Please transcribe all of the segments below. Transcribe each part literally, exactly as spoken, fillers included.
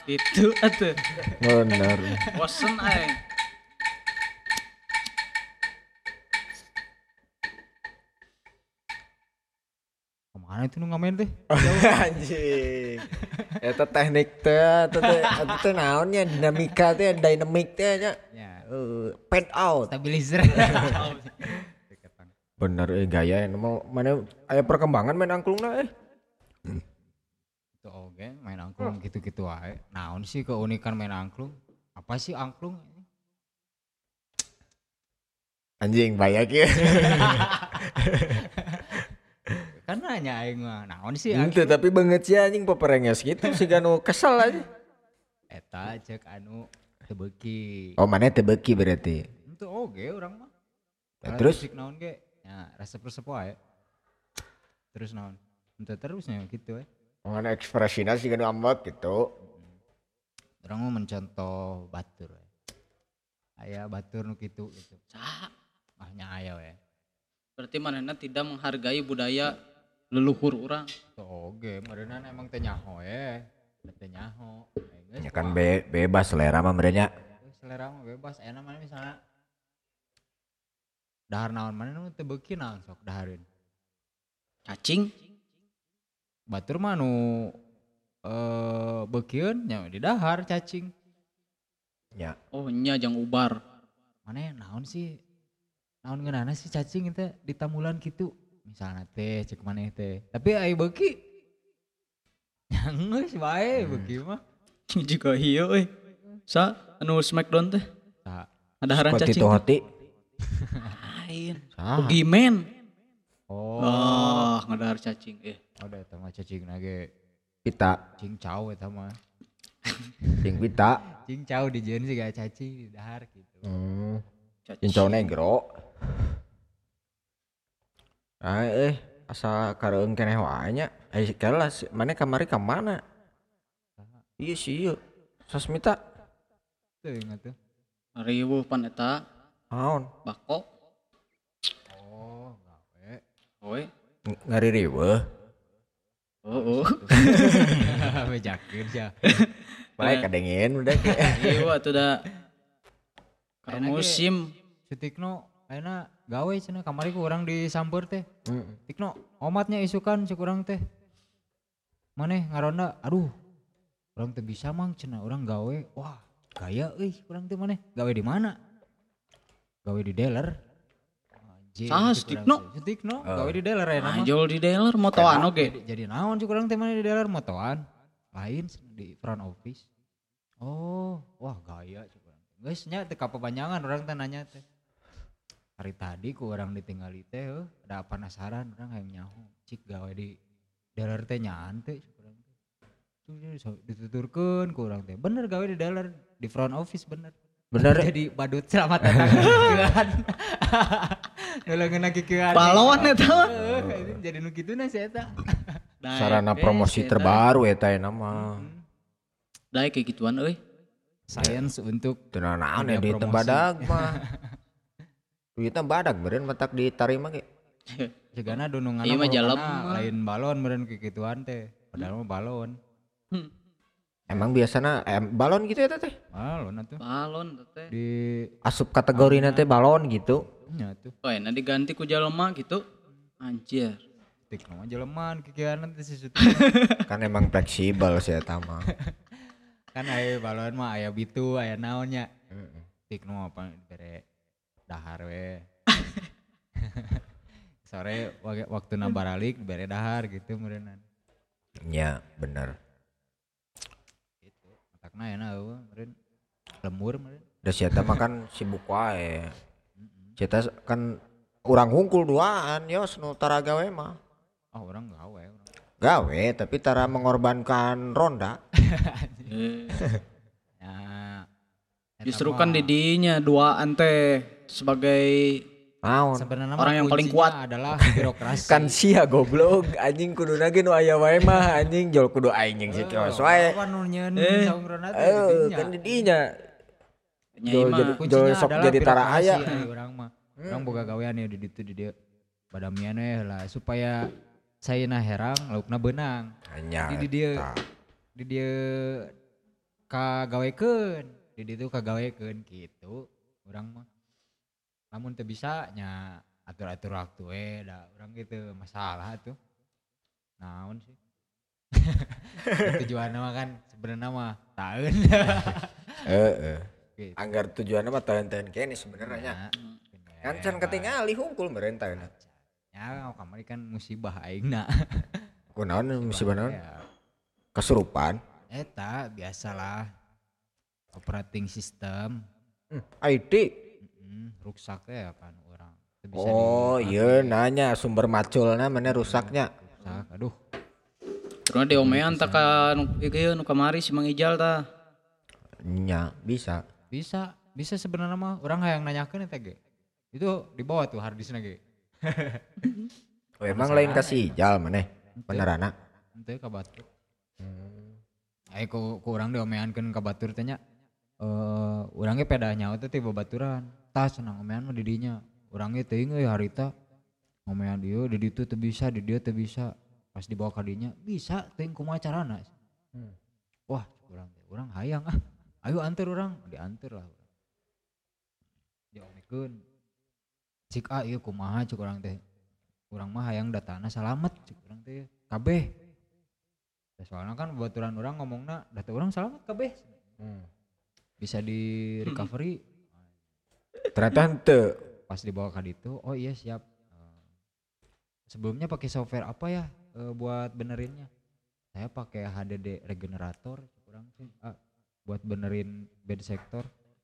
Itu atuh. Bener. Bosen aing. Kemana itu nu ngamen teh? Anjing. Eta teknik teh, eta teh eta teh naonnya dinamika teh, dynamic teh nya. Ya, Eh, fade out. stabilizer. Bener eh gaya mau mana aya perkembangan main angklungna eh. Itu oge main angklung gitu-gitu wae. Naon sih keunikan main angklung? Apa sih angklung? Anjing banyak ya. Kan nanya aing mah, naon sih Ente angklung? tapi banget sih anjing peperenges gitu sih nu kesel aja. Eta cek anu teu beuki. Oh mana teu beuki berarti. Itu oge urang mah. Ya, Alat terus? musik naon ge? Ya, resep-resep wae. Terus naon? Ente terusnya gitu we. Mana ekspresinya sih nu ambek gitu. Urang mah mencontoh batur we. Aya batur nu kitu gitu. Saha? Ah nya aya we. Berarti manehna tidak menghargai budaya leluhur urang. Tuh oge, meureunan emang teu nyaho we. Teu nyaho. Ya kan be bebas selera mah merenya. Selera mah bebas, enak mana misalnya dahar naon mana nu teu beuki naon sok dahareun. Cacing. Batur mah nu eh beukieun nya di dahar cacing. Ya. Oh nya jang ubar. Mana naon sih? Naon ngeunana sih cacing itu di tamulan gitu. Misalnya teh cek maneh teh. Tapi aya beuki. Geus bae beuki mah. Juga hieu euy. Sa anu Smackdown teh. Tah. Adaharan Seperti cacing. itu hati. Lain. Saha? Boogeyman. Oh, Oh, ngadahar cacing eh. ada eta mah cacing ge Pita, cincau eta mah. ping pita. Cincau dijieun sih gak cacing di dahar gitu. Hmm. Cacing. Cincau negro. Ah eh asa kareung keneh wae nya. Eh kelas mana kamari ka mana? Iya sih ieu. Sasmita. Tuh ingat tuh. Riweuh pan eta Naon? bako. Oh, gawe. Oe. Ng- Ngari riweuh. Oh, oh. Bejakeun sia. Bae kadengin udah ge. Iya atuh da. Karena Enak ge. musim. Si Tikno ayeuna gawe cenah kamari ku urang disamper teh. Heeh. Tikno omatnya isukan cek urang teh. Maneh ngaronda, aduh. Urang teh bisa mang cenah urang gawe. Wah, gaya euy urang teh maneh. Gawe di mana? Gawe di dealer. Anjing. Saha, cek si urang Tikno? teh. Si Tikno gawe di dealer ayeuna mah. Anjol di dealer motoan oge. Jadi, jadi naon cek urang teh maneh di dealer motoan. Lain di front office. Oh, wah gaya cek urang. Geus nya teu kapapanjangan urang teh nanya teh. Hari tadi ku orang ditinggali teh heuh, ada penasaran urang hayang nyaho. Cik gawe di dealer teh nyaan teh cek urang teh. Tuh jadi so- dituturkeun ku urang teh. Bener gawe di dealer di front office bener. Bener. Jadi badut selamat datang kieuan. Nulungeun kieuan. Pahlawan eta mah. Heuh, jadi nu kituna si eta. Daek, Sarana eh, promosi si eta. terbaru eta aya mah. Daek kayak gituan euy. Science untuk Teu naon Dunia ya di promosi. tembadag mah. Duitna badag beureun matak ditarima ge. Jegana dununganna Ieu mah jalem mah mah. lain balon meureun kikituan teh. Padahal mah balon. Hmm. Emang biasana eh, balon gitu ya teh. Balon atuh. Balon teh. Di Asup kategorina teh balon gitu. nya tuh. Oh, enak diganti ku jelema gitu. Anjir. Tik mah jeleman kikieuan teh si Suti. Kan emang fleksibel sih eta mah. Kan aya balon mah aya bitu aya naonnya. Heeh. Tik nu apa bere dahar we. Sore wak- waktuna baralik bere dahar gitu meureunnan. Nya bener. Gitu. Matakna enak eueuh meureun. Lembur meureun. Da si eta mah kan sibuk wae. Si eta kan urang hungkul duaan yos nu tara gawe mah. Oh, orang gawe urang. Gawe tapi tara mengorbankan ronda. Eh, Ya. eta Justru mah kan di dinya duaan teh sebagai Naon? sebenarnya orang mah yang paling kuncinya kuat. adalah birokrasi. Kan sia goblok anjing kuduna ge nu aya wae mah anjing jol kudu aing jeung si kios wae. Apa nu nyieun Eh. saungrana teh Eh di dinya. kan di dinya. nyai Jol mah jadi- Kuncinya Jol sok adalah jadi tara birokrasi, aya. ari urang mah. Urang boga gawean ya di ditu di dieu. Badamian we lah supaya sayeuna herang laukna beunang. Hanya Di di dieu eta. di dieu kagawekeun di ditu kagawekeun gitu urang mah lamun teu bisa nya atur-atur waktu we da urang gitu masalah tuh naon sih tujuanna mah kan sebenarnya mah taeun Heeh. gitu. Anggar tujuanna mah tahan-tahan kene sebenarnya. Kan can ketingali hungkul meureun taeuna. ya kamari kan musibah aingna Kunaon musibah naon? ya Kesurupan. eta biasalah operating system Hmm, I D. mm, rusak ya kan orang Teu bisa Oh di- iya nanya sumber maculna mana rusaknya. rusak aduh Terus diomean tak ka nu ieu nu kamari si Mang Ijal tah. Nya bisa. bisa bisa sebenarnya mah orang hayang nanyakeun eta ge itu dibawa tuh harddiskna ge Oh, emang lain kasih jal maneh benerana. henteu ka batur Ayo ku, ku urang diomeankeun ka batur teh nya eh urang ge peda nyawa teh ti babaturan tah cenah ngomean mah di dinya urang ge teuing euy harita ngomean ieu di ditu teu bisa di dieu teu bisa pas dibawa ka dinya bisa teuing kumaha carana wah urang teh urang hayang ah ayo anter urang dianter lah urang diomekeun cik ah ieu kumaha cik urang teh urang mah hayang datana salamet cik urang teh kabeh Ya, soalnya kan baturan orang ngomongna data orang selamat kabeh bisa di recovery Ternyata henteu. pas dibawa ke ditu oh iya siap. Eh, sebelumnya pakai software apa ya eh, buat benerinnya saya pakai H D D regenerator kurang sih ah, buat benerin bed sector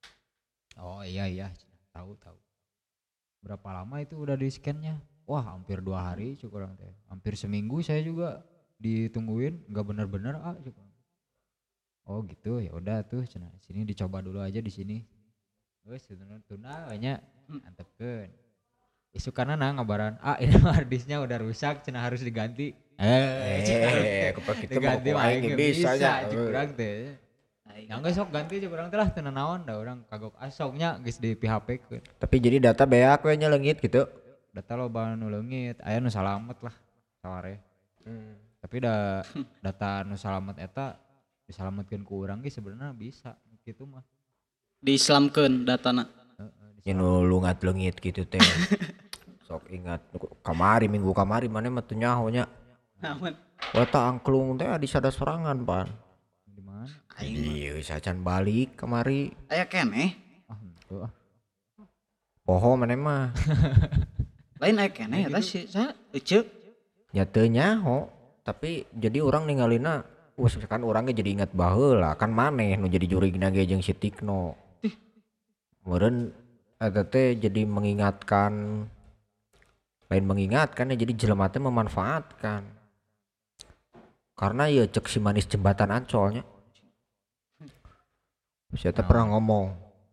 oh iya iya tahu tahu berapa lama itu udah di scannya wah hampir dua hari kurang teh hampir seminggu saya juga ditungguin nggak bener-bener ah cukup. Oh gitu ya udah tuh cenah sini dicoba dulu aja di sini wes tuna tuna banyak antepkeun isu karena nah ngabaran ah ini harddisknya udah rusak cenah harus diganti eh Eh, aku pakai itu diganti mau aing aing ge bisa bisa nya. cik urang teh yang geus sok ganti cik urang teh lah teu naon da urang kagok asoknya geus di P H P-keun Tapi jadi data beak we nya leungit gitu. data loba nu leungit aya nu salamet lah saware tapi da data nu salamet eta disalametkeun ku urang ge sebenarnya bisa gitu mah Diislamkeun datana. Ya nu lungat leungit gitu teh. Sok ingat kamari minggu kamari mana mah teu nyaho nya. Naon? Wata angklung teh di sada sorangan pan. di mana Iya sacan balik kamari. Aya keneh. ah henteu ah Poho mana mah. Lain aya keneh eta si sa eceuk. Ya teu nyaho. Tapi jadi orang ningalina wes kan orangnya jadi ingat baheula kan maneh nu jadi jurigna ge jeung si Tikno. Meureun eta teh jadi mengingatkan lain mengingatkan ya jadi jelema teh memanfaatkan. Karena ya cek si manis jembatan Ancolnya. Saya teh pernah ngomong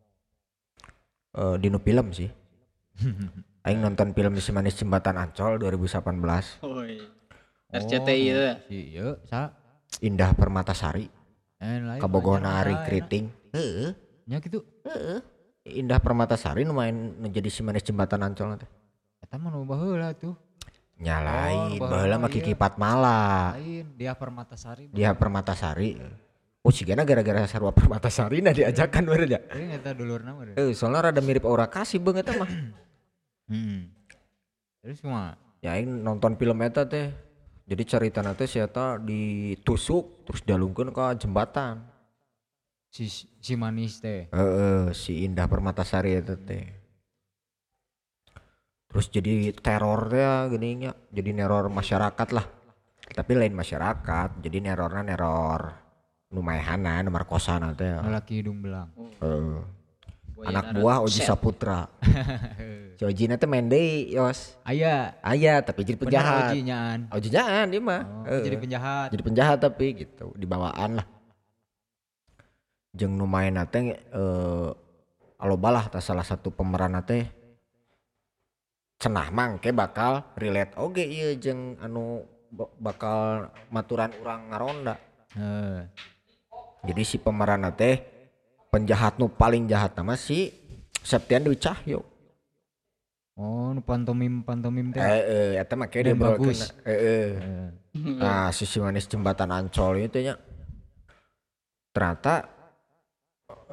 eh di nu film sih. Aing nonton film si manis jembatan Ancol dua ribu delapan belas. Oi. R C T I teh. si ieu sa Indah Permatasari. eh lain Kabogona Ari banyak lah, Kriting. Heeh. enak. nya gitu Heeh. Indah Permatasari nu main nu jadi si manis jembatan Ancol teh. eta mah nu baheula tuh Nyalain, Oh, baheula mah iya. Kiki Patmala. lain dia Permatasari Dia Permatasari. Oh sigana gara-gara sarua Permatasari nah diajakan meureun ya. tapi eta dulurna mah Eh soalnya rada mirip Aura Kasih beung eta mah. hmm terus cuma Ya aing nonton film eta teh. Jadi caritana teh si eta ditusuk terus dialungkeun ka jembatan. si si manis teh Heeh, si Indah Permatasari eta teh. Terus jadi teror teh geuning nya, jadi neror masyarakat lah. Tapi lain masyarakat, jadi nerorna neror nu maehanna, nu markosana teh. lelaki hidung belang Heeh. Buaya Anak darat. buah Oji Set. Saputra. Si Ojina teh main deui, Yos. aya Aya tapi jadi bener penjahat. ojinyaan Ojinaan dia mah. oh, Heeh. jadi penjahat Jadi penjahat tapi gitu, dibawaan lah. Jeung nu maenna teh eh aloba lah tah salah satu pemeran teh cenah mangke bakal relate oge ieu jeung anu ba- bakal maturan urang ngaronda. Heeh. Jadi si pemeran teh penjahat nu paling jahat nama si Septian Dewi Cahyo. oh nu pantomim pantomim teh Eh, eh, eta mah kayak Dan bagus. Eh, eh. Heeh. Nah, si si manis jembatan Ancol itu nya ternyata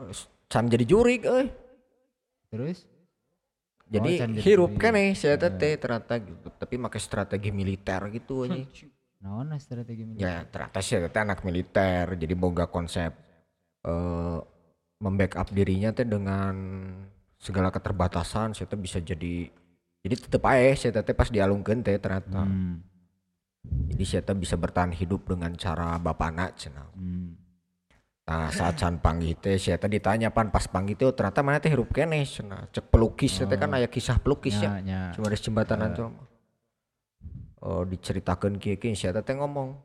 can jadi jurig euy. Terus Jadi Oh, can jadi hirup jurig. keneh saya teh ternyata gitu, tapi pakai strategi militer gitu anjing. naon strategi militer? Ya ternyata saya teh anak militer, jadi boga konsep eh membackup dirinya teh dengan segala keterbatasan, saya teh bisa jadi jadi tetep aja saya teh pas dialungkeun teh ternyata. Hmm. Jadi saya teh bisa bertahan hidup dengan cara bapana cenah. Hmm. Nah saat can panggih teh saya teh ditanya pan pas panggih teh oh, ternyata mana teh hirup keneh cenah. Cek pelukis teh kan aya kisah pelukis ya. Nya, nya. Cuma ada jembatanan tuh. Oh diceritakan kieu-kieu saya teh ngomong.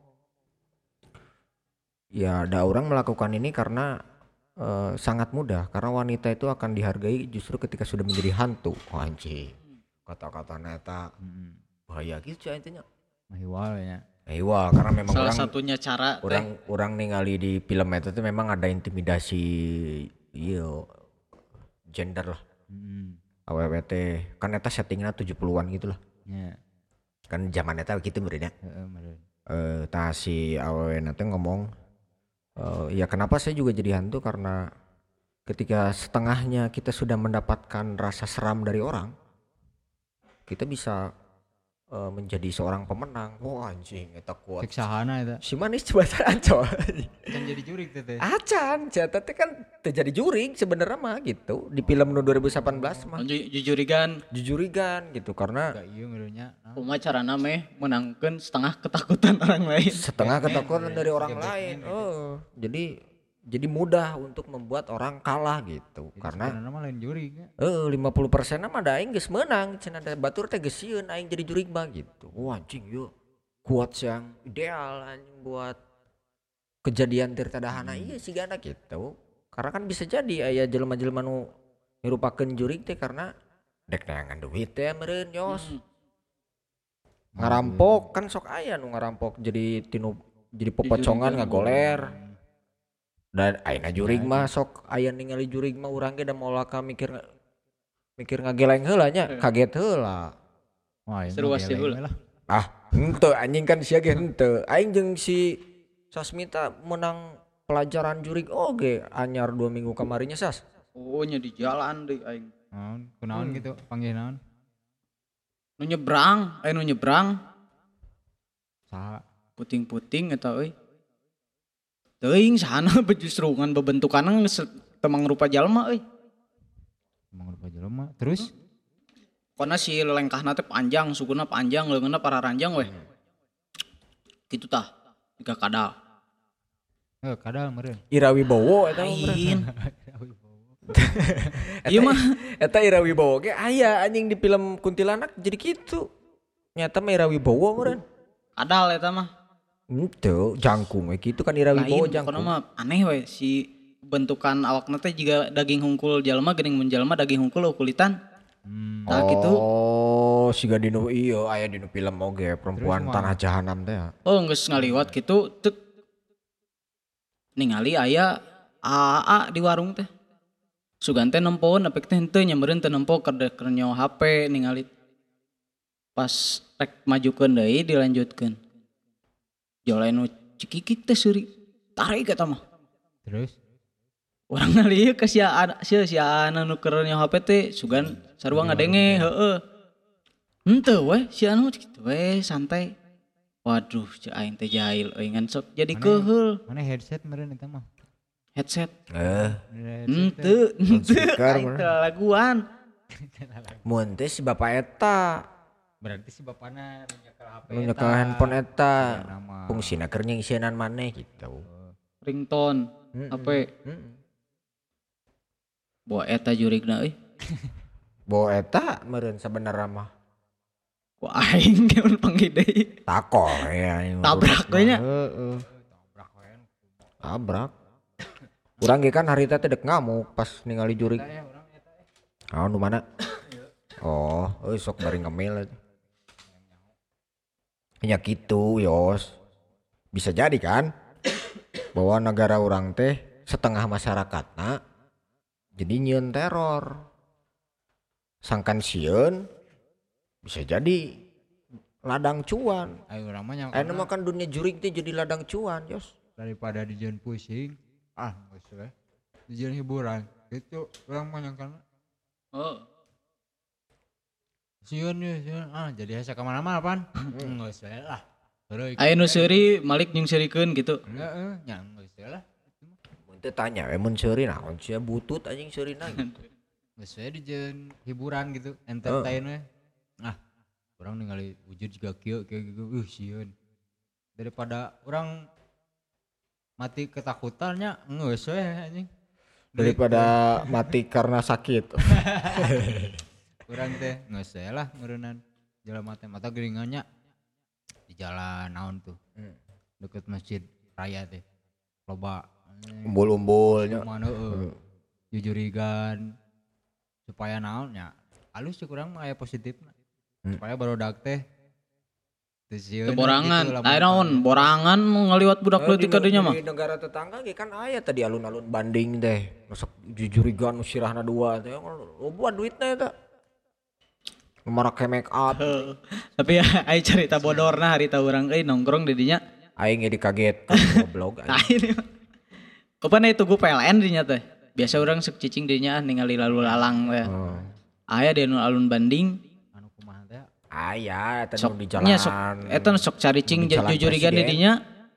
Ya ada orang melakukan ini karena eh, sangat mudah karena wanita itu akan dihargai justru ketika sudah menjadi hantu. Oh anjing. Kata-kata neta Hmm. bahaya gitu intinya. Mahiwal ya. Eh wah karena memang Salah orang satunya cara teh. orang orang ningali di film itu tuh memang ada intimidasi iya gender lah. Hmm. A W W teh kan eta settingnya tujuh puluhan gitu lah. Nya. Kan zaman eta gitu benernya. Heeh, meureun. Eh tah si A W W nanti ngomong eh, ya kenapa saya juga jadi hantu karena ketika setengahnya kita sudah mendapatkan rasa seram dari orang kita bisa eh, menjadi seorang pemenang. Wah anjing eta kuat. Cek sahana eta. Si manis jembatan coy. Kan jadi jurig teh teh. Acan, jatah teh kan terjadi jurig sebenarnya mah gitu di film nu dua ribu delapan belas mah. Ju- jujurigan Jujurigan gitu karena Gak iya meureunnya. kumaha carana meh menangkeun setengah ketakutan orang lain. setengah Batman, ketakutan ya, dari orang kayak lain. Batman, Oh, jadi jadi mudah untuk membuat orang kalah gitu. Karena Sebenarnya mah lain jurig ya. eh lima puluh persen mah da aing geus meunang, cenah da batur teh geus sieun aing jadi jurig mah gitu. Wah anjing yuk. Kuat yang ideal anjing buat kejadian tir tadahana iya sih gana gitu. Karena kan bisa jadi aya jelema-jelema nu ngirupakeun jurig teh karena dek neangan duit teh meureun yos. Hmm. Ngarampok kan sok aya nu ngarampok jadi tinu jadi pepocongan Jujurigan. ngagoler. Dan ayeuna jurig mah sok aya ningali jurig mah urang ge da moal ka mikir mikir ngageleng heula nya, kaget heula. Wah, Seru emang sih geleng heula. we lah. Ah, henteu anjing kan sia ge henteu. Aing jeung si Sasmita menang pelajaran jurig oge anyar dua minggu kamarinya Sas. Oh nya di jalan deui aing. Naon? Kunaon gitu? Panggil naon? Nu nyebrang, aya nu nyebrang Saha? puting-puting eta euy. Teuing sana justru ngan bebentukanna geus teu mangrupa jalma euy. Emang lupa jelema. Terus? Pokona si lelengkahna teh panjang, sukuna panjang, leungeunna pararanjang weh. Kitu tah, tiga kadal. Eh, kadal meureun. Ira Wibowo eta mah meureun. Lain. Iya mah Eta Ira Wibowo ge aya anjing di film Kuntilanak jadi kitu. Nyata mah Ira Wibowo meureun. kadal eta mah. Henteu, jangkung we kitu kan Ira Lain, Wibowo pokona jangkung. mah aneh we si bentukan awakna teh jiga daging hungkul jalma geuning mun jalma daging hungkul kulitan. Hmm. Nah gitu. Oh, siga dinu iya aya dinu film oge perempuan Terus tanah jahanam teh. Oh geus ngaliwat kitu teu ningali aya A A di warung teh. Sugan teh nempoun apik teh henteu nya meureun teu nempo keur keur nyawa H P ningali. Pas rek majukeun deui dilanjutkeun. Jolain nu cikikik teh seuri. Tarik eta mah. Terus? Orang ngalieu ka sia sia sia anu keur nyawa H P teh sugan sarua ngadenge heeh. Henteu we sia anu kitu we santai. Waduh ceu aing teh jahil euy ngan sok jadi keheul Mana headset meureun eta mah? headset. Eh, Henteu henteu speaker, aing mah. teh laguan. mun teh si bapak eta Berarti si bapana nu nyekel H P nu nyekel handphone eta nama. fungsina keur nyingsienan maneh gitu. Ringtone Mm-mm. H P. Mm-mm. Boa eta jurigna euy. Bawa eta meureun sabenerna mah. Ku aing geun panggih deui. Takol ya. yang Tabrak urut we nya. mah. Heeh. Tabrak. Urang ge kan hari teh dek ngamuk pas ningali jurig. Ah, nu mana? Oh, euy sok bari ngemil. Ya gitu, Yos. Bisa jadi kan? Bahwa negara orang teh setengah masyarakatna jadi nyieun teror. Sangkan sieun bisa jadi ladang cuan. Ayo urang mah nya Aya mah kan dunia jurig teh jadi ladang cuan, Yos. daripada dijieun pusing. Ah, geus we. tujuan hiburan. Itu orang menyangka Oh. sieun ya, sieun. Ah, jadi asa ka mana-mana pan. Enggak usah lah. Terus Aya nu seuri Malik jeung seurikeun gitu. enggak eh nya enggak usah lah. Mun teu tanya we mun seuri naon sia butut anjing seurina. Geus we dijieun hiburan gitu, entertain we. Nah, orang ningali wujud juga kieu kayak gitu. Uh, sieun. Daripada orang mati ketakutannya geus we anjing. Daripada mati karena sakit. Urang teh geus we lah ngeureunnan jelema teh mata geuningannya di jalan naon tuh. Deket masjid raya teh. Loba Umbul-umbulnya. mana heeh. Jujurigan supaya naonnya halus cek urang mah aya positifna. Supaya barudak teh teu sieun Borangan. Aya naon? Borangan mau ngaliwat budak leutik ka dinya mah. Di negara tetangga ge kan aya tadi alun-alun Banding teh. Masuk jujurigan nu sirahna dua teh. Loba duitna eta. Marak make up. Tapi ya aya carita bodorna harita urang euy nongkrong di dinya. Aing ge dikaget goblok. Nah ini mah. Kapan itu gue P L N dinya teh. Biasa orang sok cicing dinya ningali lalu lalang teh. Aya di alun Banding. Anu kumaha teh? Aya eta nu Sok di nya jalan. sok eta sok caricing di jalan jujurigan di Presiden. dinya.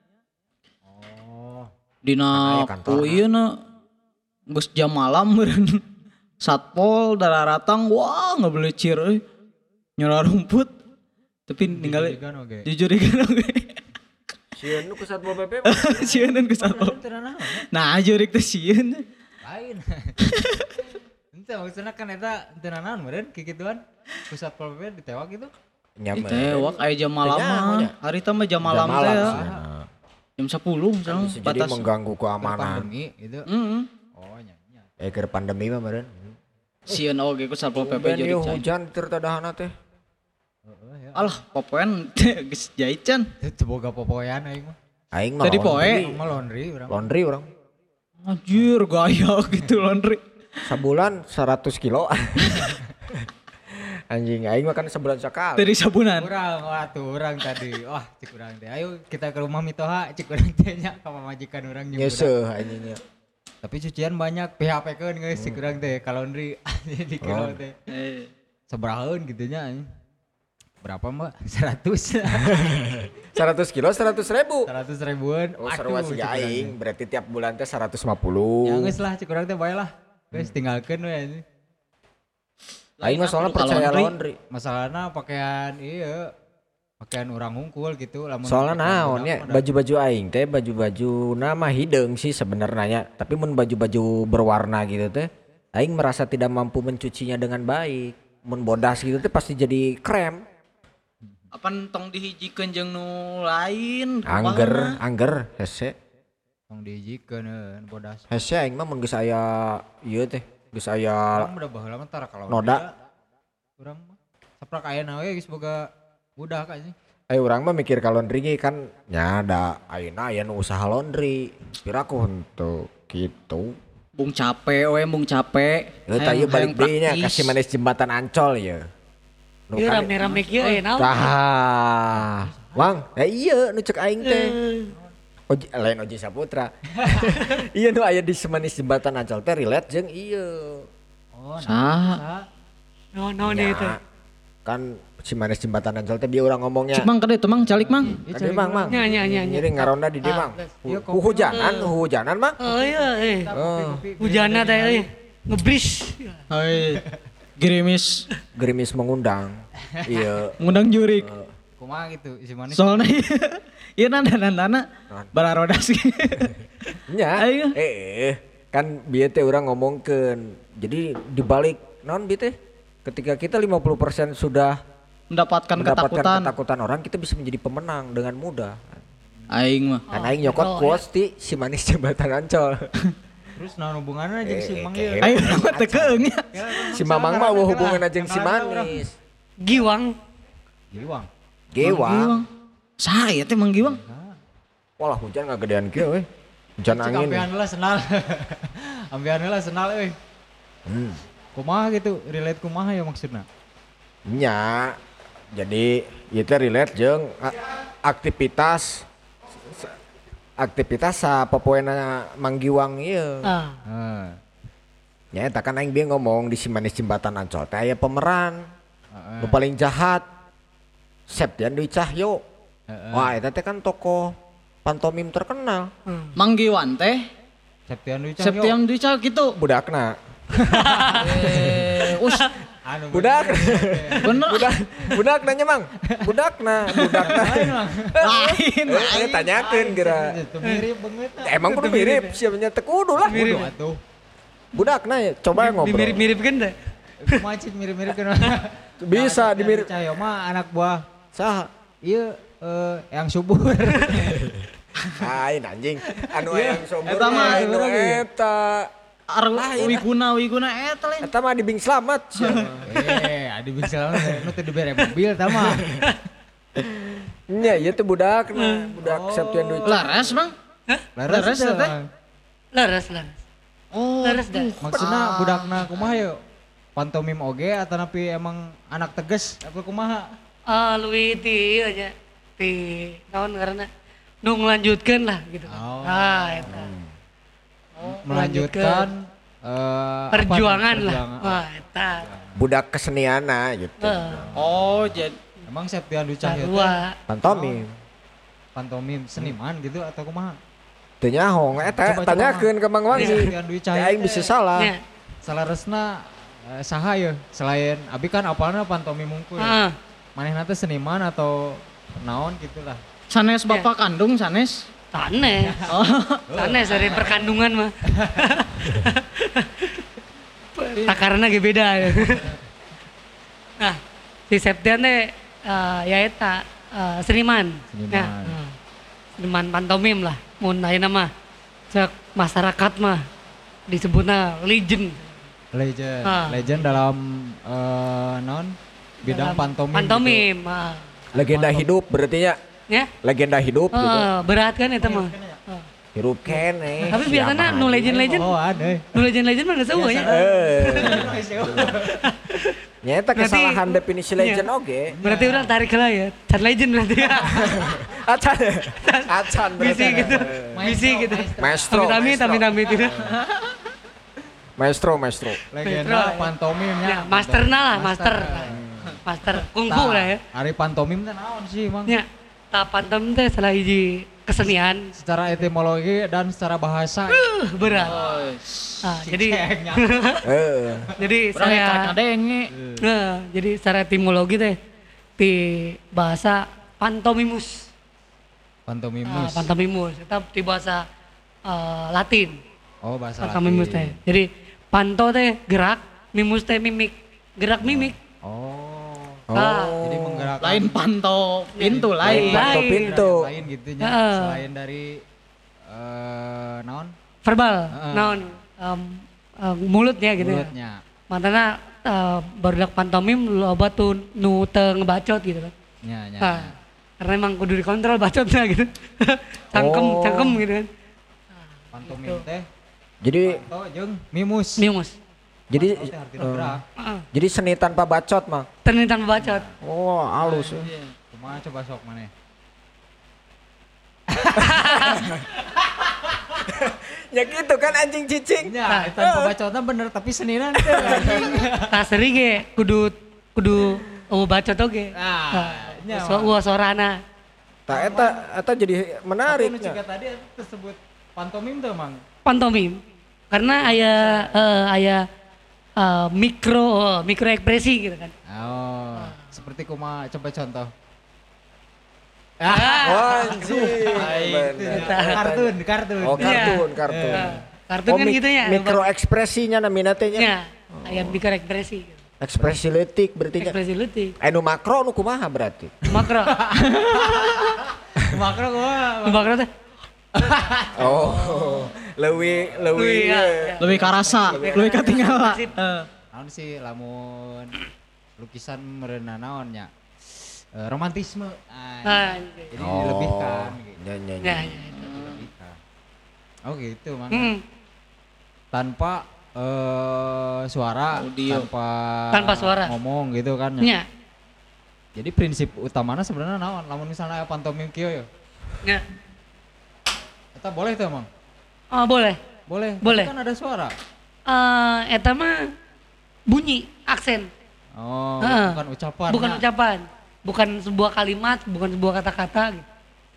Oh, Dina Aya kantorna. ku ieu na geus jam malam meureun. Satpol dararatang wah ngebelecir euy. Nyora rumput. Tapi ningali jujurigan oge. jujurigan oge. Sieun nu ku Satpol P P. Sieun ku satpol. Teu naon. Nah jurik teh sieun. Lain. Ente maksudna kan eta teu naon meureun kikituan. Pusat P P ditewak gitu. Nyampe. Tewak aya jam malam Tanya, mah. nya. Harita mah jam malam teh. ya. Jam sepuluh misalnya Bisa jadi batas. mengganggu Keur keamanan. pandemi gitu. Heeh. Oh nya nya. Eh keur pandemi mah meureun. Sieun oge ku Satpol P P Ben jadi ieu can. hujan tir tadahana teh. Heeh ya. Alah, popoen geus jait can. Teu boga popoyan aing mah. Aing mah Tadi laundry. poe. Mah laundry urang. Laundry urang. Anjir, gaya gitu laundry. Sabulan seratus kilo. Anjing aing mah kan sebulan sekali. Dari sabunan. Urang wah tuh urang tadi. Wah cik urang teh. Ayo kita ke rumah Mitoha cik urang teh nya ka pamajikan urang jeung budak. Nyeseuh anjingnya. Tapi cucian banyak P H P-keun geus cik urang teh ka laundry di kilo Oh. teh. Eh, Sabarahaun gitu nya anjing. Berapa mbak? Seratus. seratus kilo seratus ribu. Seratus ribuan. Oh sarua Waduh, si cik urang aing teh. berarti tiap bulan teh seratus lima puluh. Ya geus lah cik urang teh bae lah. Geus tinggalkeun we anjing. Aing mah soalnya Kudu ka percaya laundry. laundry. Masalahna pakaian iya pakaian orang hungkul gitu lamun Soalnya pakaian naon budak ya mah da- baju-baju aing teh baju-baju nama hideung sih sebenarnya tapi mun baju-baju berwarna gitu teh aing merasa tidak mampu mencucinya dengan baik. Mun bodas gitu teh pasti jadi krem. Apan tong dihijikeun jeung nu lain. Angger, angger hese. tong dijikeun heuh bodas. Hese aing mah mun geus aya ieu teh, geus aya Urang udah baheula mah tara kalau noda. urang mah saprak ayeuna we geus boga budak anjing. Eh urang mah mikir ka laundry ge kan nya da ayeuna aya nu usaha laundry. Piraku henteu kitu. Bung capek we, bung capek. Ieu tah ieu balik deui nya praktis. kasih manis jembatan Ancol ieu. Nu Ieu kan- rame-rame kieu aya naon? Tah. Mang, ya iya nu cek aing teh. Oji, lain Oji Saputra. Iya nu aya di semanis jembatan Ancol teh relate jeung ieu. Oh, Saha? Naon-naon deui teh? Nya, kan si manis jembatan Ancol teh dia orang ngomongnya. Cik mang kade tuh mang calik mang. Kan dia mang mang. Nya nya nya nya. Jadi ngaronda di dia mang. Iya, Hu- Hujanan, hujanan mang. Oh iya eh. Oh, Hujanna teh euy. Ngebris. Hai. Gerimis gerimis mengundang. Iya. ngundang jurik. kumaha gitu isi manis. Soalnya ieu nanda-nandana bararodas. Nya. Ayo. Eh, kan bieu teh urang ngomongkeun. Jadi dibalik naon bieu teh? Ketika kita lima puluh persen sudah Mendapatkan mendapatkan ketakutan. ketakutan orang, kita bisa menjadi pemenang dengan mudah. Aing mah. Kan aing nyokot Oh, quotes di si manis jembatan Ancol. Terus naon hubunganna jeung si Eh, Mang eh, ieu? Aing mah teu keung nya. Si Mamang mah eueuh hubungan jeung si manis. Giwang. Giwang. Gewang. Saha ieu teh Mang Giwang? Walah hujan ngagedean kieu euy. Hujan Cik angin. ambean heula senal. Ambean heula senal euy. Hmm. Kumaha gitu? Relate kumaha ya maksudna? Nya. Jadi ieu teh relate jeung a- aktivitas se- aktivitas sa popoena Manggiwang ieu. Ah. Heeh. Nya eta kan aing bieu ngomong di Simanis Jembatan Ancol teh aya pemeran. Heeh. Nu paling jahat Septian Dwi Cahyo. Heeh. Wah, eta teh kan tokoh pantomim terkenal. Hmm. Manggiwan teh Septian Dwi Cahyo. Septian Dwi Cahyo gitu. Budakna. Eh, us Anu Budak. bener Budak. Budak nanya Mang. Budakna, budakna. lain. Eh, tanyakeun geura. Itu mirip banget. Emang kudu mirip, siapanya teu kudu lah. Mirip. Kudu atuh. Budakna ya, coba ngobrol. Mirip-mirip kan dah. Macet mirip-mirip kan. Bisa dimirip. Cahyo mah anak buah. Saha? Iya eh yang subur. Lain anjing. Anu yang sombong. Eta mah anu eta. Ar wiguna wiguna eta lain. Eta mah di Bing Slamet. Eh, adi bisa nu teh dibere mobil tah mah. Nya ieu teh budakna, budak Septian Dwi. Laras, Bang. Laras teh, teh? Bang. Laras, laras. Oh, Laras dah. Maksudna budakna kumaha yeuh? Pantomim oge atau napi emang anak tegas apa kumaha? Ah, luwi ti ieu nya. Ti naon ngaranna? Nu nglanjutkeun lah gitu. Oh. Ah, eta. Melanjutkan eh, apa Perjuangan nih? lah. Perjuangan. Wah, eta. Budak keseniana gitu. Heeh. oh jadi Emang Septian Dwi Cahyo teh Dua. Pantomim. pantomim seniman gitu atau kumaha? Teu nyaho eta Coba, coba, tanyakeun ke Mang Wangi. Septian Dwi Cahyo Teh aing teh bisa salah. Nya. Salaresna eh, saha ya selain abi kan apalna pantomim mungkul. Heeh. Manehna teh seniman atau naon gitulah. sanes bapak kandung sanes. Sanes. Oh, Sanes dari perkandungan mah. Takaranna ge beda. Nah, si Septian teh eh, ya eta eh, seniman. Seniman. Ya, eh, seniman pantomim lah. Mun ayeuna mah cek masyarakat mah disebutna legend. Legend. Ah. Legend dalam eh, naon bidang Dalam pantomim. Pantomim. ah. Legenda hidup berarti nya. Ya. Legenda hidup gitu. Eh, berat kan eta mah. Eh. Hirup kene. Tapi biasanya nu legend-legend, Gitu. Oh, ada. nu legend-legend mah geus eueuh ya. Eh. Nya eta Berarti- kesalahan definisi legend Iya. oge. Berarti orang tarik lah ya. Can legend berarti ya. Acan. Acan Misi berarti. gitu. Misi gitu. Maestro. Amit-amit, maestro. amit-amit gitu. Maestro, maestro. Legenda Metro. pantomimnya. Ya, masterna lah, master. Master kungfu lah ya. Hari pantomim teh naon sih, Mang? Ya, tak pantom teh salah hiji kesenian. Secara etimologi dan secara bahasa. Uh, berat. Nah, jadi Heeh. jadi Urang saya karek kadenge. nah, jadi secara etimologi teh di bahasa pantomimus. Ah, Pantomimus. pantomimus itu di bahasa eh, Latin. Oh, bahasa Pantomimus Latin. teh. Jadi panto teh gerak, mimus teh mimik. Gerak mimik. Oh. Ah. Jadi menggerakkan Lain pantau pintu lain. Lain. Panto pintu. lain gitu nya. Heeh. Selain dari eh naon? Verbal, Heeh. naon em, em, mulutnya gitu ya. Mulutnya. Matana uh, barudak pantomim loba tuh nu teu ngebacot gitu kan. Nya, nya. Nah, karena emang kudu dikontrol bacotnya gitu. cangkem, Oh. cangkem gitu kan. Pantomim teh Jadi panto jeung mimus. Mimus. jadi Panto teh artinya gerak. Heeh. jadi seni tanpa bacot, Mang. Teni tanpa bacot. Oh, halus. ya. Kumaha coba sok maneh? Ya gitu kan anjing cicing. Nya, eta pembacotna bener tapi seninan teh anjing. Tah seri ge kudu kudu oh bacot oge. Nah, nya. So, wah sorana. Tak eta eta jadi menarik. Tapi nu ciga tadi eta tersebut pantomim tuh, Mang. Pantomim. Karena aya eh, aya eh, mikro oh, mikro ekspresi gitu kan. Oh, seperti kumaha coba contoh. Oh, anjing. Itu, kartun, kartun. Oh, kartun, Iya. kartun. Eh, kartun Oh, kan mik- gitu ya. mikro ekspresinya namina teh nya. Ya, aya mikro ekspresi. Gitu. Ekspresi letik berarti nya. Ekspresi leutik. Anu makro nu kumaha berarti? Makro. Makro kumaha? Makro teh. Oh. Leuwih leuwih. Leuwih, ya, ieu. ya. Lebih karasa, lebih katingala. Sip. Eh. Naon sih lamun lukisan mereuna naon nya? Eh, romantisme. Ah, Anjir. jadi dilebihkan gitu. Ya, ya, Ya, ya. ya, itu. Dilebihkan. Oh gitu, Mang. Hmm, Tanpa eh suara, Audio. tanpa Tanpa suara. ngomong gitu kan. nya. nya. Jadi prinsip utamanya sebenarnya naon? Lamun misalnya aya pantomim kieu ya. Nya. Eta boleh tuh Mang? Oh, boleh. Boleh. Boleh. Tapi kan ada suara. Eh eta mah bunyi, aksen. Oh, Heeh. bukan ucapan. Bukan ya. ucapan. Bukan sebuah kalimat, bukan sebuah kata-kata gitu.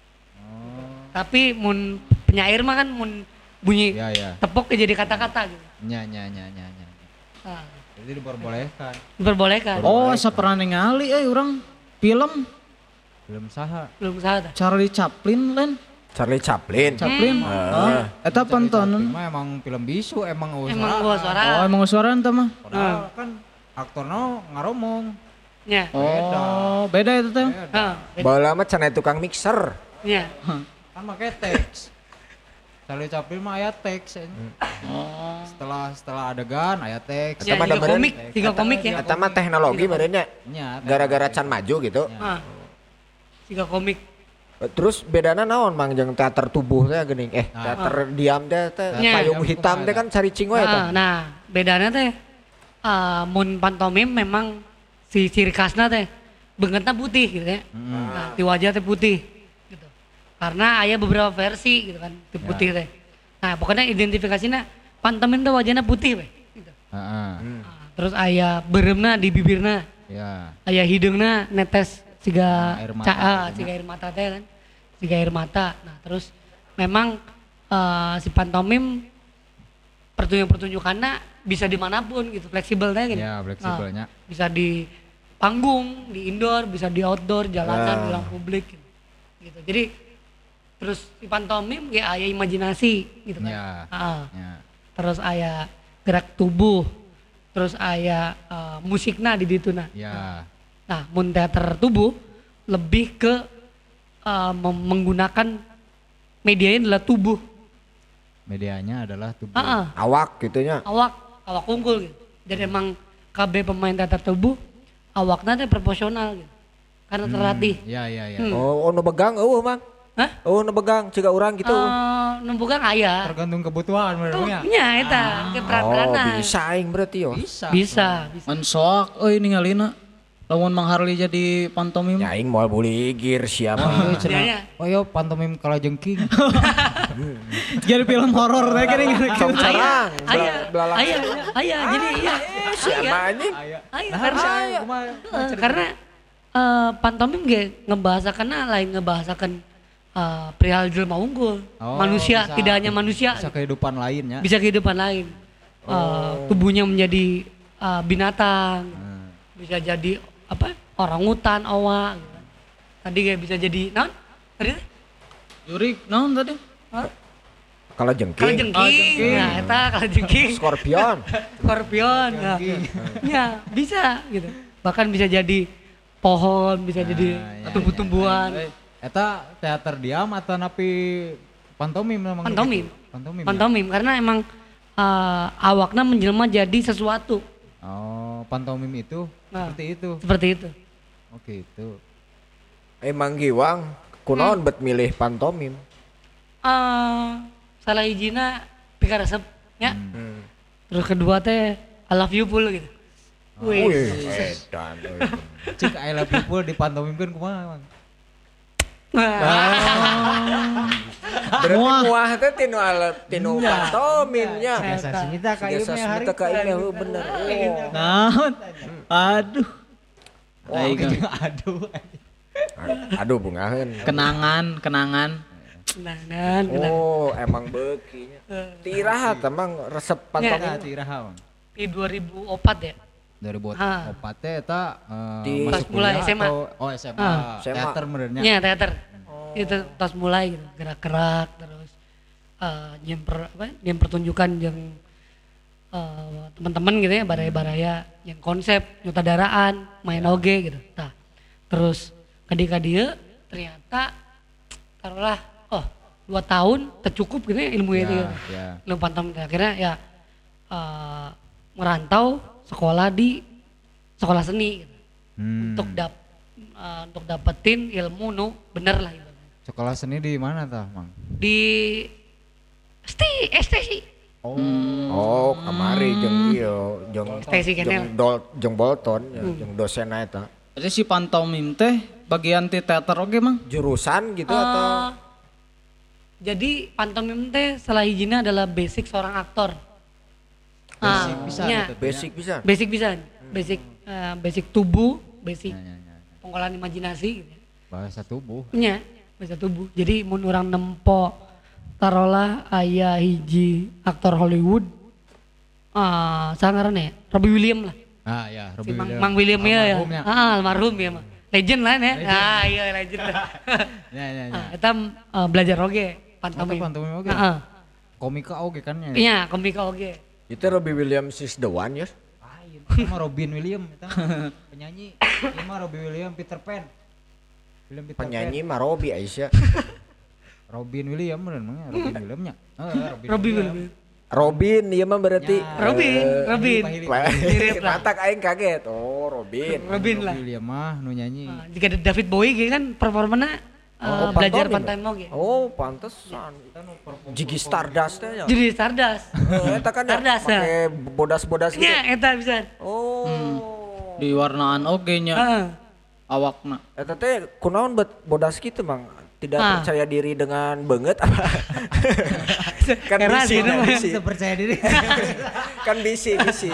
Oh, Tapi mun penyair mah kan mun bunyi iya iya. tepuk ya jadi kata-kata gitu. Nya nya nya nya nya. Nah, Jadi diperbolehkan. diperbolehkan. Oh, asa pernah ningali euy urang film Belum saha. Belum salah. Charlie Chaplin lain. Charlie Chaplin. Chaplin. Heeh. Eta Tapi pantonan. mah emang film bisu emang usaha. Emang gua suara. Oh, emang suara ente mah. Padahal kan aktornya ngaromong. Nya. Oh, beda itu teh. Heeh. Baheula mah cenah tukang mixer. Nya. Kan make teks. Charlie Chaplin mah aya teks. eh. Oh. Setelah setelah adegan aya teks. Ya, mah tiga gambaran- komik, tiga komik ya. Eta mah teknologi badannya Nya. gara-gara can maju gitu. Ah. Tiga komik. Terus bedana naon Mang jeung teater tubuh teh geuning eh Nah. teater diam teh teh Nya. payung hitam teh kan caricing we Nah, eta. nah, bedanya teh eh, mun pantomim memang si ciri khasna teh beungeutna putih gitu ya. Nah, di wajah teh putih gitu. Karena aya beberapa versi gitu kan, di putih teh. Nah, pokoknya identifikasinya pantomim teh wajahna putih we gitu. Heeh. Nah, terus aya beuremna di bibirna, Ya. aya hidungna netes siga Air mata. ca- ah, siga air mata teh kan. Siga air mata. Nah, terus memang eh, si pantomim pertunjukan-pertunjukannya bisa dimanapun gitu, fleksibel teh gitu. Ya, fleksibelnya. Nah, bisa di panggung, di indoor, bisa di outdoor, jalanan, di ruang publik gitu. gitu. Jadi terus si pantomim ya aya imajinasi gitu kan. Ya. Ah, Ya. terus aya gerak tubuh, terus aya eh, musikna di dituna. Ya. Nah, mun teater tubuh lebih ke eh, mem- menggunakan medianya adalah tubuh. Medianya adalah tubuh. Ah, ah, Awak gitunya. awak, awak unggul gitu. Jadi emang K B pemain teater tubuh awaknya teh proporsional gitu. Karena terlatih. Ya ya ya. Hmm. Oh, oh nu begang eueuh Mang. Hah? Oh nu begang ciga urang gitu. Eh, numpukan aya. Tergantung kebutuhan Tuh, menurutnya. nya eta, ke Oh, peran-peranan. bisa aing berarti yo. Bisa. Bisa, bisa. Mun sok euy ningalina. Lamun Mang Harli jadi pantomim. Ya aing moal buligir siapa. Nya, Oh yo pantomim kala jengking. Jadi film horor teh gini gini. Sok aya, cerang. aya, Belalak. aya, aya. Jadi iya, Siapa aya, anjing? aya. Nah, Karena, saya kumaha? eh, karena eh, pantomim ge ngebahasakan lain ngebahasakan eh, perihal jelema unggul, Oh, manusia, bisa. tidak hanya manusia, Bisa kehidupan lainnya. bisa kehidupan lain. Eh, tubuhnya menjadi eh, binatang, Hmm. bisa jadi apa? Orang hutan, owa. Gitu. Tadi kayak bisa jadi, naon? Tadi teh? Jurik naon tadi? Hah? Kalau Kalau jengking, jengking, Oh, jengking. nah eta kalau jengking, skorpion. skorpion, nah, ya bisa gitu. Bahkan bisa jadi pohon, bisa jadi ya, tumbuh-tumbuhan. Eta teater diam atau napi pantomim memang Pantomim. gitu? Pantomim. ya? Pantomim karena emang eh, awakna menjelma jadi sesuatu Oh, pantomim itu Nah. seperti itu. seperti itu. Oke, itu. Emang giwang kunaon bet milih pantomim. Eh, salah hijina pika resep ya. Hmm. Terus kedua teh I love you full gitu. Wih. Wih, edan. euy. Cik I love you full dipantomimkeun kumaha, Mang? Berarti muah teh tinu alat tinu pantomimnya. Biasa semita ka ieu Biasa mah hari. semita ka ieu mah, heuh, bener. Oh. Naon? Aduh. Aing Aduh. Aduh bungaheun. Nah, kenangan, kenangan. nah, nah, nah. Oh, emang beukinya. Tirahat emang resep Pantomim pantomim. tiraha, Mang. Di dua ribu empat ya. dua ribu Ah. empat teh eta eh, Di- masuk Pas mulai kuliah S M A. atau oh S M A. Ah. S M A. Teater benernya. Iya teater. Itu tas mulai gitu, gerak-gerak terus eh nyen per apa? Nyen pertunjukan yang eh, teman-teman gitu ya, baraya-baraya yang konsep nyutradaraan, main oge gitu. Nah, terus kadika dia ternyata taruhlah oh dua tahun tercukup gitu ya ilmu Ya, itu. Ya. ya. Ilmu pantom akhirnya ya eh, merantau sekolah di sekolah seni gitu. Hmm. Untuk dap eh, untuk dapetin ilmu nu bener lah gitu. Sekolah seni di mana tah, Mang? Di S T S T sih. Oh. Oh, kamari jeung ieu jeung Stacy Kenel. jeung Dol jeung Bolton ya, jeung dosenna eta. Jadi si pantomim teh bagian ti teater oge Mang. Jurusan gitu Eh, atau Jadi pantomim teh salah hijina adalah basic seorang aktor. Ah, Basic bisa nya, gitu. Basic bisa. basic bisa, basic eh, basic tubuh, basic Ya, ya, ya. pengolahan imajinasi gitu. Bahasa tubuh. Nya, bahasa tubuh. Jadi mun urang nempo tarolah aya hiji aktor Hollywood ah sangaran ya, Robbie Williams lah. Ah ya, Si Robbie Mang, Williams. Mang William ya, ya. Almarhumnya. Ah, almarhum ya mah. Legend lah ya. Ah iya legend. Ya ya ya. Ah, eta eh, belajar oge Pantomim. pantomim. Pantomim oge. Heeh. Komika oge kan ya. Iya, komika oge. Itu Robbie Williams is the one ya. Lain. Itu mah Robin Williams eta mah penyanyi. Ini mah Robbie Williams Peter Pan. William Peter Penyanyi mah Robbie Aisyah. Pan. Robin Williams bener namanya Robin Williamsnya. Heeh, Robin. Robby Williams. Williams. Robin iya mah berarti. Ya. Robin, Robin. Pahili. Mirip lah. Matak aing kaget. Oh, Robin. Robin lah. Robin Williams mah nu nyanyi. Ah, jika ada David Bowie gitu kan performanya eh, Oh, belajar pantomim pantomim oge. Oh, pantesan. Jigi Stardust teh ya. Jadi Stardust. Eh, Eta kan ya Stardust ya. pakai bodas-bodas gitu. Nya eta bisa. Oh. Di warnaan oge nya Heeh. awakna. Eta teh kunaon bet bodas gitu, Mang? Tidak Ah. percaya diri dengan banget apa? kan Era bisi, sih, kan namanya. bisi. Bisa percaya diri. Kan bisi, bisi.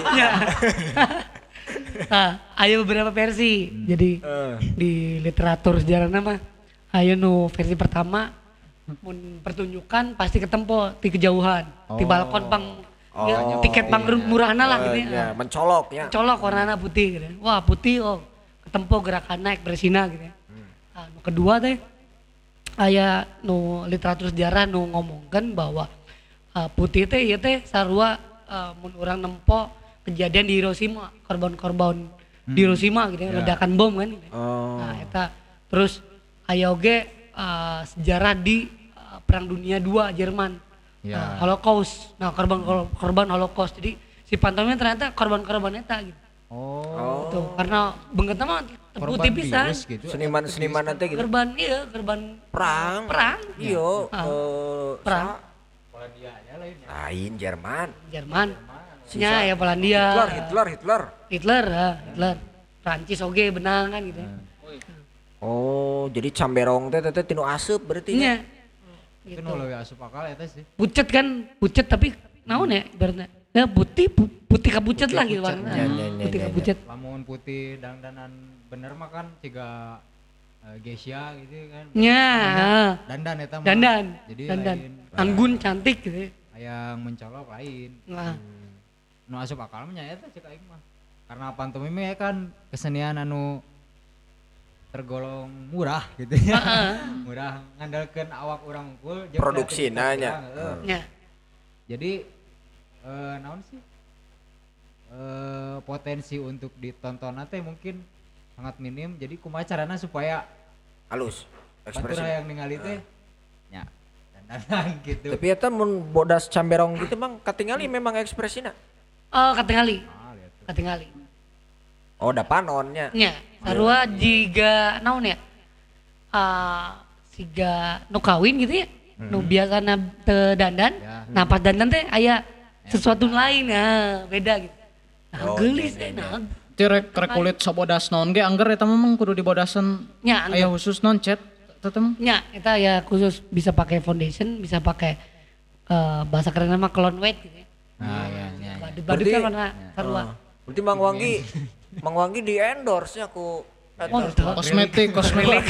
Nah, ayo beberapa versi. Jadi Eh. di literatur sejarah nama ayo nu versi pertama mun pertunjukan pasti ketempo di kejauhan di balkon pang ya, Oh, tiket pang murahna lah gitu Eh, ya. ya, mencolok ya. Colok warnana putih gitu. Wah, putih oh ketempo gerakan naik bersina gitu ya. Nah, nu kedua teh aya nu literatur sejarah nu ngomongkan bahwa uh, putih teh ieu teh sarua uh, mun urang nempo kejadian di Hiroshima, korban-korban di Hiroshima gitu ya, ledakan bom kan gitu. ya. Oh. Nah, eta terus aya oge uh, sejarah di uh, Perang Dunia dua Jerman. Ya. Nah, Holocaust. Nah, korban korban Holocaust. Jadi si pantomimnya ternyata korban-korban eta gitu. Oh. Tuh, karena beungeutna mah Korban putih pisan. virus gitu. Seniman-seniman nanti gitu. Korban iya, korban Perang. perang. Iya, Ah. eh, Perang. sa- lain Jerman. Jerman. Nya ya Polandia. Hitler, Hitler, Hitler. Hitler, ah, Hitler. Prancis oge benang kan gitu. Oh, jadi camberong teh teh tinu aseup berarti nya. Nya. Itu Gitu. nu leuwih asup akal eta sih. Pucet kan, pucet tapi naon ya ibaratnya. Ya putih, pu- putih kapucet lah gitu warna. Nya, nya, nya, Putih nya, kapucet. Lamun putih dandanan bener mah kan ciga uh, Geisha gitu kan. Nya. ah. Dandan eta mah. Dandan. Jadi Dandan. lain. Anggun cantik gitu. ya. Yang mencolok lain. Nah, Nu asup akal mah nya eta cek aing mah. Karena pantomim ya kan kesenian anu tergolong murah gitu ya. Murah ngandalkeun awak urang unggul jeung Produksina kreativitas nya. urang, heueuh. nya. Jadi eh naon sih? Eh potensi untuk ditonton teh mungkin sangat minim. Jadi kumaha carana supaya Halus batur ekspresi. yang ningali teh nya dandanan gitu. Tapi eta mun bodas camberong gitu Mang katingali memang ekspresina. Oh, katingali. Ah, lihat tuh. Katingali. Oh, da panonnya. Nya, sarua jiga naon ya? Ah, siga nu kawin gitu ya. Nu biasana teu dandan. Ya. Nah, pas dandan teh aya sesuatu lain ya, beda gitu. Nah, Oh, geulis nya, eh nya, nah. Ti rek rek kulit sabodas naon ge angger eta memang kudu dibodasan Nya, aya khusus non chat eta mah. nya eta ya khusus bisa pakai foundation, bisa pakai eh, bahasa keren nama clone weight gitu ya. Nah, ya, ya, ya. Badut-badut Berarti- kan warna sarua. Berarti Mang Wanggi Mang Wanggi di endorse nya ku Oh, betul. Kosmetik, kosmetik.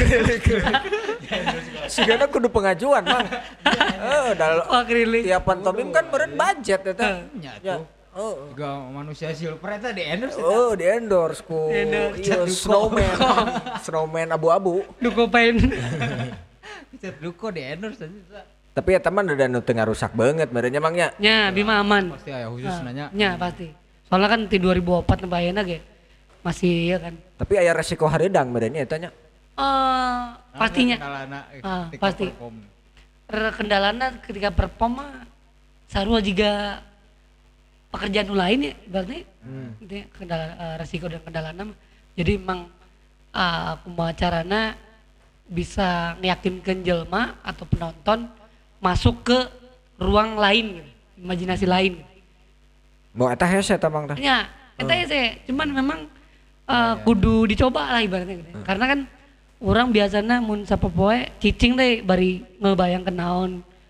sigana kudu pengajuan Mang. Eh, dal Wah, akrilik. tiap pantomim kan beren budget eta. Nya Ya. tuh. Oh. Juga manusia silver eta di endorse eta. Oh, di endorse ku Endorse. iya snowman. Snowman abu-abu. Duko pain. Cet Duko di endorse eta. Tapi eta mah da nu teu ngarusak banget merenya Mang nya. Nya, Bima aman. Pasti aya khusus nanya. Nya pasti. Soalnya kan di dua ribu empat nemba ayeuna ge masih ya kan. Tapi aya resiko hareudang merenya eta nya. Eh pastinya. Kendalana, eh, Ah, ketika pasti. perform. Re- Kendalana ketika perform mah sarua juga pekerjaan nu lain ya berarti gitu ya, kendala eh, resiko dan kendalana mah. Jadi emang uh, kumaha carana bisa meyakinkan jelma atau penonton masuk ke ruang lain gitu, imajinasi lain gitu. Mau eta hese eta Mang tah. Ya, eta ya sih, cuman memang uh, kudu dicoba lah ibaratnya gitu. Karena kan orang biasanya mun sapopoe cicing teh bari ngebayangkeun naon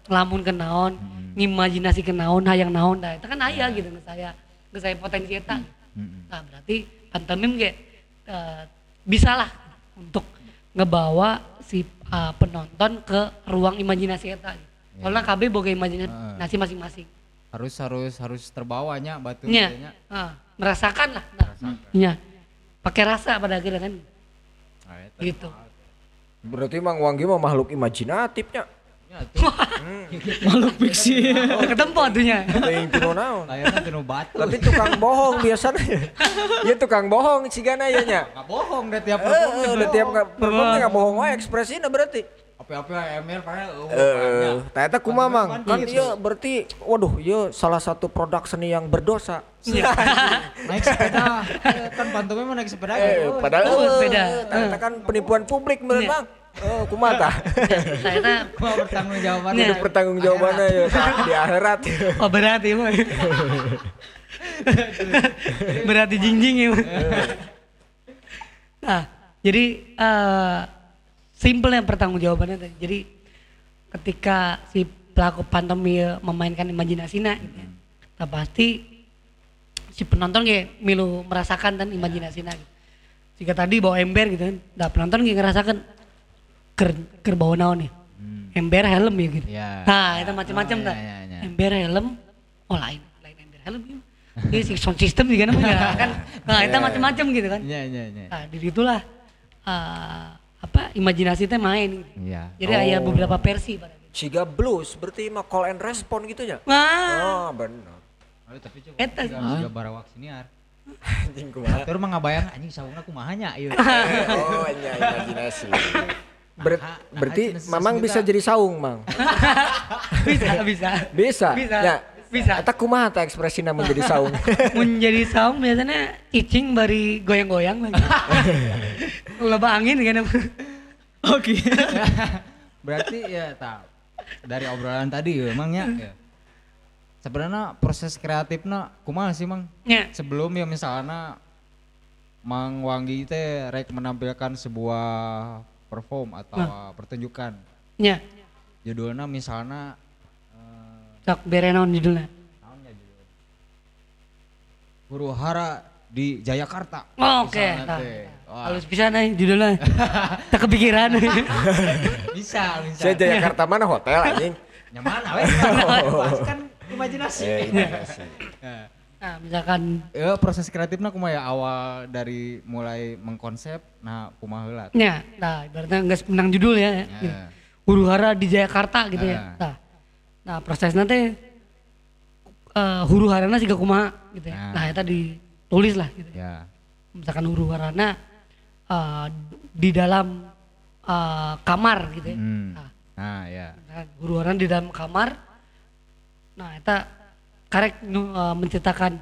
ngelamun ke naon, ngimajinasi ke naon, hayang naon, nah itu kan aya gitu nge saya, nge saya potensi eta. Nah berarti pantomim ge uh, bisa lah untuk ngebawa si uh, penonton ke ruang imajinasi eta. Soalnya K B boga imajinasi masing-masing. Harus harus harus terbawanya batu Nya, kayaknya. uh, merasakan lah. Nah, nya, pakai rasa pada akhirnya kan. Ah, eta. Gitu. Berarti Mang Wanggi mah makhluk imajinatifnya. Ya tuh. Makhluk fiksi. Ketempo atunya. Teuing tinu naon. Layarnya tinu batu. Tapi tukang bohong biasanya. Iya tukang bohong sigana ieu nya. Nggak bohong deh tiap Eh, perform. udah tiap perform enggak bohong wae ekspresinya berarti. Apa-apa M L padahal Eh, ternyata kumaha Mang? Kan ieu berarti waduh ieu salah satu produk seni yang berdosa. naik sepeda. Eh, kan pantomim mah naik sepeda. Eh, gitu. padahal Oh, eh, sepeda. ternyata kan penipuan publik meureun Mang. Oh, kumaha tah? Saya Gua bertanggung jawaban. Nya. Pertanggungjawabannya ya di akhirat. oh berat ya mah. berat di jingjing ya. Mah. Nah, jadi uh, simple yang pertanggung jawabannya tadi. Jadi ketika si pelaku pantomim memainkan imajinasinya, gitu ya, nah pasti si penonton kayak milu merasakan dan imajinasinya. Gitu. Jika tadi bawa ember gitu kan, nah penonton kayak ngerasakan ker, ker bawa naon nih, ember helm ya gitu. Ya. Nah itu macam-macam Oh, tak. ya, ya, ya. Ember helm, oh lain, lain ember helm gitu. Ini si sound system juga namanya kan. Nah itu macam-macam gitu kan. Iya, iya, iya. Nah di situlah uh, apa imajinasi teh main. Gitu. Iya. Jadi ada beberapa versi pada. Ciga blues berarti mah call and respond gitu ya. Wah, Oh, benar. Oh, tapi coba Eta. juga barawak siniar. Anjing kumaha. Tur mah ngabayang anjing saungna kumaha nya ieu. Oh, nya imajinasi. Ber- Nah, berarti nah, Mamang sejuta. bisa jadi saung, Mang. bisa bisa. Bisa. Bisa. Ya. Bisa. Eta kumaha tah ekspresina menjadi saung? Menjadi sound biasanya icing bari goyang-goyang lagi. Loba angin kan. Oke. Berarti ya tak dari obrolan tadi ya emangnya ya. Sebenarnya proses kreatifnya kumaha sih Mang? Ya. Sebelum ya misalnya Mang Wanggi teh rek menampilkan sebuah perform atau pertunjukan. Ya. Judulnya misalnya eh, Sok bere naon judulnya. naonnya judul? Huru Hara di Jayakarta. Oh, oke. Misalnya Nah, teh. Wah, halus bisa nih judulnya. Tak kepikiran. bisa, bisa. Saya Jayakarta mana hotel anjing? Nyaman weh. Kan imajinasi. Eh, imajinasi. Nah, Nah, misalkan ya proses kreatifnya kumaha ya awal dari mulai mengkonsep nah kumaha heula. ya, nah ibaratnya nggak menang judul ya. Gitu. Ya. Huru hara di Jakarta gitu ya. Ah. Nah, nah prosesnya teh uh, huru harana siga kumaha gitu ya. Ah. Nah, itu ditulis lah gitu. Ya. Misalkan huru harana uh, di dalam uh, kamar gitu ya. Hmm. Nah, Nah, ya. misalkan huru harana di dalam kamar. Nah, itu karek nu, uh, menceritakan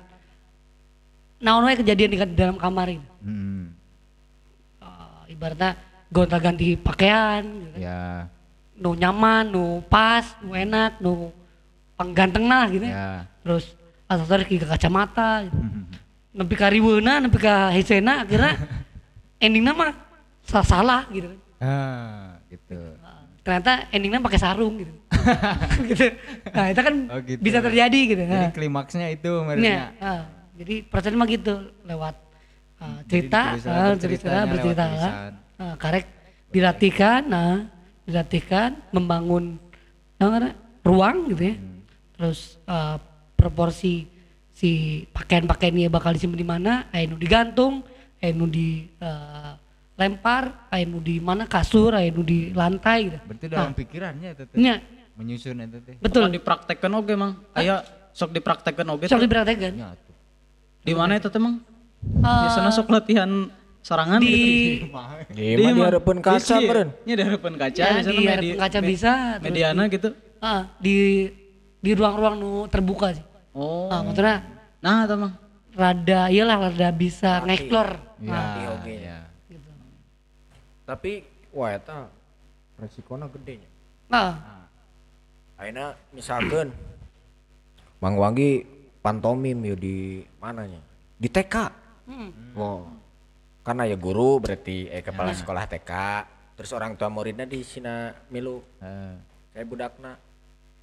naon wae kejadian di, di dalam kamar itu. Hmm. Uh, ibaratnya gonta-ganti pakaian gitu kan. Ya. Nu nyaman, nu pas, nu enak, nu pangganteng lah gitu ya. Ya. Terus aksesoris ke kacamata gitu. Hmm. Nepi ka riweuna, nepi ka hesena akhirnya endingnya mah salah, salah gitu kan. Ah, gitu. Uh, ternyata endingnya pakai sarung gitu. gitu. Nah, itu kan Oh, gitu. bisa terjadi gitu. Jadi Nah. klimaksnya itu Iya, maksudnya. ah, jadi prosesnya mah gitu lewat uh, Jadi cerita, ditulis uh, lewat cerita, ceritanya, bercerita, lewat tulisan. uh, karek dilatihkan, nah dilatihkan membangun nah, ruang gitu ya, Hmm. terus uh, proporsi si pakaian-pakaiannya bakal disimpan di mana, anu digantung, anu di uh, lempar, anu di mana kasur, anu di lantai gitu. Berarti dalam pikirannya itu teh. Nya, Menyusun itu teh. betul. Sok dipraktekkan oge Mang. Aya sok dipraktekkan oge. Sok teh. diperhatikan. Ya, tuh. Di mana itu teh Mang? Uh, Biasanya sok latihan sarangan di gitu. Gimana di harapan kaca meureun? Nya di harapan kaca Ya, biasanya di medi- harapan kaca me- bisa, terus Mediana gitu. Ah, di di ruang-ruang nu terbuka sih. Oh. Ah, maksudnya Nah, itu Mang. rada iyalah rada bisa ngeksplor. Ya, Latih oge. ya. Gitu. Tapi wah eta resikonya gede nya. Nah, Ayeuna misalkan Mang Wanggi pantomim ya di mananya? Di T K. hmm. Wow. Karena ya guru berarti eh kepala sekolah T K. Terus orang tua muridnya di sina milu. Eh, Saya budakna.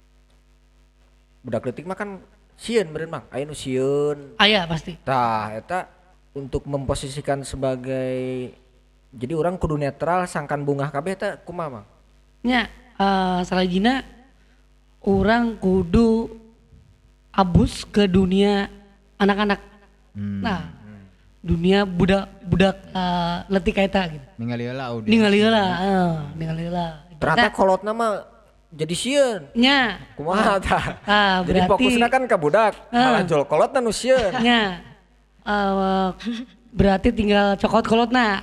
budak leutik mah kan sieun meureun Mang, aya nu sieun. Aya pasti. Tah eta untuk memposisikan sebagai jadi orang kudu netral sangkan bungah kabeh eta kumaha Mang? Nya uh, salajina orang kudu abus ke dunia anak-anak. Hmm. Nah, dunia budak budak uh, leutik eta gitu. Ningali heula audiens. Ningali heula, heeh, ningali heula. Ternyata kolotna mah jadi sieun. Nya. Kumaha tah? Ah, Jadi berarti fokusna kan ka budak, malah jol kolotna nu sieun. nya uh, berarti tinggal cokot kolotna.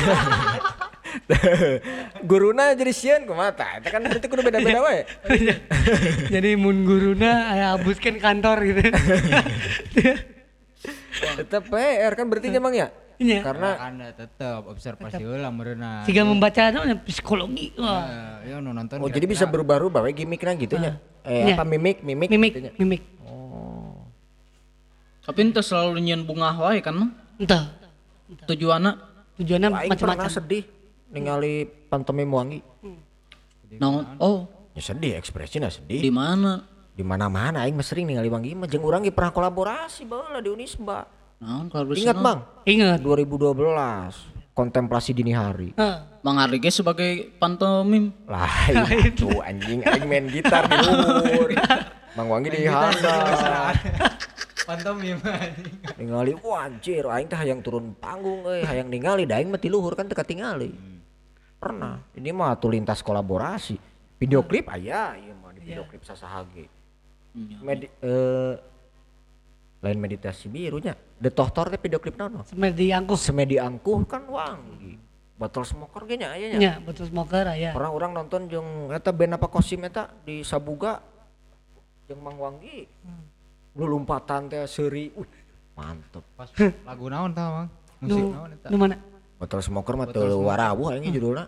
Guruna jadi sieun kumaha tah? Eta kan berarti kudu beda-beda we. Jadi mun guruna aya abuskeun kantor gitu. Eta P R kan berarti Mang ya? Nya. Karena Anda tetep observasi heula meureunna. Siga membaca namanya psikologi. Wah. Eh, ya nu nonton. oh jadi bisa berubah-ubah we gimmickna gitu nya. Eh Nya. apa mimik mimik Mimik, gitu nya. mimik. Tapi ente selalu nyeun bunga wae kan Mang? Entah. Tujuanna Tujuannya Aing pernah macam-macam. sedih ningali pantomim Wangi. naon? Oh, Ya sedih ekspresinya sedih. di mana? Di mana-mana aing mah sering ningali Wangi mah jeung urang ge pernah kolaborasi baheula di Unisba. Naon kalau Ingat Bang? Ingat. dua ribu dua belas kontemplasi dini hari. Heeh. Mang Ardi ge sebagai pantomim. Lain tuh anjing aing main gitar di luhur. Mang Wangi di handap. pantomim anjing. Ningali wah anjir aing teh hayang turun panggung euy, hayang ningali da aing mah ti luhur kan teu katingali. Pernah. Ini mah tuh lintas kolaborasi. Video klip aya ieu mah di video klip sasaha ge. Medi eh lain meditasi birunya. The Tohtor teh video klip naon? Semedi angkuh. Semedi angkuh kan Wangi. Botol smoker ge nya aya nya. Nya, betul smoker aya. Pernah orang nonton jeung eta band apa kosim eta di Sabuga jeung Mang Wangi. Lu lompatan teh seuri. Uh, mantep. Pas lagu naon tah Mang? Musik Nu, naon eta? nu mana? Botol smoker mah teu warawuh aing judulna.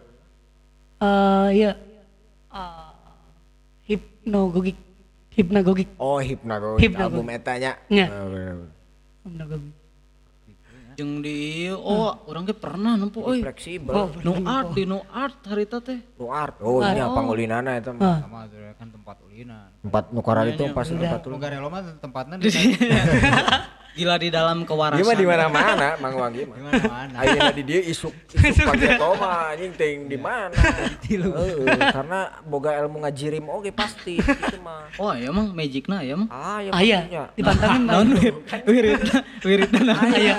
Eh iya. Uh, hipnogogik. Hipnagogik. Oh, Hipnagogic Hipnagogic. album eta nya. Nya. Ah, bener. Hipnagogik. Jeung di oh urang ge pernah nempo euy. Fleksibel. Oh, Nu art di nu art harita teh. Nu art. Oh, nya pangulinana eta mah. Ah. Sama tuh kan tempat ulinan. Tempat nu karang itu pas tempat Nu ulin. garelo mah tempatna di Gila di dalam kewarasan. Ieu mah di mana-mana Mang Wangi mah. mana-mana. Ayeuna di dieu isuk isuk pageto mah anjing teuing di mana. Heeh, karena boga ilmu ngajirim oge pasti gitu mah. Oh ya Mang magicna ya Mang. Ah, ya Aya. pastinya. Dipantamin Naon wir- wiridna wiridna naon? Aya.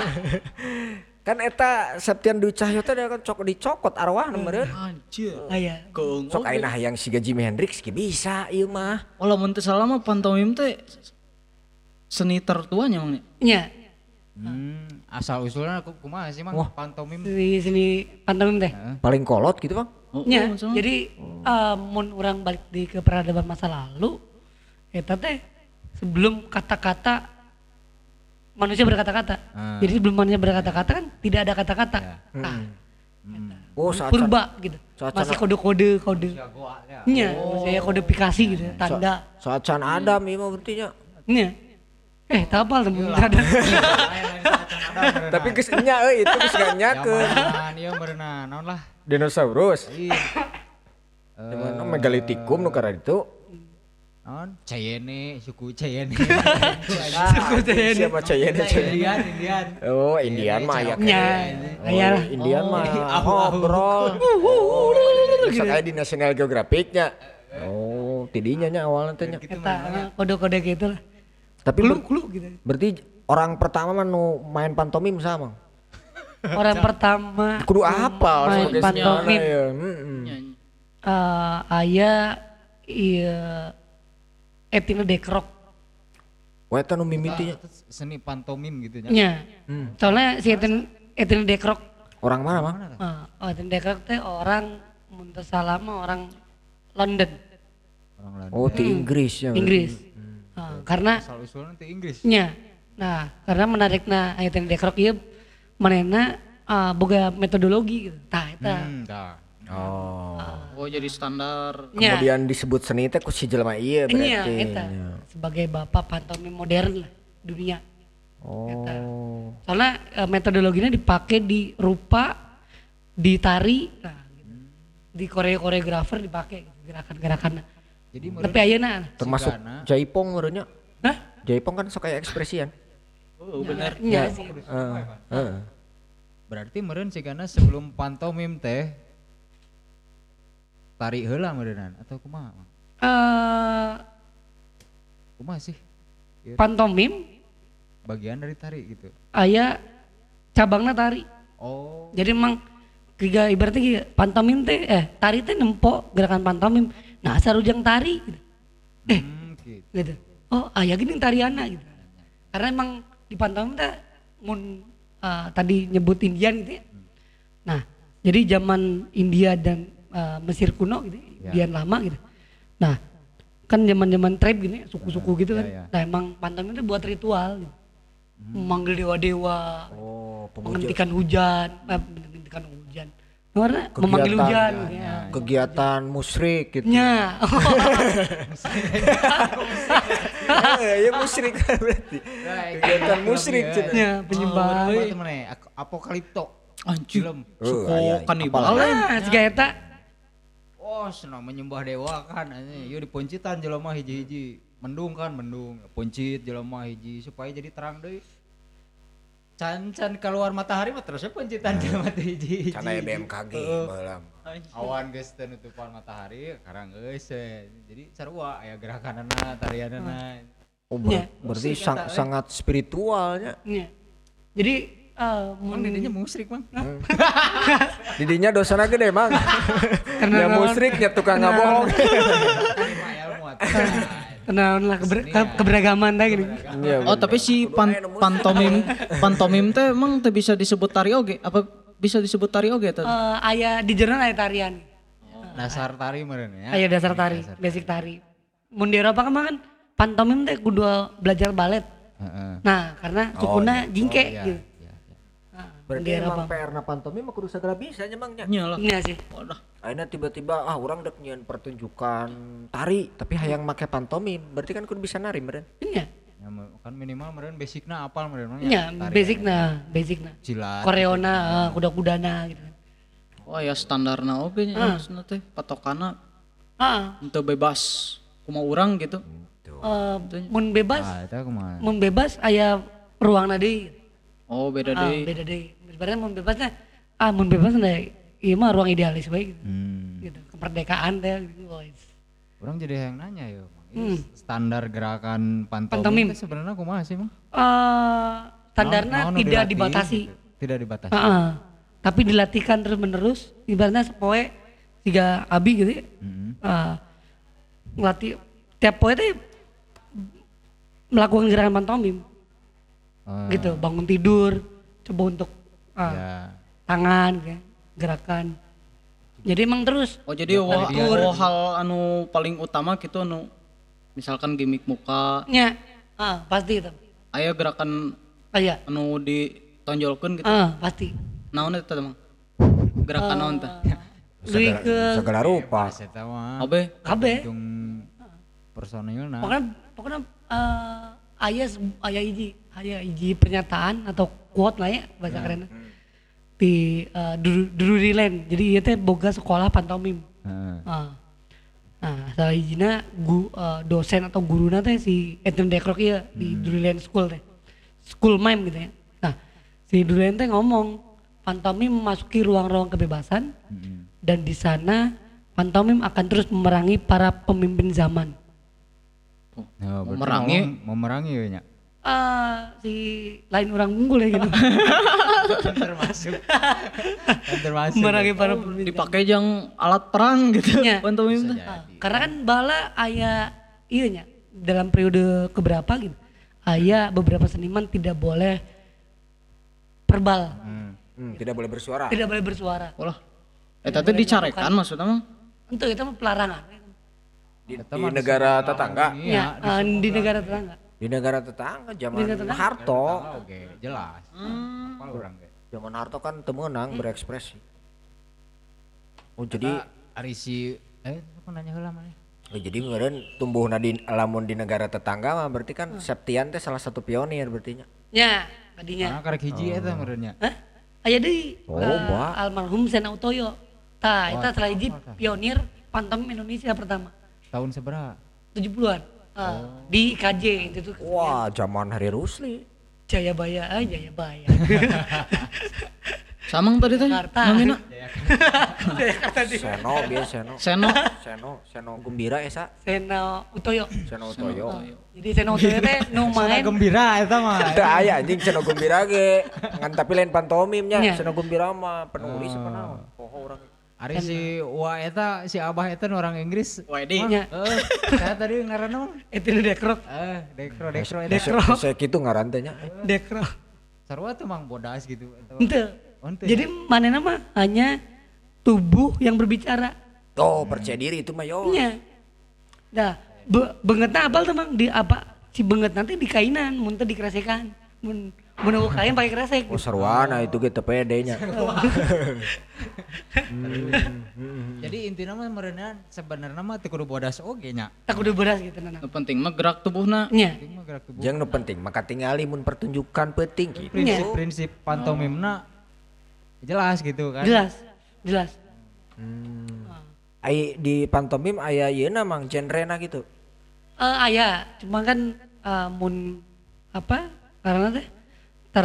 Kan eta Septian Dwi Cahyo teh kan cok dicokot arwah meureun. Anjir. Aya. Keung. Sok ayeuna hayang siga Jimi Hendrix ge bisa ieu mah. Oh lamun teu salah mah pantomim teh seni tertuanya Mang. Nya. Hmm, asal usulnya aku kumaha sih Mang? Pantomim. Di sini pantomim teh. Paling kolot gitu, Bang. Oh, Nya, oh, sama. jadi eh, mun orang balik di ke peradaban masa lalu, eta teh sebelum kata-kata manusia berkata-kata. Ah. Jadi sebelum manusia berkata-kata kan tidak ada kata-kata. Nah, Oh, saat purba gitu. saat- Masih kode-kode kode. Nya, masih kodifikasi gitu, tanda. saat can Adam ieu mah berarti nya. Nya. Eh, tapal temen sadar. Tapi geus nya euy itu geus ganyakeun. Zaman ieu meureunna naon lah. Dinosaurus. Iya. Di mana megalitikum nu karena itu. Naon? Cayene, suku Cayene. Suku Cayenne. Siapa Cayenne? Indian, Indian. Oh, Indian mah ya. Nya, aya lah. Indian mah ngobrol. Bisa kayak di National Geographic-nya. Oh, tidinya nya awalnya teh nya. Eta eh, kode-kode gitu lah. Tapi ber- Clue gitu. berarti orang pertama mah nu main pantomim sama. Orang pertama Kudu apal main sebagai pantomim. sejarah ya. Heeh. Nyanyi. eh aya iya Etina Dekrok Wah, eta nu mimitinya. Seni pantomim gitu nya. nya. Soalnya si Etin Etina Dekrok Orang mana, Bang? eh, oh, Etina Dekrok teh orang muntah salama orang London, Orang lain. Oh, di Inggris ya. Inggris. Eh, karena Asal usulnya teh Inggris. nya. Nah, karena menarikna Etina Dekrok ieu manehna eh, boga metodologi gitu. Tah eta. Hmm, tah. Oh. Oh jadi standar. Nya. Kemudian disebut seni teh ku si jelema ieu Nya berarti. eta sebagai bapak pantomim modern lah dunia. Eta. Oh. Soalnya e, metodologinya dipakai di rupa, di tari, nah, gitu. Di koreo koreografer dipakai gitu, gerakan-gerakan Jadi Tapi ayeuna. Termasuk Sigana. jaipong meureunnya. Hah? Jaipong kan sok kayak ekspresian. Oh bener. Iya sih. Heeh. Heeh. Berarti meureun sigana sebelum pantomim teh tari heula meureunnan atau kumaha? Mang? Eh, Kumaha sih? Ieu pantomim bagian dari tari gitu. aya cabangna tari. Oh. Jadi emang tiga ibaratnya kieu, pantomim teh eh tari teh nempo gerakan pantomim. Nah, sarujang tari gitu. Eh, Hmm, gitu. gitu. Oh, aya gini tariana gitu. Karena emang di pantomim teh mun eh, tadi nyebut Indian gitu ya. Nah, jadi zaman India dan eh, Mesir kuno gitu, Ya. Indian lama gitu. Nah, kan zaman-zaman tribe gini, suku-suku gitu Ya, kan. ya. Nah, emang pantomim itu buat ritual gitu. Memanggil dewa-dewa, Oh, pemuja menghentikan hujan, eh, menghentikan hujan. Karena memanggil Kegiatan, hujan ya, gitu ya. ya. kegiatan musyrik gitu. Nya. Eh, ya musyrik kan berarti. Kegiatan musyrik cenah. Nya penyembahan. Apa tuh mana? Ak- Apokalipto. Anjing. Film. Oh, Suku aya, aya. kanibal. Ah, si eta Oh, senang menyembah dewa kan. Yuk dipuncitan jelema hiji-hiji. Mendung kan, mendung. Puncit jelema hiji supaya jadi terang deui. Can-can keluar matahari mah terusnya puncitan jelema teh hiji-hiji. Can aya B M K G Heeh. baheula. Awan geus teu nutupan matahari, karang geus we. Jadi sarua aya gerakanana, tarianana. Oh, ber- Nya. berarti Musik sang- eta, eh. sangat spiritualnya. nya. Jadi eh mun Mun didinya musrik, Mang. Didinya dosana gede, Mang. Karena Ya naon? musyriknya tukang ngabohong. Lima ilmu atuh. kenaon lah keber- ke- keberagaman teh gini. Iya, Oh tapi si pan- pantomim pantomim teh emang teh bisa disebut tari oge? Apa bisa disebut tari oge teh? Eh aya di jurnal aya tarian. Dasar tari meureun ya. Aya dasar tari, basic tari. Mun di Eropa kan mah kan pantomim teh kudu belajar balet. Heeh. Nah, karena sukuna jingke Iya, gitu. iya, iya. Nah, Berarti di Eropa. emang P R na pantomim mah kudu sagala bisa nya Mang nya. Nya lah. Iya sih. Wadah. Akhirnya tiba-tiba ah orang dek nyieun pertunjukan tari tapi hayang make pantomim. Berarti kan kudu bisa nari meureun. Iya. Ya, me- kan minimal meureun basicna apal meureun mah Iya, Tari basicna, basicna. Silat. Koreona, eh, kuda-kudana gitu kan. Oh ya standarna oge nya maksudna teh patokana Ah, henteu bebas kumaha urang gitu. eh, mun bebas, Ah, eta kumaha? mun bebas aya ruangna deui. Oh beda Ah, deui. beda deui. Sebenarnya mun bebasnya ah mun bebas teh ieu mah ruang idealis bae gitu. Hmm. Gitu. Kemerdekaan teh gitu. guys. Orang jadi yang nanya ya, Mang. Ini Hmm. standar gerakan pantomim, Pantomim. teh sebenarnya kumaha sih, Mang? Eh, standarnya Naon- naon nu tidak dilatih dibatasi. gitu? Tidak dibatasi. Heeh. Tapi dilatihkan terus menerus. Ibaratnya sepoe tiga abi gitu ya. Heeh. Eh, ngelatih tiap poe teh melakukan gerakan pantomim Eh, gitu, bangun tidur, coba untuk eh, Ya. tangan gitu ya, gerakan. Jadi emang terus Oh jadi wah, dia wah hal anu paling utama gitu anu misalkan gimmick muka, nya ah, pasti itu. aya gerakan Aya. anu ditonjolkeun gitu. Ah, pasti. Naon eta teh Mang? Gerakan naon teh? Lebih ke Segala rupa. Pas eta mah. Abe kabeh. Tung personilna. Pokoknya pokoknya eh, aya se- aya hiji, aya hiji pernyataan atau quote lah ya bahasa kerenna. Di uh, Drury Lane. Jadi ieu teh boga sekolah pantomim. Heeh. Ah. Nah, salah hijina gu, eh, dosen atau guruna teh si Anthony Dekrok ieu di Drury Lane School teh. School mime gitu ya. Nah, si Drury Lane teh ngomong pantomim memasuki ruang-ruang kebebasan Heeh. dan di sana pantomim akan terus memerangi para pemimpin zaman. Ya, berarti Memerangi. ngomong memerangi ya nya. Ah, si lain orang unggul ya gitu. Termasuk. Termasuk. Memerangi para pemimpin. dipakai jang alat perang gitu Nya. pantomim teh. Ah, karena kan bala aya iya nya dalam periode keberapa gitu. Aya beberapa seniman tidak boleh verbal, Hmm. Hmm, tidak boleh bersuara. tidak boleh bersuara. Ulah. Eta teh dicarekan maksudnya Mang. Untuk itu mah pelarangan. Di, Eta di mah negara disebut tetangga. lawan Ya, ah, di negara tetangga. Di negara tetangga zaman Di negara tetangga. Harto. Ah, Oke, jelas. Apa orang ge? Zaman Harto kan temenang berekspresi. Oh jadi Arisi eh apa nanya heula maneh? oh, jadi meureun tumbuhna di lamun di negara tetangga mah berarti kan Septian teh salah satu pionir berarti nya. Ya, tadinya. Karena karek hiji eta meureunnya. Hah? Aya deui Oh, eh, Mbak. almarhum Sena Utoyo. Tah, eta Wah, salah hiji apa tah? pionir pantomim Indonesia pertama. Tahun seberapa? tujuh puluhan. Ah, di K J itu tuh. Wah, zaman Hari Rusli. Jayabaya, ah Jayabaya. Samang tadi teh. Jakarta. Namina. Jakarta di Seno bieu Seno. Seno. Seno, Seno Gumbira esa. Seno Utoyo. Seno Utoyo. Jadi Seno Utoyo teh nu Main main gembira eta mah. Teu aya anjing Seno Gumbira ge. Ngan tapi lain pantomimnya. Iya. Seno Gumbira mah penulis apa naon? Poho urang. Ari si Wa eta si Abah eta nu orang Inggris. Wedi. nya. Heeh, saya tadi ngaranna mah. Itu nu dekrok. Eh, Dekro, Dekro eta. Dekro. Saya kitu ngaran teh nya. Dekro. Sarua tuh mang bodas gitu. Eta. Ente. Oh, ente Jadi manehna mah hanya tubuh yang berbicara. Oh, percaya diri itu mah yo. Nya. Nah, be beungeutna apal tuh Mang di apa? Si beungeut nanti di kainan, mun teu dikresekan. Mun mun eueuh kain pakai kresek. Oh, sarwana itu ge teu pede nya. Jadi intinya mah meureunan sebenarnya mah teu kudu bodas oge nya. Tak kudu beras gitu nana. Nu penting mah gerak tubuhna. Nya. Penting mah gerak tubuh. Jeung nu penting maka tingali mun pertunjukan penting gitu. Prinsip-prinsip pantomimna jelas gitu kan. Jelas. Jelas. Ai di pantomim aya yeuna mang genrena gitu. Eh aya, cuma kan eh, mun apa? Karena teh ter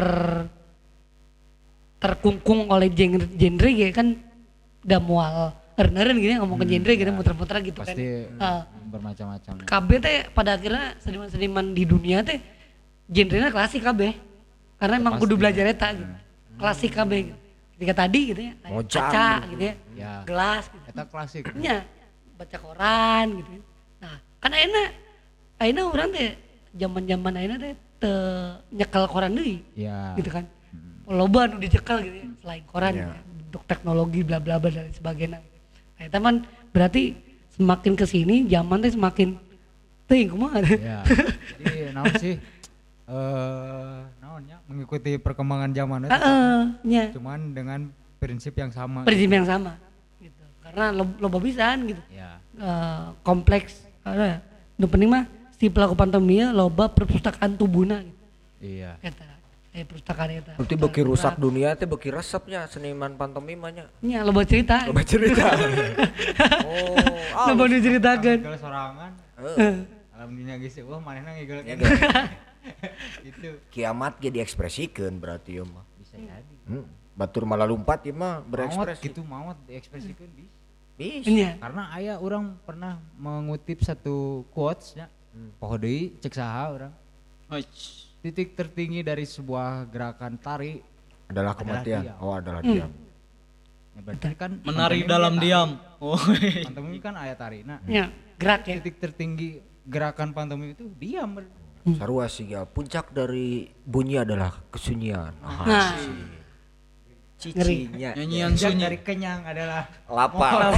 terkungkung oleh genre genre gitu kan udah mual eren-eren gitu ya ngomong ke genre gitu muter-muter gitu kan. Pasti Eh, bermacam-macam. K B teh pada akhirnya seniman-seniman di dunia teh genrenya klasik K B. Karena emang kudu belajar eta gitu. Klasik K B gitu. Ketika tadi gitu ya, kayak Mojang kaca gitu. gitu ya, Ya. gelas gitu. Eta klasik. Nya, baca koran gitu. Nah, kan ayeuna ayeuna urang teh zaman-zaman ayeuna teh teu nyekel koran deui Ya. gitu kan. Loba nu dicekel gitu ya, selain koran Ya. gitu ya, untuk teknologi bla bla bla dan sebagainya. Nah, eta man berarti semakin kesini zaman teh semakin teuing kumaha. Ya. Jadi naon sih? Eh, naonnya mengikuti perkembangan zaman itu. Heeh, nya. Cuman dengan prinsip yang sama. Prinsip yang sama gitu. Karena lo- loba pisan gitu. Ya. Eh, kompleks karena nu penting mah si pelaku pantomimnya loba perpustakaan tubuhna gitu. Iya. Eta eh perpustakaan eta. Berarti beki rusak dunia teh beki resepnya seniman pantomim nya. Nya loba cerita. Coba cerita. Oh, ah, Loba nu ceritakeun. Kalau sorangan, Heeh. alhamdulillah geus wah manehna ngigel kan. Itu Kiamat ge diekspresikeun berarti ieu mah. bisa jadi. Hmm. Batur malah lumpat ieu mah Maot berekspresi. gitu maot diekspresikan bisa. Bisa. Nya. Karena aya orang pernah mengutip satu quotes nya. Poho deui cek saha urang. Heuh. Titik tertinggi dari sebuah gerakan tari Adalah Adalah kematian. diam. Oh, adalah diam. ya berarti kan Menari pantomim dalam dia diam. Oh. tari. Pantomim kan aya tari. Nah, Nya, gerak ya. titik tertinggi gerakan pantomim itu diam. ber- Sarua sih ya. Puncak dari bunyi adalah kesunyian. Ah, Nah, cicinya. Nyanyian Puncak sunyi. dari kenyang adalah Lapang.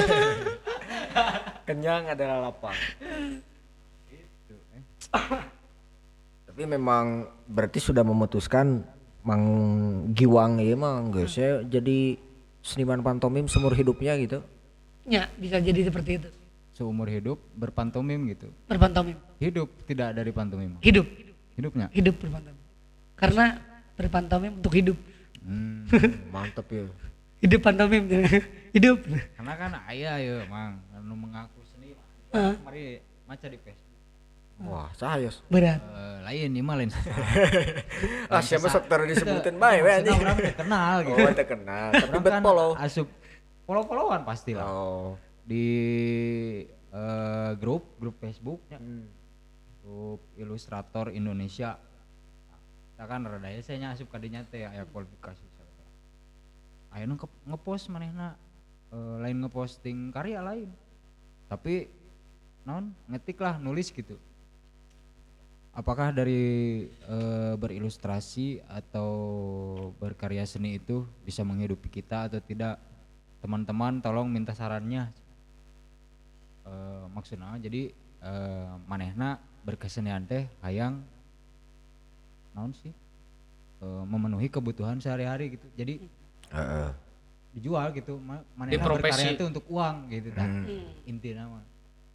Kenyang adalah lapang. Tapi memang berarti sudah memutuskan Mang Giwang ya mah geus ya jadi seniman pantomim seumur hidupnya gitu. nya bisa jadi seperti itu. seumur hidup berpantomim gitu. Berpantomim. Hidup tidak dari pantomim. Hidup. Hidupnya. Hidup berpantomim. Karena berpantomim untuk hidup. Hmm. Mantep ya. Hidup pantomim. Hidup. Karena kan ayah ya mang anu mengaku seni. Heeh. Mari maca di Facebook. Wah, sahayos. Berat. Eh, lain ini mah lain. Ah, siapa sok tara disebutin bae we anjing. Orang teu kenal gitu. Oh, teu kenal. Tapi Orang bet kan follow. asup follow-followan pasti lah. Oh. Di eh, grup grup Facebooknya. Hmm. Grup Ilustrator Indonesia. Kita kan rada ya saya asup kadinya teh aya kualifikasi. Aya nu ke- ngepost manehna eh, lain ngeposting karya lain. Tapi non ngetik lah nulis gitu. Apakah dari eh, berilustrasi atau berkarya seni itu bisa menghidupi kita atau tidak? Teman-teman tolong minta sarannya. Eh, maksudnya jadi eh, manehna berkesenian teh hayang naon sih Eh, memenuhi kebutuhan sehari-hari gitu. Jadi Heeh. dijual gitu ma- Di manehna profesi. berkarya itu untuk uang gitu tah. Hmm. Intina mah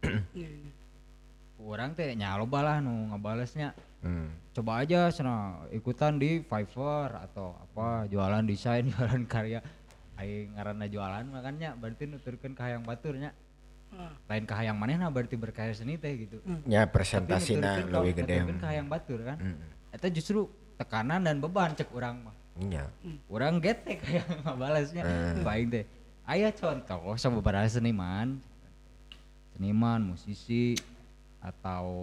orang teh nya loba lah nu ngabalesnya. Hmm. Coba aja sana ikutan di Fiverr atau apa jualan desain jualan karya aing ngaranna jualan makanya berarti nuturkeun ka hayang baturnya lain ke hayang manehna berarti berkarya seni teh gitu. Ya presentasina lebih gede. Tapi ke hayang batur kan. Mm. Eta justru tekanan dan beban cek urang mah. Iya. Urang getek hayang ngabalasnya. Baik teh. Aya contoh sababaraha seniman, seniman, musisi atau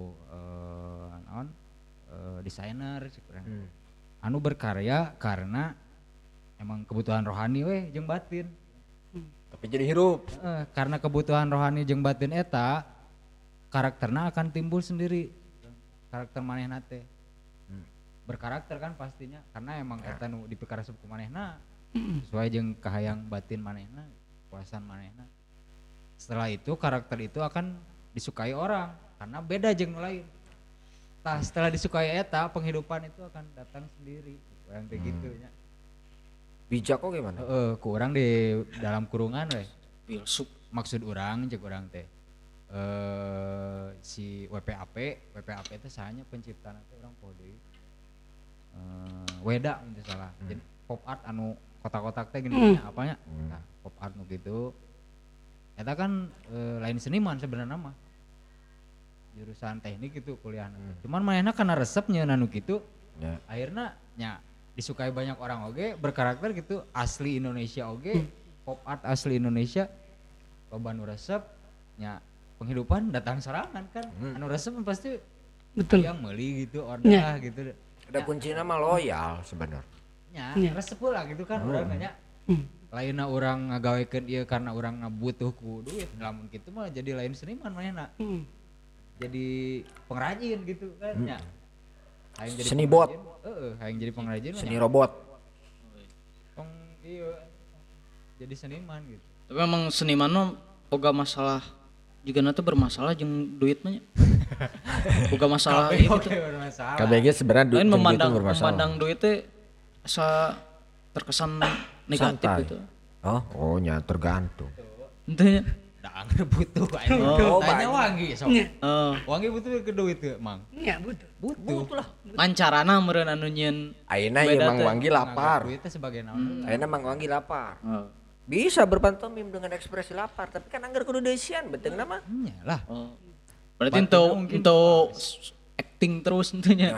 eh naon eh, desainer cek urang. Hmm. Anu berkarya karena emang kebutuhan rohani weh jeung batin. Tapi jadi hirup. Eh, karena kebutuhan rohani jeung batin eta karakterna akan timbul sendiri. Karakter manehna teh. Berkarakter kan pastinya karena emang eta nu dipikaresep ku manehna sesuai jeung kahayang batin manehna, puasan manehna. Setelah itu karakter itu akan disukai orang karena beda jeung nu lain. Tah setelah disukai eta penghidupan itu akan datang sendiri. Kurang kayak gitu nya. Bijak kok gimana? Heeh, ku urang di dalam kurungan we. Filsuf. Maksud urang jeung urang teh. Eh si W P A P, W P A P teh sahanya penciptana teh urang poho deui. Eh Weda mun teu salah. Jadi pop art anu kotak-kotak teh gini apanya? Nah, pop art nu gitu. Eta kan e, lain seniman sebenarnya mah. Jurusan teknik itu kuliahna. Cuman manehna kana resepnya anu kitu. Ya. Akhirnya nya disukai banyak orang oge, berkarakter gitu, asli Indonesia oge, pop art asli Indonesia. Loba nu resep nya penghidupan datang sorangan kan. Anu resep pasti Betul. yang meuli gitu, order gitu. Ada kuncinya mah loyal sebenarnya. Nya Ya. resep lah gitu kan urang nya. Lainna urang ngagawekeun ieu karena urang ngabutuh ku duit. Lamun kitu mah jadi lain seniman manehna. Hmm. Jadi pengrajin gitu kan nya. Hayang jadi Seni bot. pengrajin, heeh, hayang jadi pengrajin mah Seni nya. robot. Peng ieu jadi seniman gitu. Tapi emang seniman mah boga masalah juga nanti bermasalah jeung duit mah nya. Boga masalah Oke, gitu. oke, bermasalah. K B G sebenarnya du- Lain jeung memandang duit itu bermasalah. memandang duit teh asa terkesan negatif Santai. gitu. Oh, oh nya tergantung. Intinya. Da anggar butuh aing. Oh, Tanya banyak. wangi sok. Oh, Wangi butuh ke duit teu, Mang. Ya betul. Butuh lah. lancarana meureun anu nyieun. Ayeuna ieu Beda Mang teh. Wanggi lapar. Duit teh sebagai naon? Ayeuna Mang Wanggi lapar. Oh. Bisa berpantomim dengan ekspresi lapar, tapi kan anggar kudu deisian beteungna mah. Nya lah. Oh. Berarti Batinnya ento mungkin ento acting terus entunya.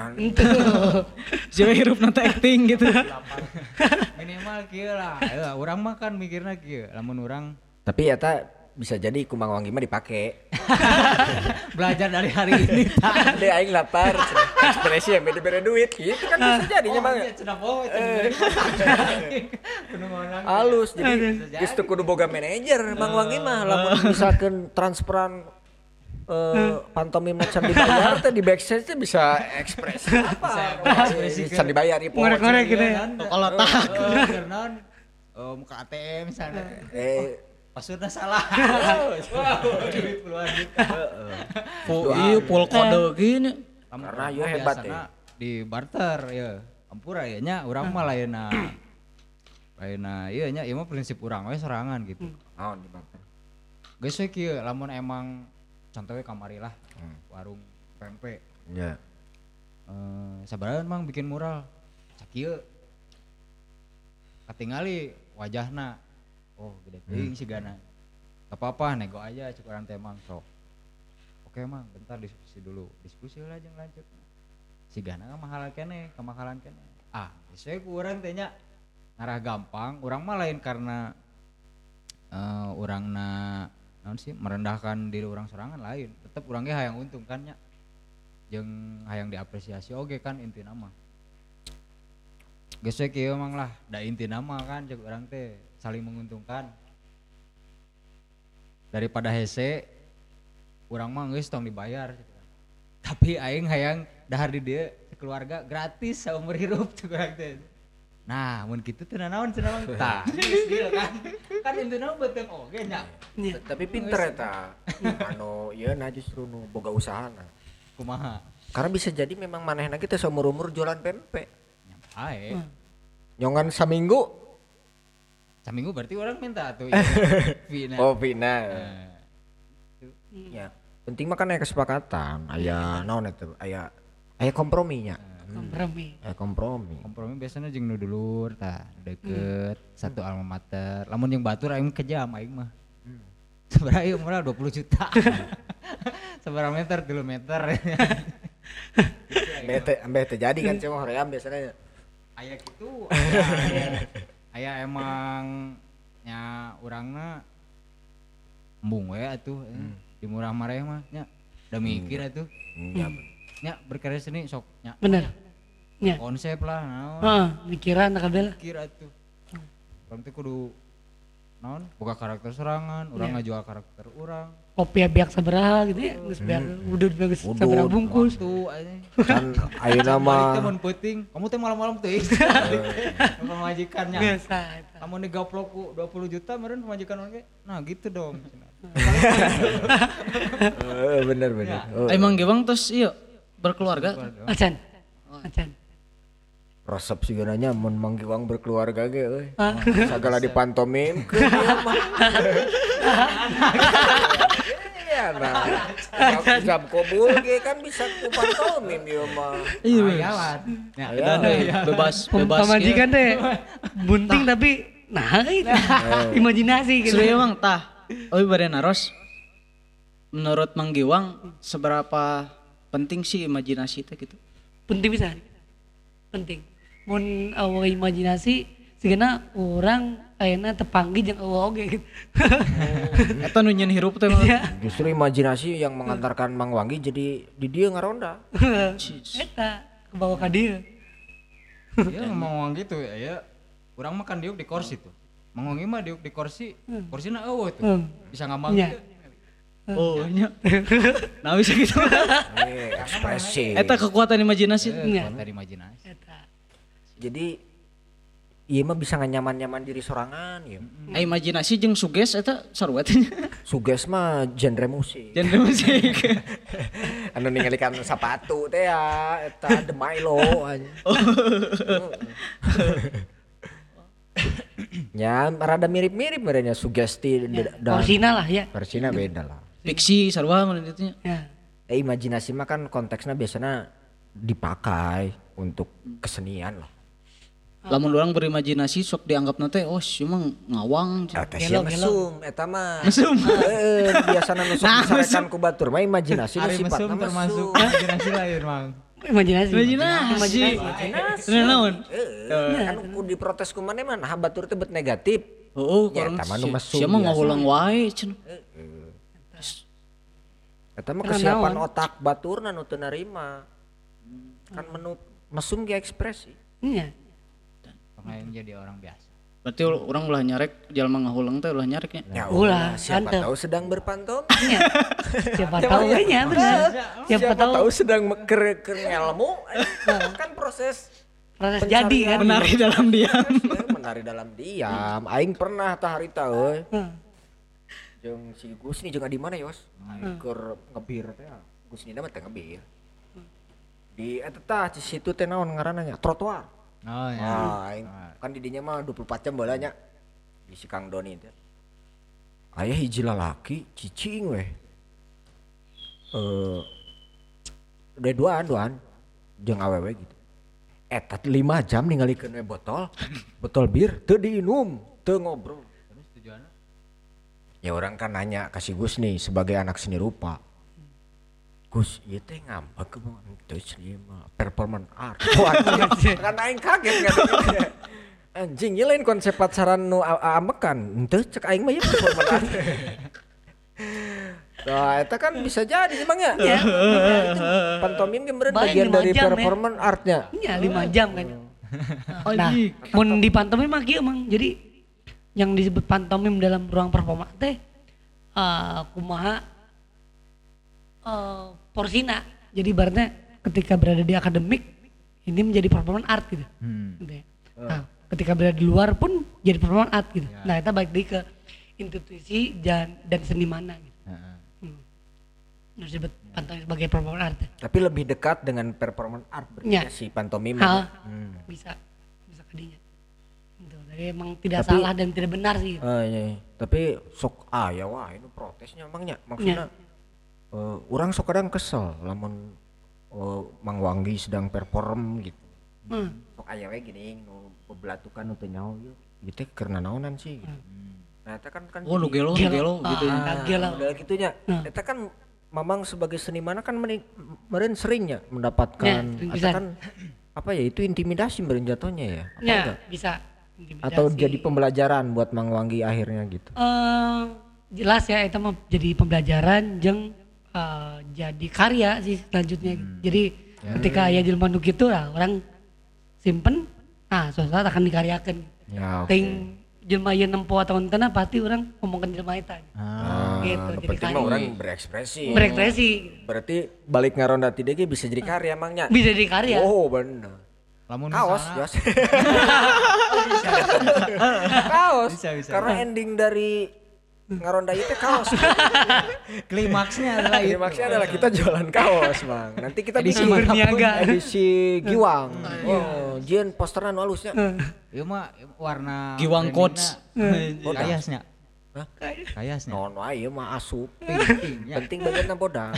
Jadi hirup nanti acting gitu. Minimal kieu lah. Ayo, urang mah kan mikirna kieu. Lamun urang Tapi eta bisa jadi ku Mang Wanggi mah dipake. belajar dari hari ini. Ade aing lapar, ekspresi yang beda-beda duit gitu kan bisa jadinya Mang. iya cenah poe Kudu ngonang. Halus jadi geus teu kudu boga manajer Mang Wanggi mah lamun misalkan transferan eh pantomim can dibayar teh di backstage teh bisa ekspresi apa? Bisa dibayar ipo. Ngorek-ngorek gitu ya. Kalau tak. Karena oh muka A T M misalnya. Eh Passwordnya salah. Wow, duit puluhan juta. Full iya full kode gini. Karena ieu hebat Biasana di barter ya. Ampura ya nya urang mah lainna. Lainna ieu nya ieu mah prinsip urang we sorangan gitu. naon di bapak. Geus we kieu lamun emang contohnya kamari lah warung pempek. Ya. Eh sabaraha mang bikin mural. Cak ieu. Katingali wajahna. Oh, gede teuing sigana. Gak apa-apa nego aja cek urang teh mang sok. Oke mang, bentar diskusi dulu. Diskusi lah jeung lanjut. Sigana kamahalan keneh, kamahalan keneh. Ah, sesuai ku urang teh nya ngarah gampang, urang mah lain karena eh urangna naon sih merendahkan diri orang sorangan lain. Tetep urang ge hayang untung kan nya. Jeung hayang diapresiasi oge kan intina mah. Geus we kieu mang lah, da intina mah kan cek urang teh saling menguntungkan. Daripada hese urang mah geus tong dibayar. Tapi aing hayang dahar di dieu keluarga gratis saumur hirup cek urang teh. Nah, mun kitu teh naon cenah mang? Tah, geus deal kan. Kan intina beuteung oge nya. Tapi pinter eta. Anu ieu nah justru nu boga usahana. Kumaha? Karena bisa jadi memang manehna kita seumur-umur jualan pempek. Ae. Nyongan saminggu. Saminggu berarti orang minta tuh Vina. Oh, Vina. Nah, Ya, penting mah kan aya kesepakatan, aya naon eta, aya aya komprominya. Kompromi. Aya kompromi. kompromi biasanya jeung nu dulur tah deket satu alma mater. Lamun yang batur aing kejam aing mah. seberapa ieu murah dua puluh juta. Seberapa meter? tiga meter. Bete ambe teh jadi kan cuma hoream biasanya. Aya gitu. Aya, aya emang nya urangna embung we atuh hmm. Di murah mareh mah nya udah mikir atuh. Iya. Nya berkarya seni sok nya. Bener. Nya. Konsep lah naon. Heeh, mikiran kabeh lah. Mikir atuh. Urang teh kudu naon boga karakter serangan, urang ngajual karakter urang. Kopi biak sabaraha gitu ya, geus biar udud geus sabaraha bungkus. Tuh aja. Kan ayeuna mah Teh mun peuting, kamu teh malam-malam teuing. Pemajikannya. Biasa eta. Kamu digaplok ku dua puluh juta meureun pemajikan oge. Nah, gitu dong. Heeh bener bener. Oh, Emang gewang terus iya berkeluarga. Acan. Acan. resep sih nanya mun manggiwang berkeluarga ge euy. Ah. Sagala dipantomim ke dia mah. Iya nah. Jam kobul ge kan bisa ku pantomim ieu mah. Iya. Jalan. Ya, Dan bebas bebas. Pemajikan teh bunting tapi nah itu imajinasi gitu. Serius Mang tah. Euy bade naros. Menurut Mang Giwang seberapa penting sih imajinasi teh gitu? Penting bisa. Penting. Mun awa imajinasi sigana orang ayeuna tepanggih jeung eueuh oge gitu. Eta nu nyeun hirup teh mah. Justru imajinasi yang mengantarkan Mang Wanggi jadi di dia ngaronda. Eta kebawa ka dieu. Iya ngomong gitu ya, ya. Urang makan diuk di kursi tuh. Mang Wanggi mah diuk di kursi, kursina eueuh tuh. Hmm. Bisa ngambang Nya. gitu. Oh nya. Nah bisa gitu. Eh, ekspresi. Eta kekuatan imajinasi. Nya. Dari imajinasi. Eta. Jadi ieu mah bisa nganyaman-nyaman diri sorangan ieu. Ah, imajinasi jeung suges eta sarua teh. Suges mah genre musik. Genre musik. Anu ningalikeun sapatu teh ya eta The Milo aja. Ya rada mirip-mirip merenya sugesti Ya, dan Korsina lah ya. versina beda lah. Fiksi sarua mun ditu nya. Ya. Eh, imajinasi mah kan konteksnya biasanya dipakai untuk kesenian lah. Lamun urang berimajinasi sok dianggapna teh oh si mah ngawang. Eta Gelo, sia gelo. mesum eta mah. Mesum. Heeh, biasana nu sok Nah, disarekan ku batur mah imajinasi nu Ari mesum sifatna termasuk mesum. imajinasi lain, Mang. Imajinasi. Imajinasi. Bener naon? Heeh, kan ku diprotes ku maneh mah nah batur teh bet negatif. Oh, Ya, orang eta mah nu mesum sia mah biasa. ngawulang wae cenah. Eta mah Karena kesiapan naon? otak baturna nu teu narima. Kan menu mesum ge ekspresi. Iya. Pengen jadi orang biasa. Berarti orang ulah nyarek jalma ngahulang teh ulah nyareknya. Ya Ulah, siapa santai. tahu sedang berpantom. Iya. Siapa tahu ya benar. Siapa tahu sedang ker ker ngelmu. Kan proses proses jadi kan. Menari dalam diam. eh, menari dalam diam. Aing pernah tah harita euy. Heeh. Jeung si Gus nih jeung di mana Yos? Aing keur ngebir teh. Gus Nina mah teh ngebir. Di eta tah di situ teh naon ngaranna nya? Trotoar. Oh ya. Ah, aing kan di dinya mah dua puluh empat jam bolanya di si Kang Doni teh. Aya hiji lalaki cicing weh. Eh udah duaan duaan jeung awewe gitu. Eta lima jam ningalikeun we botol, botol bir teu diinum, teu ngobrol. Terus tujuannya? Ya orang kan nanya ka si Gus nih sebagai anak seni rupa. Gus, ieu teh ngambek ke teu ieu mah performance art. Waduh, kan aing kaget kan. Anjing, ieu lain konsep pacaran nu amekan. Henteu cek aing mah ieu performance art. Nah, eta kan bisa jadi emang ya. Iya. Pantomim ge meureun Baik, bagian lima dari jam, ya. performance artnya. Iya lima jam kan. Nah, mun di pantomim mah kieu Mang. Jadi yang disebut pantomim dalam ruang performa teh eh kumaha eh porsina. Jadi ibaratnya ketika berada di akademik ini menjadi performance art gitu. Hmm. Gitu ya. Nah, ketika berada di luar pun jadi performance art gitu. Nah, kita balik lagi ke institusi dan dan senimana gitu. Heeh. Hmm. Nah, disebut pantomim sebagai performance art. Tapi lebih dekat dengan performance art berarti Ya. si pantomim. Hal Hmm. bisa bisa kadinya. Gitu. Jadi emang tidak Tapi- salah dan tidak benar sih. Gitu. Ah, iya, iya. Tapi sok ah ya wah ini protesnya emangnya maksudnya eh, orang sok kadang kesel lamun eh, Mang Wanggi sedang perform gitu. Hmm. Sok aya we gini nu bebelatukan nu teu nyaho ieu. Ieu teh keur naonan sih gitu. Nah Nah, eta kan kan Oh nu gelo nu Gelo. gelo gitu ya. Ah, gelo. udah gitunya. Eta kan Mamang sebagai seniman kan meni- meureun seringnya mendapatkan Ya, sering eta pisan. kan apa ya itu intimidasi meureun jatuhnya ya. Apa Ya, enggak? bisa. Intimidasi. Atau jadi pembelajaran buat Mang Wanggi akhirnya gitu. Eh, jelas ya itu mah jadi pembelajaran jeung eh, jadi karya sih selanjutnya. Jadi ketika aya jelema nu kitu lah orang simpen, nah suatu saat akan dikaryakan. Ya, oke. Ting jelema ieu nempo atau henteu pasti orang ngomongkeun jelema eta. Ah, gitu, nu jadi penting karya. mah orang berekspresi. Berekspresi. Berarti balik ngaronda ti ge bisa jadi karya Mangnya. Bisa jadi karya. Oh, bener. Lamun Kaos, misalna- Jos. Kaos. Bisa, bisa. Karena ending dari ngaronda itu kaos. klimaksnya adalah itu. Klimaksnya adalah kita jualan kaos, Bang. Nanti kita Edisi bikin berniaga. edisi Giwang. Oh, jieun posteran nu halusnya. Ieu mah warna Giwang brandingna Coach. Kayasnya. Hah? Kayasnya. Non wae ieu mah asup. Penting ya. Penting bagian bodang.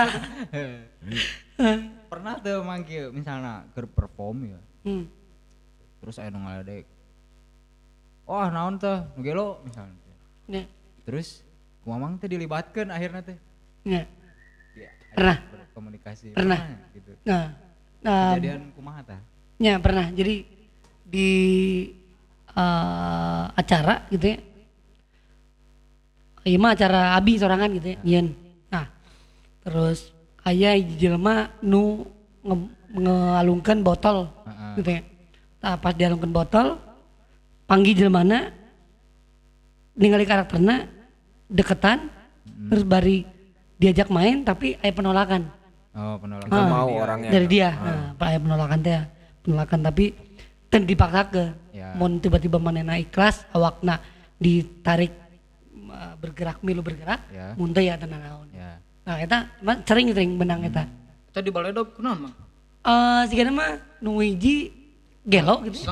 Pernah tuh manggil misalnya ke perform ya. Hmm. Terus aya nu ngaledek. Wah, naon teh? Nu gelo misalnya. Ya. Terus ku mamang teh dilibatkeun akhirnya teh. Ya. Ya, Pernah. berkomunikasi. Pernah. gitu. Nah, nah Kejadian kumaha tah? ya pernah. Jadi di eh, acara gitu ya. Iya mah acara abi sorangan gitu ya. Nyen. Nah, terus aya hiji jelema nu nge- ngealungkeun botol Heeh. gitu ya. Nah, pas dialungkeun botol panggil jelmana ningali karakterna deketan terus bari diajak main tapi aya penolakan. Oh, penolakan. Nggak Ah, mau orangnya. dari dia. Nah, aya penolakan teh. Penolakan tapi ten dipaksakeun. Ya. Mun tiba-tiba manehna ikhlas awakna ditarik uh, bergerak milu bergerak, Ya. mun teh ya tenan naon. Ya. Nah, eta mah sering-sering benang eta. Tadi baledog kunaon Mang? Eh sigana mah nu hiji gelo gitu.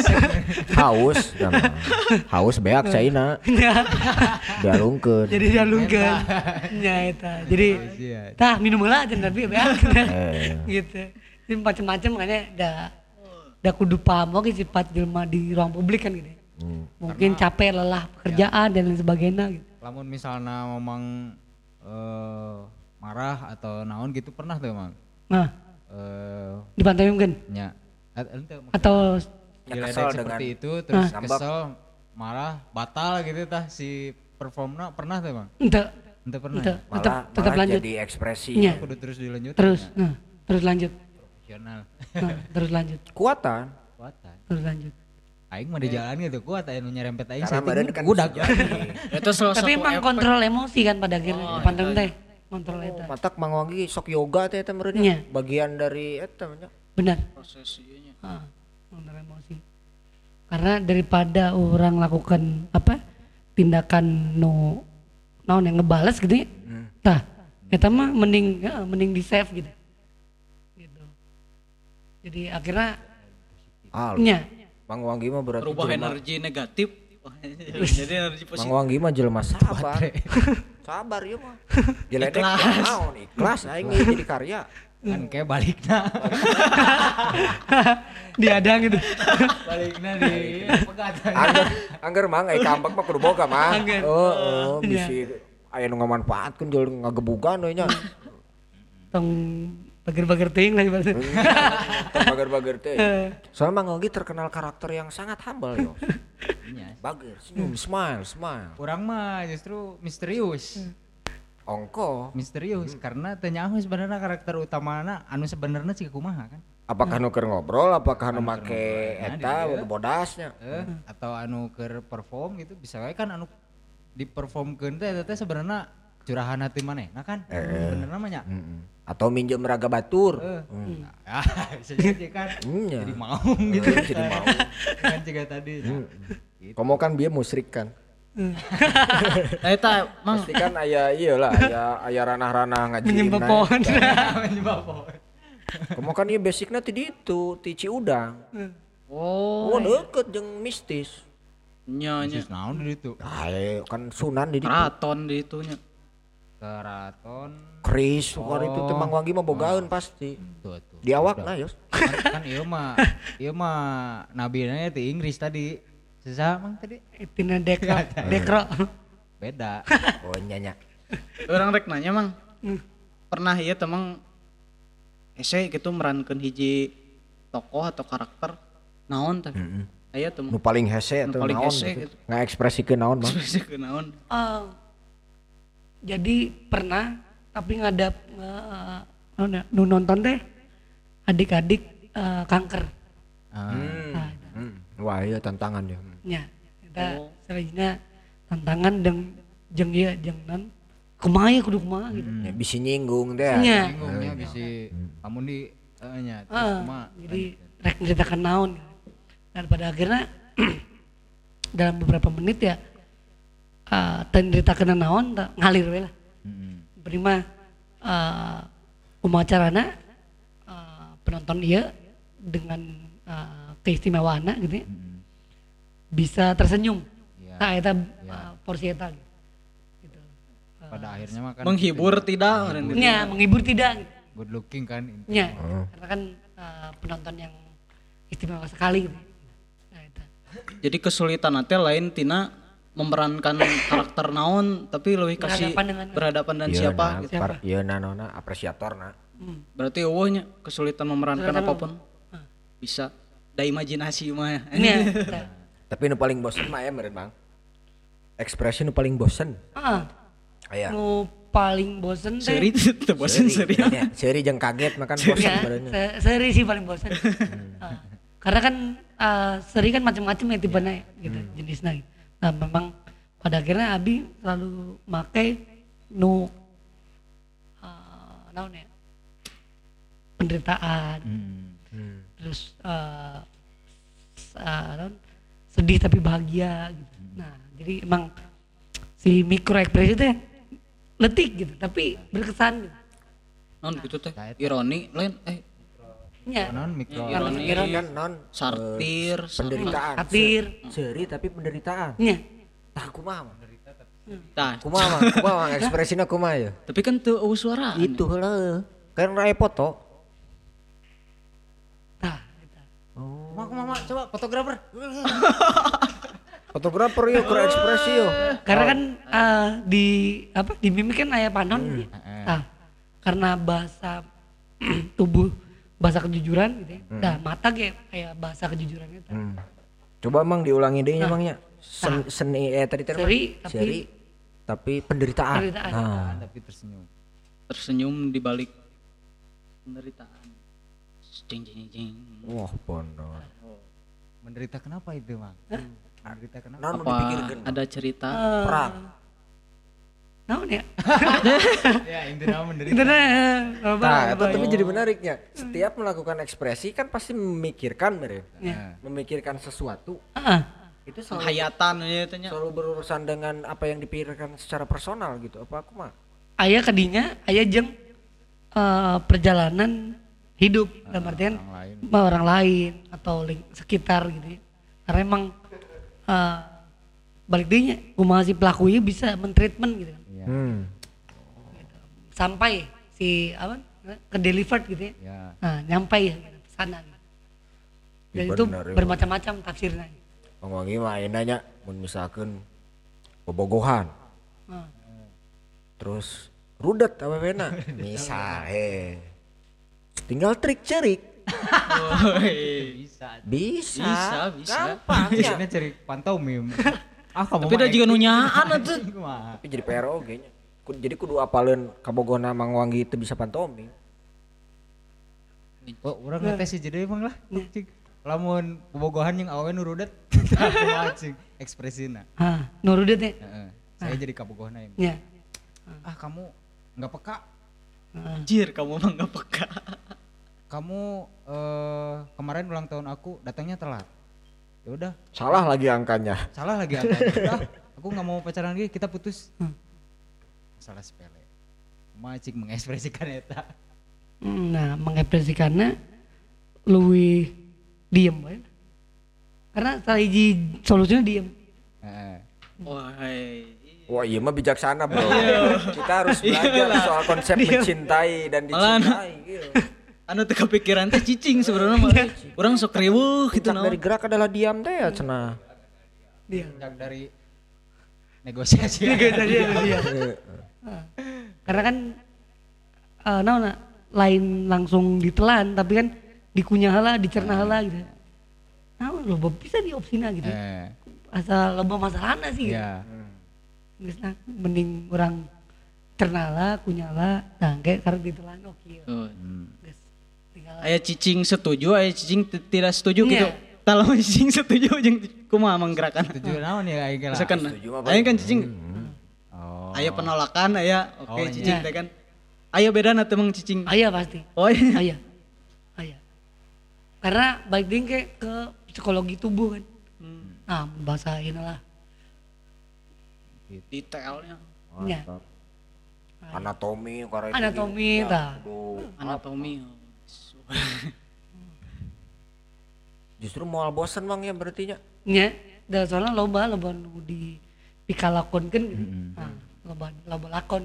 Haus, ya, Mang. Haus beak caina. Dialungkeun. Jadi dialungkeun. Nya eta. Jadi Iya. tah minum heula aja tapi beak. Eh. gitu. Jadi macam-macam makanya da da kudu paham oke sifat jelema di ruang publik kan gitu. Hmm. Mungkin capek lelah pekerjaan dan lain sebagainya gitu. Lamun misalnya memang eh, marah atau naon gitu pernah tuh Mang? Nah, Eh, dipantoyumkeun nya at- ente maksudnya atau Ya, diledek kesel seperti dengan- itu terus Ah. kesel marah batal gitu tah si performna pernah tuh Mang? ente Ente pernah ente ya? Malah, tetap tetap malah lanjut. jadi ekspresi. Iya. Kudu terus dilanjut Terus, nah, terus lanjut. profesional Nah, terus lanjut. Kuatan. kuatan Terus lanjut. aing mah di jalan gitu kuat aya nu nyerempet aing Karena setting badan kan budak bisa jadi. Itu salah Tapi satu emang efek. kontrol emosi kan pada akhirnya panteun teh. Kontrol eta. Matak Mang Wanggi sok yoga teh eta meureun Iya. bagian dari eta nya. Benar. proses ieu nya. Ah, kontrol emosi. Karena daripada orang lakukan apa tindakan nu naon yang ngebales gitu ya. Tah, eta mah mending ya, mending di save gitu. Gitu. Jadi akhirnya Ah, nya Mang Wanggi mah berarti Berubah jelema- energi negatif. Jadi energi Mang positif. Wanggi mah jelema sabar. Sabar ieu mah. Jeledek Ikhlas. naon ikhlas aing ieu jadi karya. kan kayak balikna diadang gitu. balikna di pegatan Angger angger mang ai kampak mah kudu boga mah. Angger. Oh, oh Iya. bisi aya nu ngamanfaatkeun jeung ngagebugan we nya. Tong bager-bager teuing lah ibaratnya. Bager-bager teh. Soalnya Mang Wanggi terkenal karakter yang sangat humble yo. Iya. Bager, senyum, smile, smile. Orang mah justru misterius Ongko. misterius karena teu nyaho sebenarnya karakter utamana anu sebenarnya sih kumaha kan Apakah nu keur ngobrol, apakah nu Anu make keur ngobrol. eta Nah, di dieu. bodasnya. eh atau anu keur perform gitu bisa wae kan anu di performkeun teh eta teh sebenarnya curahan hati manehna kan bener namanya Mm-mm. Atau minjem raga batur. eh ah, bisa jadi kan Iya. jadi mau gitu Jadi mau. kan juga tadi gitu. Komo kan dia musrik kan. Eta Mang Pasti kan aya ieu lah, aya aya ranah-ranah ngaji. Menyembah pohon. Menyembah pohon. Komo kan ieu basicna ti ditu, ti Ciudang. oh Oh, deket jeung mistis. nya nya Sis naon di ditu Ayo kan Sunan di ditu. keraton di itunya. keraton Kris, waktu itu teh Mang Wanggi mah bogaeun pasti. tuh tuh Di awakna yos. kan, kan ieu mah ieu mah nabina ti Inggris tadi Susah emang tadi? Tina dekro, dekro. Beda. Oh nyanya. Orang rek nanya mang, Hmm. pernah ieu teh mang ese gitu merankeun hiji tokoh atau karakter naon teh? Heeh. Aya teh Nu paling hese Nu atau paling naon hese gitu. gitu. Ngaekspresikeun naon bang. spesifik naon? Eh, jadi pernah tapi ngadap uh, nu nonton teh adik-adik eh, kanker. Ah. Nah, Hmm. Wah iya tantangan ya. nya kita Oh. selanjutnya tantangan jeung jeung ieu jeung non kumaha ya kudu kumaha gitu. Ya, bisa nyinggung teh. Nya. Bingungnya bisa kamu di eh, nya terus Ah, kumaha? jadi rek menceritakan naon gitu. Dan pada akhirnya dalam beberapa menit ya uh, teu nyeritakeun naon teu ngalir we lah. Heeh. Prima uh, kumacarana uh, penonton dia dengan uh, keistimewaanna gitu ya, bisa tersenyum. Iya. Nah, eta Iya. uh, porsi eta gitu. Gitu. Pada akhirnya mah kan Menghibur tidak? meureun gitu. Nya menghibur tidak gitu. good looking kan. Nya, karena kan uh, penonton yang istimewa sekali gitu. Nah, eta. Jadi kesulitan nanti lain tina memerankan karakter naon tapi lebih kasih Berhadapan dengan- berhadapan dan Iya, siapa nah, gitu. par- iya nah nona apresiator nah. Hmm. Berarti eueuhnya kesulitan memerankan Kesulitan apapun bisa da imajinasi mah. Nya, eta. Tapi nu paling bosen mah ya meureun bang. Ekspresi nu paling bosen. Ah, Aya. nu paling bosen teh. Seri teu bosen seri. Ya, seuri jeung kaget makan bosen Ya, meureun. se- seri sih paling bosan. Ah, karena kan ah, seri kan macam-macam ya tipenya gitu jenisnya. Gitu. Nah memang pada akhirnya Abi selalu makai nu uh, naon ya penderitaan, Hmm. terus uh, s- ah, naon, sedih tapi bahagia gitu. Nah jadi emang si mikro ekspresi teh letik gitu tapi berkesan gitu. Non gitu teh. Ironi lain eh Ya, Non mikro. Iya, kalau ironi. pikiran Kan non sartir, penderitaan. satir, Seuri tapi penderitaan. nya. Tah kumaha mah? Tah, Kumaha mah? Kumaha mah ekspresina kumaha ya? tapi kan teu eueuh suara. Itu heula. Kan rae foto. Tah, eta. Mama mama coba fotografer. Fotografer yuk keur ekspresi yuk. Karena kan eh, di apa di mimik kan aya panon. Hmm. gitu. Nah, karena bahasa tubuh bahasa kejujuran gitu ya. Nah, mata kayak kayak bahasa kejujuran itu. Hmm. Coba emang diulangi deh emangnya. Sen, seni eh tadi tadi Seri, apa? tapi- Seri tapi penderitaan. Penderitaan. Nah, Tapi tersenyum. Tersenyum di balik penderitaan. Jeng jeng jeng. wah bener. Menderita kenapa itu, Mang? Menderita kenapa? Naon nu Apa dipikirkeun? ada cerita? Eh, Perang. naon ya? Ya, intinya menderita. Itu nah, apa, Nah, apa, itu tapi jadi menariknya. Setiap melakukan ekspresi kan pasti memikirkan mere. Ya. Memikirkan sesuatu. Ah, Itu selalu, Hayatan ya tanya. selalu berurusan dengan apa yang dipikirkan secara personal gitu. Apa aku mah? aya kadinya, aya jeung eh, perjalanan hidup dalam artian Orang lain. sama orang lain atau ling- sekitar gitu ya. Karena emang eh, balik dehnya kumaha si pelaku ieu bisa mentreatment gitu kan. Iya. Hmm. Sampai si apa ke delivered gitu ya. Ya. Nah, nyampai ya gitu, pesanan. Dan Ya itu benar, ya bermacam-macam tafsirnya. Bang Wangi mah ayeuna nya mun misalkeun bobogohan. Nah, Terus rudet awewena. Misal he. Tinggal trik cerik. Bisa. Bisa. Bisa, bisa. Gampang ya. Biasanya cari pantomim. Ah, kamu Tapi mah ada juga acting. nunyaan atuh. Kumaha? Tapi jadi P R O ge nya. Ku- Jadi kudu apaleun kabogona Mang Wangi teu bisa pantomim. Oh, urang ngetes sih jadi emang lah. Cing. Lamun bobogohan yang awewe nu rudet. Kumaha cing ekspresina. ah, nurudet ya. Heeh. Saya jadi kabogohna yang. Ya. Ah, kamu nggak peka. Anjir, kamu mah enggak peka. Kamu eh, kemarin ulang tahun aku datangnya telat. Ya udah, Salah lagi angkanya. salah lagi angkanya. Udah, aku nggak mau pacaran lagi, kita putus. Masalah sepele. Macik mengekspresikan eta. Nah, mengekspresikannya luwih diem we. Karena salah hiji solusinya diem. Heeh. Wah, Wah iya mah bijaksana bro. Kita harus belajar soal konsep mencintai dan Malah, dicintai. Gitu. anu teu kepikiran teh cicing sebenarnya mah. Urang sok riweuh gitu Puncak dari naon. gerak adalah diam teh ya cenah. Dia. Yang dari negosiasi. Negosiasi ada dia. Ah. Karena kan eh naon lain langsung ditelan tapi kan dikunyah heula, dicerna heula gitu. Nah, loba bisa diopsina gitu. Eh, Asal loba masalahna sih gitu. iya. Geus nah mending orang cerna heula, kunyah heula, tangke karena ditelan oke. Oh. Geus tinggal Aya cicing setuju, aya cicing t- tidak setuju Iya. gitu. Tah lamun cicing setuju jeung kumaha menggerakan. Tujuh naon ya aing lah. Misalkan setuju mah aya kan cicing Oh. aya penolakan aya oke Oh, cicing iya. teh kan. Aya bedana teh mang cicing. aya pasti. Oh iya. Aya. Aya. Karena baik ding ke ke psikologi tubuh kan. Nah, bahasa inilah. Detailnya Nya. Mantap. Anatomi karena Anatomi tah. anatomi. Justru moal bosan Mang ya berarti nya. Nya, da soalnya loba loba nu di dikalakonkeun gitu. Nah, loba loba lakon.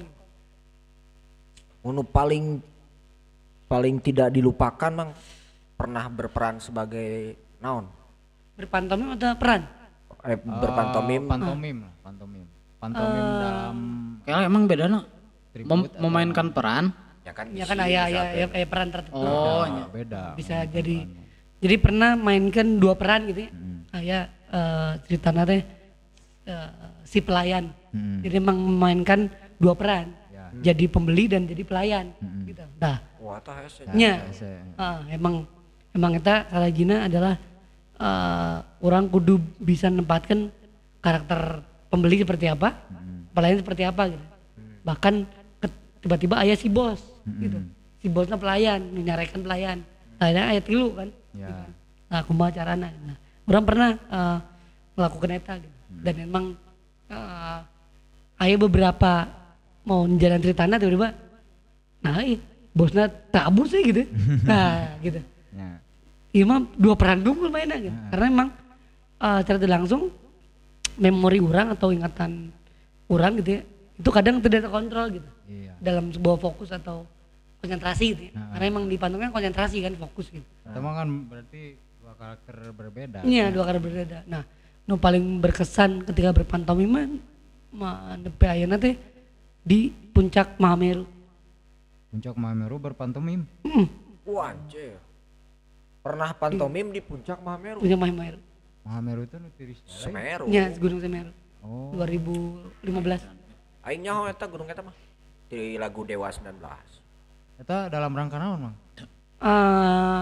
Unu paling paling tidak dilupakan Mang pernah berperan sebagai naon? Berpantomim ada peran. Eh, berpantomim. Oh, pantomim lah, pantomim. Pantomim dalam Kayak emang bedana Mem- tribut memainkan peran. Ya kan, Ya kan isi aya misalnya. aya aya peran tertentu. Oh, beda, nya. beda. Bisa jadi jadi pernah mainkan dua peran gitu ya. Aya eh, ceritanya teh eh, si pelayan. Mm. Jadi emang memainkan dua peran. Ya. Jadi pembeli dan jadi pelayan gitu. Nah, Wah, tah hese. nya. Hese. Ah, emang emang kita salahgina adalah eh, orang kudu bisa menempatkan karakter pembeli seperti apa, pelayan seperti apa gitu. Bahkan ke- tiba-tiba ayah si bos gitu. Si bosnya pelayan, menyarekan pelayan. Akhirnya ayat tilu kan. Ya. Nah, kumaha carana. Nah, orang pernah eh, melakukan eta gitu. Dan emang eh, aya beberapa mau jalan ceritana tiba-tiba nah iya, bosnya kabur sih gitu. Nah, gitu. Ya. Iya mah dua peran tunggal mainnya gitu. Karena emang eh, secara tidak langsung memori orang atau ingatan orang gitu ya, itu kadang tidak terkontrol gitu. Iya. Dalam sebuah fokus atau konsentrasi gitu ya. Karena emang di pantun kan konsentrasi kan fokus gitu. Teman kan berarti dua karakter berbeda. Iya, dua karakter berbeda. Nah, nu paling berkesan ketika berpantomime mah nepi ayeuna teh di puncak Mahameru. Puncak Mahameru berpantomim. Hmm, Wah, anjir. Pernah pantomim di puncak Mahameru. puncak Mahameru. Mahameru itu nu tiris. Semeru. Nya Gunung Semeru Oh. dua ribu lima belas. Aing nyaho eta gunung eta mah. Di lagu Dewa sembilan belas. Eta dalam rangka naon, Mang? Eh,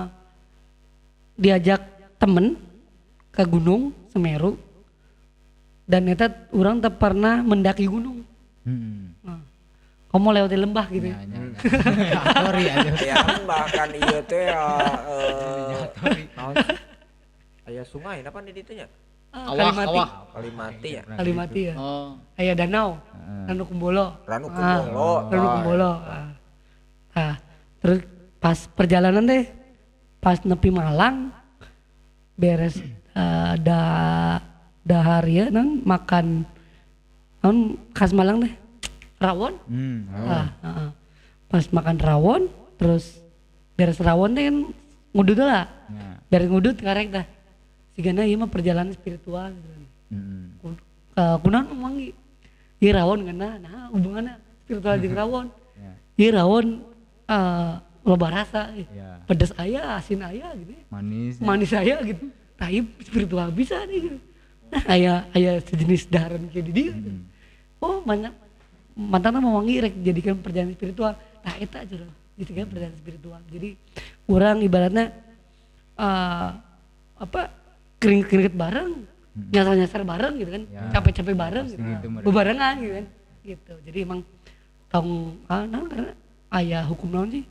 diajak temen ke gunung Semeru dan eta orang tak pernah mendaki gunung. Hmm. Nah, kamu lewati lembah gitu ya. Ya, ya. Sorry aja. Ya bahkan ieu teh ya, eh naon sih? Aya sungai apa di ditu nya? Ah, Awah, Kalimati. awah. Kalimati ya. Kalimati ya. Oh. Aya danau. Ranu Kumbolo. Ranu Ah, Kumbolo. Ranu Kumbolo. Ah. Ah, terus pas perjalanan deh, pas nepi Malang, beres eh, da dahar ya, non makan, non khas Malang deh, rawon. Hmm. oh. Ah, ah, ah. Pas makan rawon, terus beres rawon deh kan ngudut lah, Ya. beres ngudut karek dah. Sigana ieu mah perjalanan spiritual. Gitu. Hmm. Uh, kunaon mangi ieu rawon kana nah hubunganna spiritual jeung rawon Ya. ieu rawon uh, loba rasa eh. Ya. pedas aya asin aya gitu ya. Manis. manis aya gitu tapi spiritual bisa nih gitu. Nah aya aya sejenis daharan kayak di dia gitu. Oh banyak mantana mewangi rek jadikan perjalanan spiritual nah eta aja loh jadikan perjalanan spiritual jadi orang ibaratnya uh, apa keringet-keringet bareng nyasar-nyasar bareng gitu kan Ya, capek-capek bareng pasti gitu, gitu mereka. bebarengan gitu kan gitu jadi emang tong ah nah, karena ayah hukum naon sih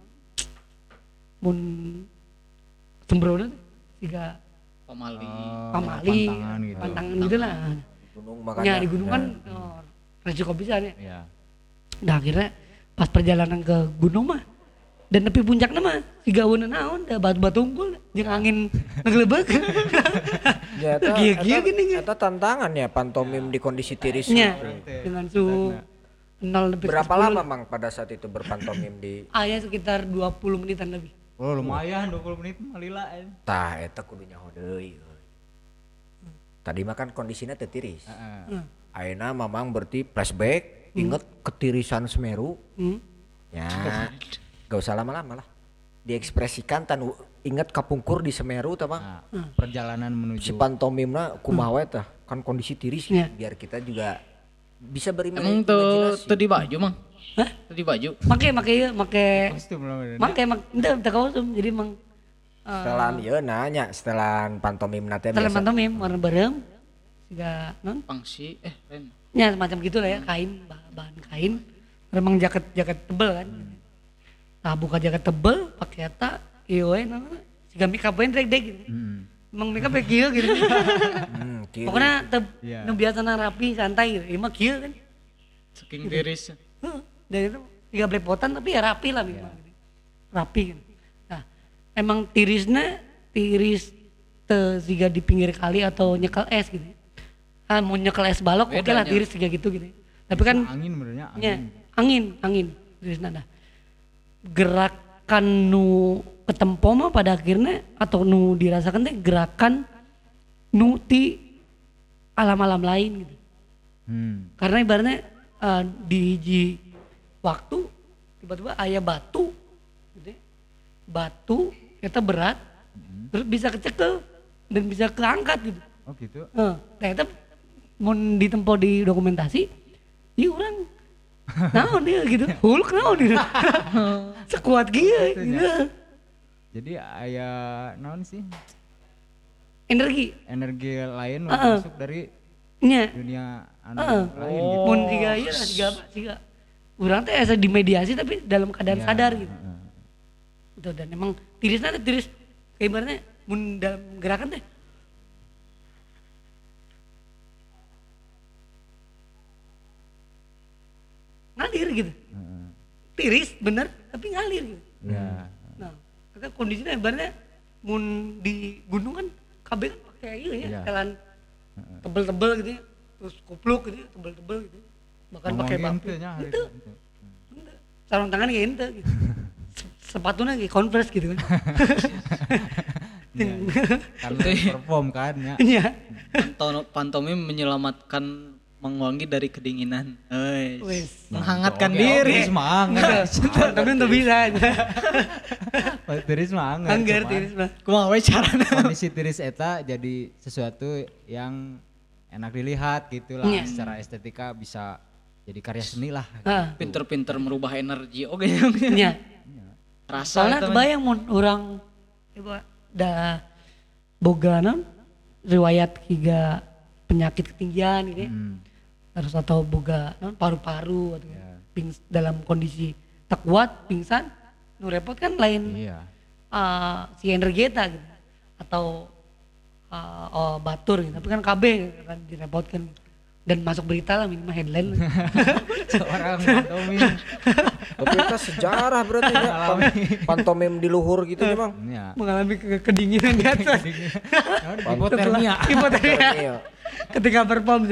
mun sembrono teh siga Pamali. Oh, pamali pantangan gitu. pantangan gitu lah Gunung ya makanya. di gunung kan oh, resiko bisa nih Ya. nah akhirnya pas perjalanan ke gunung mah dan nepi puncakna mah siga aweuna naon da batu-batu unggul jeung angin ngeglebek Ya eta Gila-gila eta- gini, gini. eta tantangan ya pantomim di kondisi tiris. nya dengan suhu nol lebih Berapa lama Mang pada saat itu berpantomim di ayah sekitar dua puluh menitan lebih. Oh lumayan dua puluh menit mah lila. eh. tah eta kudu nyaho deui. Tadi makan kondisinya teu tiris. Heeh. Ayeuna mamang berarti flashback inget ketirisan Semeru. Hmm. Ya. Gak usah lama-lama lah. Diekspresikan tan u- inget kapungkur di Semeru tah Bang. Nah, perjalanan menuju Si pantomimna kumaha we tah kan kondisi tiris Iya. biar kita juga bisa Emang berimajinasi. tuh tuh di baju mang? Hah? Tuh di baju. Make make ieu make kostum lah bener. make make ente teu kostum jadi emang eh, Setelan ieu nanya setelan pantomimna teh setelah biasa. pantomim warna bareng siga non Pangsi eh lain. nya semacam gitu lah ya kain bah- bahan kain memang jaket jaket tebel kan nah buka jaket tebel pakai eta ieu we non siga make up we deg-deg gitu Hmm. emang make up kieu gitu Hmm, kiri. pokoknya teu Iya. nu biasana rapi santai gitu ieu mah kieu kan Saking tiris. Heeh, dan itu tiga belepotan tapi ya rapi lah memang gitu. Rapi kan. Nah, emang tirisnya tiris te siga di pinggir kali atau nyekel es gitu. Ah, mau nyekel es balok oke lah Bedanya. tiris tiga gitu gitu. Tapi kan Angin benernya nya, angin. angin, angin tirisna nah. Gerakan nu ketempo mah pada akhirnya atau nu dirasakan teh gerakan nu ti alam-alam lain gitu. Hmm. Karena ibaratnya eh, di hiji waktu tiba-tiba aya batu gitu ya. Batu eta berat terus bisa kecekel dan bisa keangkat gitu. Oh gitu. Heeh. Nah eta mun ditempo di dokumentasi ieu urang naon dia gitu. Hulk naon dia. Sekuat kieu gitu. Jadi aya naon sih? Energi Energi lain Heeh. masuk dari nya. dunia anu Heeh. lain gitu. Mun siga ieu lah siga apa siga urang teh asa dimediasi tapi dalam keadaan Iya, sadar gitu. heeh. Gitu, dan emang tirisnya teh tiris kayak ibaratnya mun dalam gerakan teh ngalir gitu. Heeh. Tiris bener tapi ngalir gitu. Ya. Nah, karena kondisinya ibaratnya mun di gunung kan kabeh kan pakai ieu ya, Iya. jalan tebel-tebel gitu ya. Terus kupluk gitu ya, tebel-tebel gitu. Bahkan pakai Ngomongin batu. teh nya hari Itu itu. sarung tangan kayak ente gitu. Se- Sepatunya kayak Converse gitu kan. Karena perform kan ya. Iya. Panto- Pantomim menyelamatkan Mang Wangi dari kedinginan. Euy. Wes. Menghangatkan Oke, diri. oke, semangat. Tapi untuk bisa. Tiris semangat. Anggar cuman tiris mah. Kumaha we carana? Kondisi tiris eta jadi sesuatu yang enak dilihat gitu lah. Iya. Secara estetika bisa jadi karya seni lah. Heeh. Pinter-pinter merubah energi oke. Nya. Rasa Soalnya eta mah. kebayang mun orang coba dah boga naon riwayat higa penyakit ketinggian gitu ya. Hmm. Terus atau boga naon paru-paru atau Ya. pings, dalam kondisi tak kuat pingsan nu repot kan lain Iya. eh, si energi eta gitu atau eh, oh, batur gitu. Tapi kan K B kan direpotkan dan masuk berita lah minimal headline. Seorang pantomim. Tapi itu sejarah berarti ya. Pan- pantomim di luhur gitu nih Bang. Ya. Mengalami ke- kedinginan di atas. Hipotermia. Hipotermia. Iya. Ketika perform.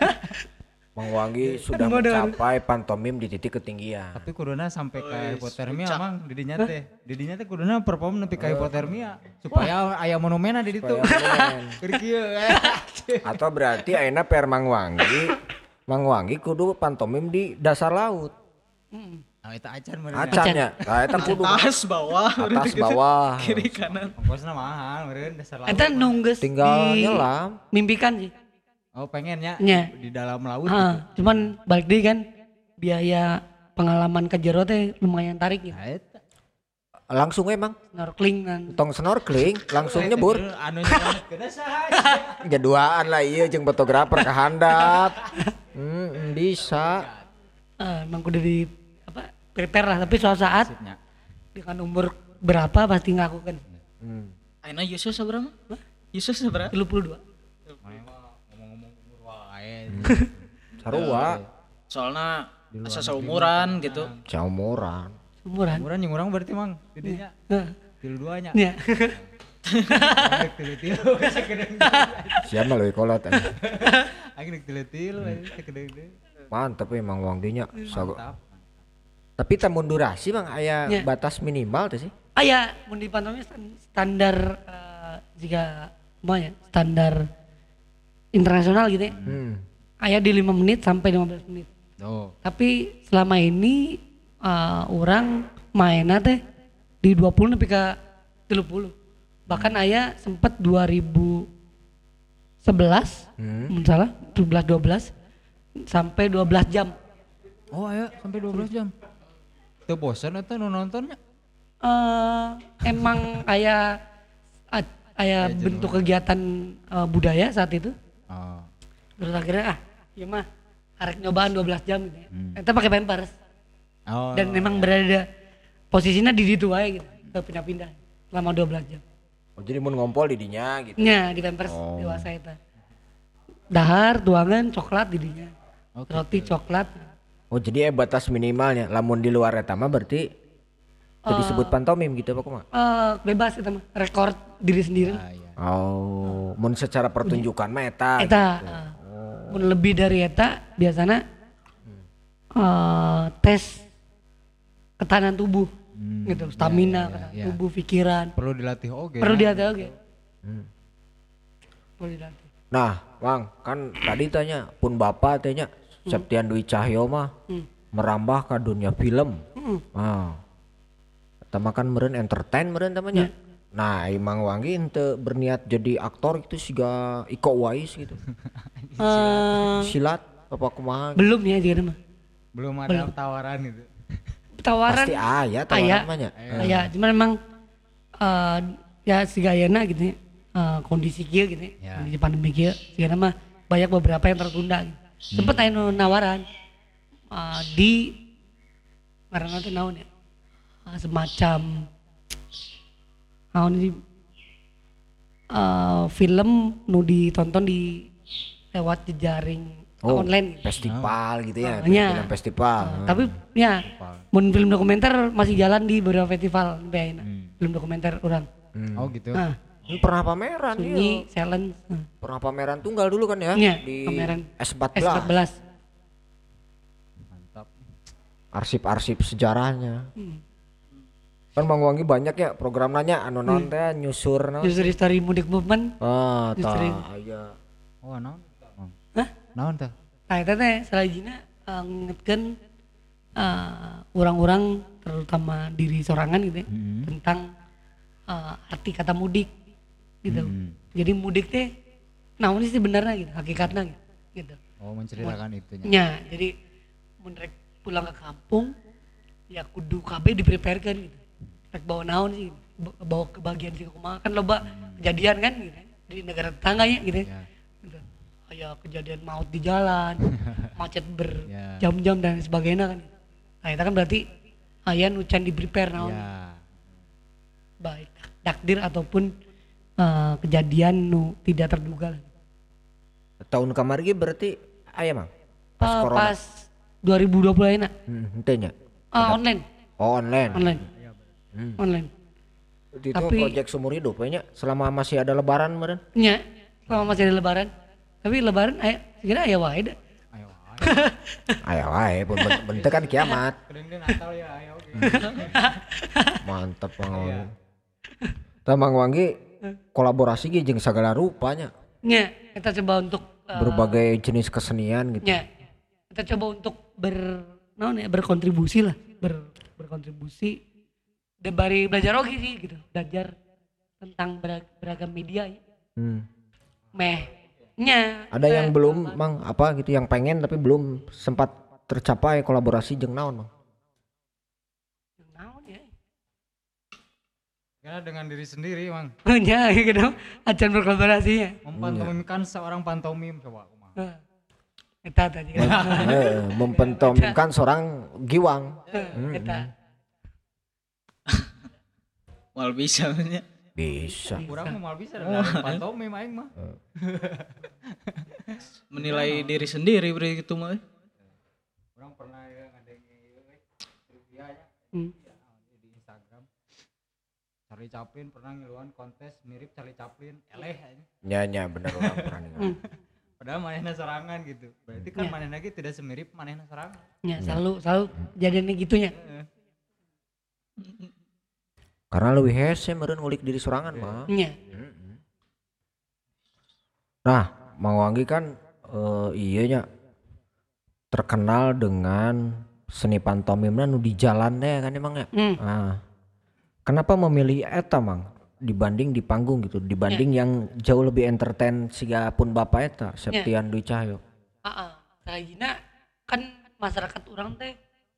Mang Wangi sudah Modal. mencapai pantomim di titik ketinggian. Tapi kuduna sampai ke Wes, hipotermia puncak. mang didinya teh. Didinya teh kuduna perform nepi ka hipotermia supaya aya monumenna di ditu. Supaya monumen. Keur kieu. Atau berarti ayeuna per Mang Wangi, Mang Wangi kudu pantomim di dasar laut. Ah eta acan meureun. Acannya. Nah, eta kudu Atas bawah atas gitu. bawah. Kiri kanan. Ongkosna mahal meureun dasar laut. Eta nungges Tinggal di nyelam. mimpikan sih. Oh pengennya Nya. di dalam laut Ah, gitu. cuman balik deh kan biaya pengalaman ke jero teh lumayan tarik gitu. Nah, eta. Langsung emang Snorkeling dan tong snorkeling langsung nyebur. Anu nyelamet kena saha. Jaduaan lah iya jeung fotografer kahandap. Hmm, bisa. eh, emang udah di apa prepare lah tapi suatu saat Sipnya. dengan umur berapa pasti ngaku kan Hmm. Aina Yesus seberapa? Yesus seberapa? tiga puluh dua. Mana mah ngomong-ngomong umur wae. Sarua. Soalnya asa seumuran gitu. Caumuran. Umuran. Umuran yang urang berarti mang didinya Heeh. tilu duanya. Nya. Rek tilu-tilu sakedeng. Siapa leuwih kolot aya. Aing rek tilu-tilu sakedeng. Mantep emang Wanginya. Sago- Mantap. Tapi tamun durasi Bang aya Ya. batas minimal tuh sih. Aya mun di pantomim stan- standar eh, jika apa ya standar internasional gitu ya. Hmm. Aya di lima menit sampai lima belas menit. Oh. Tapi selama ini uh, orang mainnya teh di dua puluh nepi ka tiga puluh. Bahkan aya sempet dua ribu sebelas, Hmm. mun salah, sebelas dua belas sampai dua belas jam. Oh aya sampai dua belas jam. Teu bosan eta nu nontonnya? Eh emang aya a- aya bentuk kegiatan uh, budaya saat itu. Oh. Terus akhirnya ah, ya mah arek nyobaan dua belas jam gitu ya. Hmm. Eta pakai pampers. Oh. Dan memang berada posisinya di situ aja gitu. Gak pindah-pindah selama dua belas jam. Oh, jadi mun ngompol di dinya gitu. Nya di pampers Oh. dewasa eta. Dahar, tuangan, coklat di dinya. Oke. Roti coklat. Oh, jadi eh batas minimalnya. Lamun di luar eta mah berarti itu disebut pantomim gitu apa kumaha? Eh bebas eta mah, rekor diri sendiri. Ah, iya. Oh, mun secara pertunjukan mah eta. Eta gitu. eh, mun lebih dari eta biasana eh tes ketahanan tubuh Hmm, gitu, iya, stamina, iya, ketahanan iya. tubuh, pikiran. Perlu dilatih oge. Perlu nah. dilatih oke. Hmm. Perlu dilatih. Nah, Bang, kan tadi tanya pun Bapak tanya Septian Dwi Cahyo mah Hmm. merambah ke dunia film. Hmm. Ah. Eta mah kan meureun entertain meureun tamanya. Nah, Imang Wangi ente berniat jadi aktor itu siga Iko Uwais gitu. Eh, Silat apa kumaha? belum ya dia mah. Belum ada tawaran itu. Tawaran Pasti aya aya, tawaran mah nya. aya, cuman memang eh, ya si gayana gitu ya, eh, kondisi kieu gitu ya, Ya. kondisi pandemi kieu, sigana mah banyak beberapa yang tertunda gitu. Sempet aya nu nawaran eh, di ngaranna teh naon ya? Eh, semacam naon di eh, film nu ditonton di lewat jejaring Oh, online gitu. festival gitu ya, Ah, iya. film festival. Uh, tapi ya mun film dokumenter masih jalan di beberapa festival sampai ayeuna. Hmm. Film dokumenter orang. Hmm. Oh gitu. Nah, Ini pernah pameran Sunyi, dia. challenge. Nah, Pernah pameran tunggal dulu kan ya Iya, di pameran S empat S empat belas. belas. Mantap. Arsip-arsip sejarahnya. Hmm. Kan Bang Wangi banyak ya program nanya anu naon teh nyusur naon. User story mudik movement. Ah, Justru. tah aya. Oh naon? Oh. Hah? Naon teh? Nah, itu teh salajina uh, ngingetkeun uh, orang-orang terutama diri sorangan gitu ya, Hmm. tentang uh, arti kata mudik gitu. Hmm. Jadi mudik teh naon sih sebenarnya gitu, hakikatnya gitu. gitu. Oh menceritakan itunya. Ya, jadi mun rek pulang ke kampung ya kudu kabeh dipreparekan gitu. Rek bawa naon sih, b- bawa kebahagiaan sih kumaha kan loba kejadian kan gitu. Di negara tetangganya gitu. Ya. Gitu. Kayak kejadian maut di jalan, macet Ya. berjam-jam dan sebagainya kan. Nah, itu kan berarti aya nu can di prepare naon. Ya. Baik takdir ataupun eh, kejadian nu tidak terduga. Tahun kamari ge berarti aya Mang. Pas Eh, corona. pas dua ribu dua puluh ayeuna Hmm, henteu nya. Ah, online, Oh, online. online. Hmm. Online. Itu Tapi- project seumur hidup we nya selama masih ada lebaran meureun. Nya, selama masih ada lebaran. Tapi lebaran aya segera aya wae da. Ayo. Aya wae pun ben- bentek kan kiamat. Kedeng Natal ya ayo oke. Mantap Bang Wangi. Tah Mang Wangi kolaborasi ge jeung sagala rupanya. Nya, kita coba untuk eh, Berbagai jenis kesenian gitu. nya. Kita coba untuk ber naon ya, berkontribusi lah, ber, berkontribusi dan bari belajar oke sih gitu. Belajar tentang berag- beragam media ya. Hmm. Meh nya. Ada yang belum Mang apa gitu yang pengen tapi belum sempat tercapai kolaborasi jeung naon Mang? Naon ya? Karena dengan diri sendiri Mang. Nya gitu. Acan berkolaborasinya. Mempantomimkan seorang pantomim coba kumaha. Nah, eta tadi. Eh, mempentomimkan seorang giwang. Eta. Mal bisa nya. Bisa. Kurang mah mal bisa dari pantomim aing mah. Menilai diri sendiri beri gitu mah. Kurang pernah ya ngadengi trivia nya Hmm. di Instagram. Charlie Chaplin pernah ngiluan kontes mirip Charlie Chaplin. Eleh aja. Nya nya bener orang pernah ningali. Padahal manehna sorangan gitu. Berarti kan manehna ge tidak semirip manehna sorangan. Ya, selalu selalu jadinya gitunya. Karena leuwih hese meureun ngulik diri sorangan mah. Nya. Nah, Mang Wanggi kan eh, iya nya terkenal dengan seni pantomimnya nu di jalan deh kan emang ya. Hmm. Nah, kenapa memilih eta Mang dibanding di panggung gitu, dibanding yang jauh lebih entertain siga pun bapak eta Septian Dwi Cahyo. Heeh. Karena kan masyarakat orang teh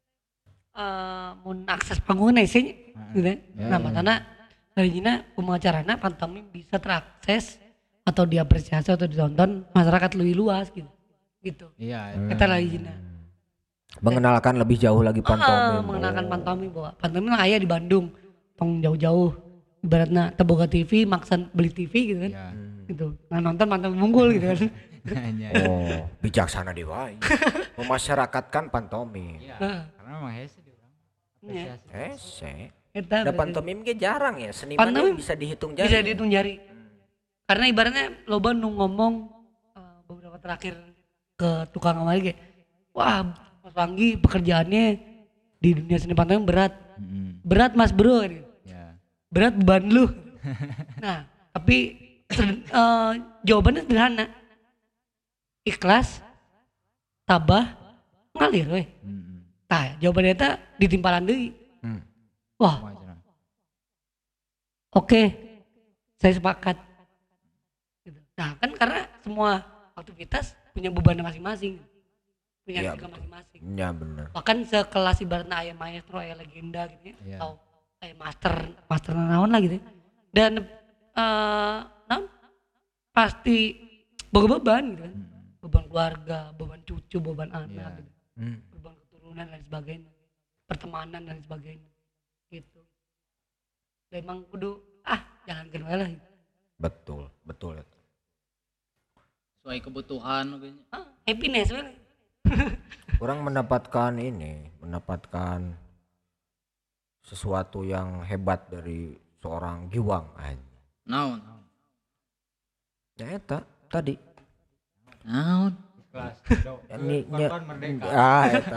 eh mun akses panggung na sih gitu. Nah, makanya karena pemacarana pantomim bisa terakses atau diapresiasi atau ditonton masyarakat lebih luas gitu. Gitu. Iya. Kita lagi Mengenalkan lebih jauh lagi pantomim. Ah, mengenalkan pantomim bahwa pantomim lah aya di Bandung, tong jauh-jauh. Ibaratnya teboga T V, maksan beli T V gitu kan. Iya. Gitu. Nah, nonton pantomim unggul gitu kan. Iya. Oh, bijaksana dewa. Memasyarakatkan pantomim. Iya. Heeh. Karena memang hese di orang. Iya. Hese. Eta Nah, berarti pantomim ge jarang ya, seniman Pantomim bisa dihitung jari. bisa dihitung jari. Karena ibaratnya loba nu ngomong eh, beberapa terakhir ke tukang amali kayak, wah Mas Wanggi pekerjaannya di dunia seni pantomim berat. Mm-mm. Berat Mas Bro. Gitu. Ya. Berat beban lu. Nah, tapi ser- eh, jawabannya sederhana. Ikhlas, tabah, ngalir weh. Mm-mm. Tah, jawabannya eta ditimpalan deui. Hmm. Wah, Kumaha cenah? oke. Saya sepakat. Gitu. Nah, kan karena semua aktivitas punya beban masing-masing. Punya Iya, risiko betul. masing-masing. Ya bener. Bahkan sekelas ibaratnya aya maestro, aya legenda gitu ya. Iya. Atau aya master, master naon lah gitu ya. Dan eh naon? Pasti boga beban gitu kan. Mm-mm. Beban keluarga, beban cucu, beban anak, Iya. gitu. Hmm. Beban keturunan dan sebagainya. Pertemanan dan sebagainya. Gitu. Dan emang kudu ah jalankan wae lah. Gitu. Betul, betul. Sesuai kebutuhan kayaknya. Ah, happiness we. Orang mendapatkan ini, mendapatkan sesuatu yang hebat dari seorang Giwang aja. Naon? Ya eta tadi. Naon? Kelas. Ya, ni- nya- Kawan merdeka. Ah eta.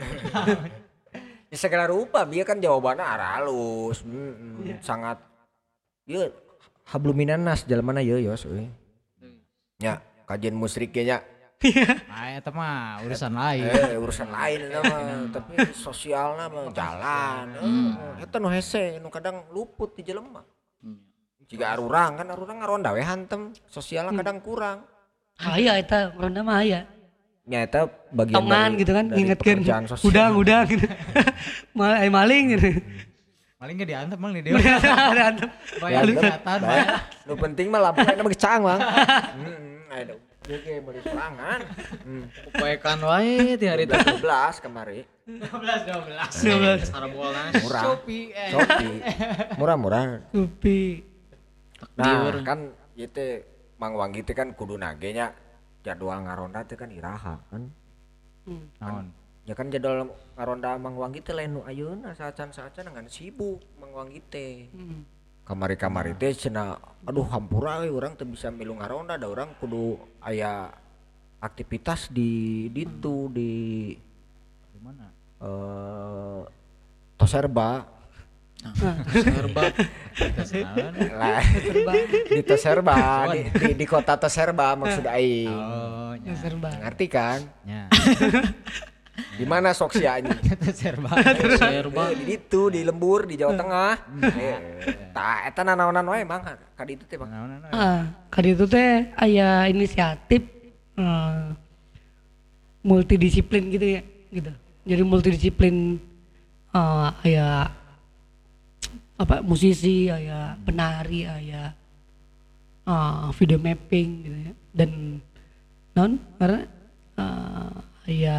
Ya segala rupa dia kan jawabannya halus, mm, sangat ieu habluminan nas jalan mana ieu yos euy. Nya kajian musrik ge nya. Ah eta mah urusan lain. Eh urusan lain eta mah, tapi sosialna mah jalan. Eh, eta nu hese nu kadang luput di jelema. Jika arurang kan arurang ngaronda we hantem, sosialna kadang kurang. Aya eta ronda mah aya. Nya eta bagian Tongan dari- gitu kan dari ngingetkeun pekerjaan sosial. udang udang gitu. Mal ai maling gitu. Maling ge diantep mang di dewa. Berantem. Bayar kelihatan mah. Bae. Nu penting mah lampuna mah gecang, Bang. Heeh, aya Dia ge meuli sorangan. Hmm. Upayakan wae ti hari teh. dua belas kemari. dua belas dua belas. dua belas Sarbolnas. Murah. Shopee eh. Shopee. Murah-murah. Supi. Nah, kan ieu teh Mang Wanggi teh kan kudu nage nya jadwal ngaronda teh kan iraha kan. Hmm. Naon? Ya kan jadwal ngaronda Mang Wanggi teh lain nu ayeuna saacan-saacan ngan sibuk Mang Wanggi teh. Hmm. Kamari-kamari teh cenah aduh hampura we urang teu bisa milu ngaronda da urang kudu aya aktivitas di ditu di Di mana? eh Toserba Serba. Naon? lah di Toserba di, di, di kota Toserba maksud aing. Oh, nya. Serba. Ngerti kan? Nya. Di mana sok sia anjing? Itu serba. Serba. Eh, di ditu di Lembur di Jawa Tengah. Eh, tah eta nanaonan wae Bang ka ditu teh Bang. Naon naon. Ah, kali itu teh aya inisiatif eh, multidisiplin gitu ya, gitu. Jadi multidisiplin eh aya apa musisi, aya penari, aya eh, video mapping gitu ya. Dan non karena eh, aya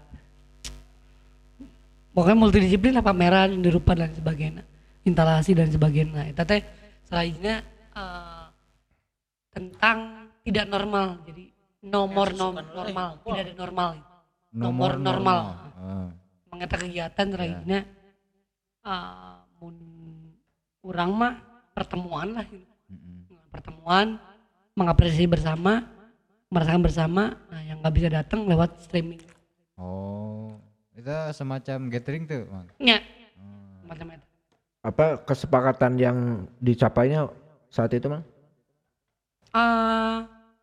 pokoknya multidisiplin lah pameran, dirupa dan sebagainya, instalasi dan sebagainya. Itu teh selanjutnya eh, tentang tidak normal, jadi nomor nom normal, tidak ada normal, nomor normal. Oh. Mengeta kegiatan selanjutnya eh, mun urang mah pertemuan lah, gitu. Mm-mm. Pertemuan mengapresiasi bersama, merasakan bersama. Nah, yang nggak bisa datang lewat streaming. Oh. Itu semacam gathering tuh, Mang. Ya, macam itu. Apa kesepakatan yang dicapainya saat itu Bang? Eh,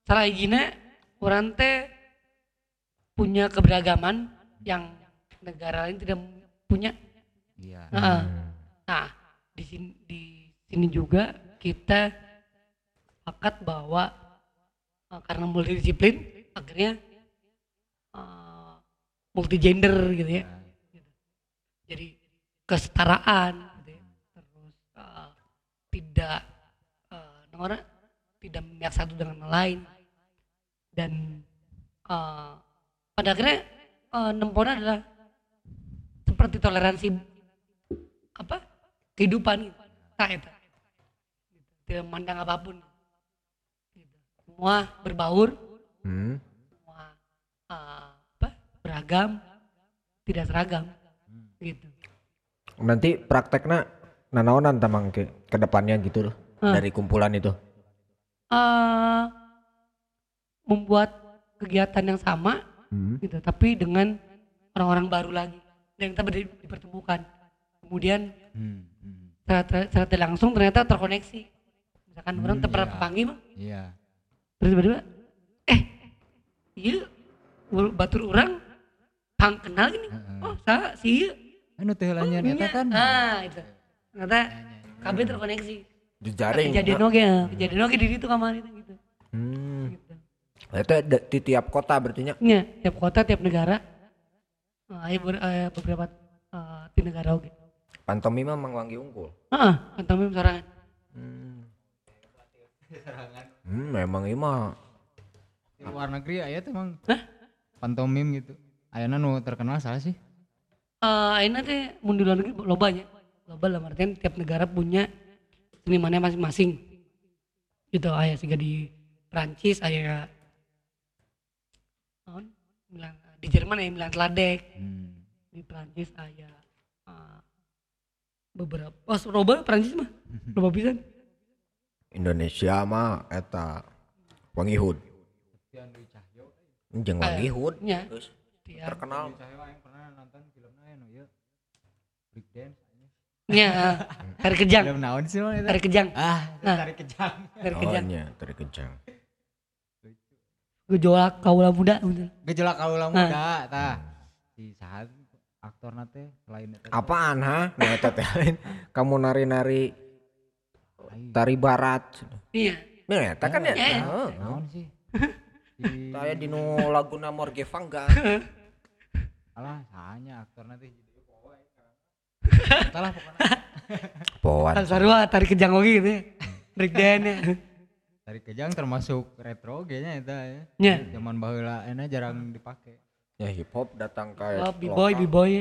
Salah hijina orang teh punya keberagaman yang negara lain tidak punya. Iya. Nah, nah di sini di sini juga kita sepakat bahwa uh, karena multidisiplin akhirnya uh, multigender gitu ya. Gitu. Jadi kesetaraan gitu ya. Terus uh, tidak uh, orang tidak memihak satu dengan yang lain dan uh, pada akhirnya uh, nempona adalah seperti toleransi apa kehidupan gitu. Nah, itu. Tidak memandang apapun gitu. Semua berbaur, Hmm. semua uh, apa beragam, tidak seragam gitu. Nanti prakteknya nanaonan tamang ke ke depannya gitu loh Hmm. dari kumpulan itu. Uh, membuat kegiatan yang sama Hmm. gitu, tapi dengan orang-orang baru lagi yang kita ber- dipertemukan. Kemudian Hmm, hmm. secara, secara tidak langsung ternyata terkoneksi. Misalkan Hmm, orang terpernah iya. kepanggil mah, Iya. terus tiba-tiba, eh, iya, ul- batur orang, pang kenal gini, Heeh. oh, sa, si iya, Anu teh oh, lanjut eta iya. kan. Ah, itu, ternyata kabeh terkoneksi. Jejaring. Kejadian oke, kejadian oke di situ kamar itu gitu. Hmm. gitu. Itu ada di tiap kota berarti nya. Iya, tiap kota, tiap negara, uh, ada ber- eh, beberapa uh, di negara oke. Pantomima Mang Wanggi unggul. Ah, pantomim sorangan. Hmm. Hmm, memang iya mah. Di luar negeri aya teh emang Hah? pantomim gitu. Ayana nu terkenal salah sih. Uh, ini teh mun di luar negeri loba nya. Loba dalam artian tiap negara punya senimannya masing-masing. Gitu aya siga di Prancis aya naon? Milan, di Jerman aya Milan Sladek, Hmm. di Prancis aya uh, beberapa oh loba Prancis mah. Loba pisan. Indonesia mah eta Wangihud. Jeung Wangihud. Nya. Terus Tiap terkenal. Saya yang pernah nonton filmnya anu ieu. Break dance. nya tarik kejang, Film naon sih mah eta? tarik kejang, Ah, Nah. tarik kejang. tarik Oh kejang. nya, tarik kejang. Gejolak kaula muda bener. Gejolak kaula Nah. muda tah. Si saha aktorna teh selain eta. Apaan ha? Nah eta teh lain. Kamu nari-nari tari barat. Iya. Nah eta kan ya. Iya. Heeh. Naon sih? Si Saya di nu laguna Morge Vangga. alah sahanya aktorna teh jadi poe. Salah pokoknya. Poan. Sarua tarik kejang oge gitu ya. Break dance ya. Tarik kejang termasuk retro nya eta ya. Nya. Zaman baheula enak jarang dipake. Ya hip hop datang ke Oh, B-boy, lokal. B-boy.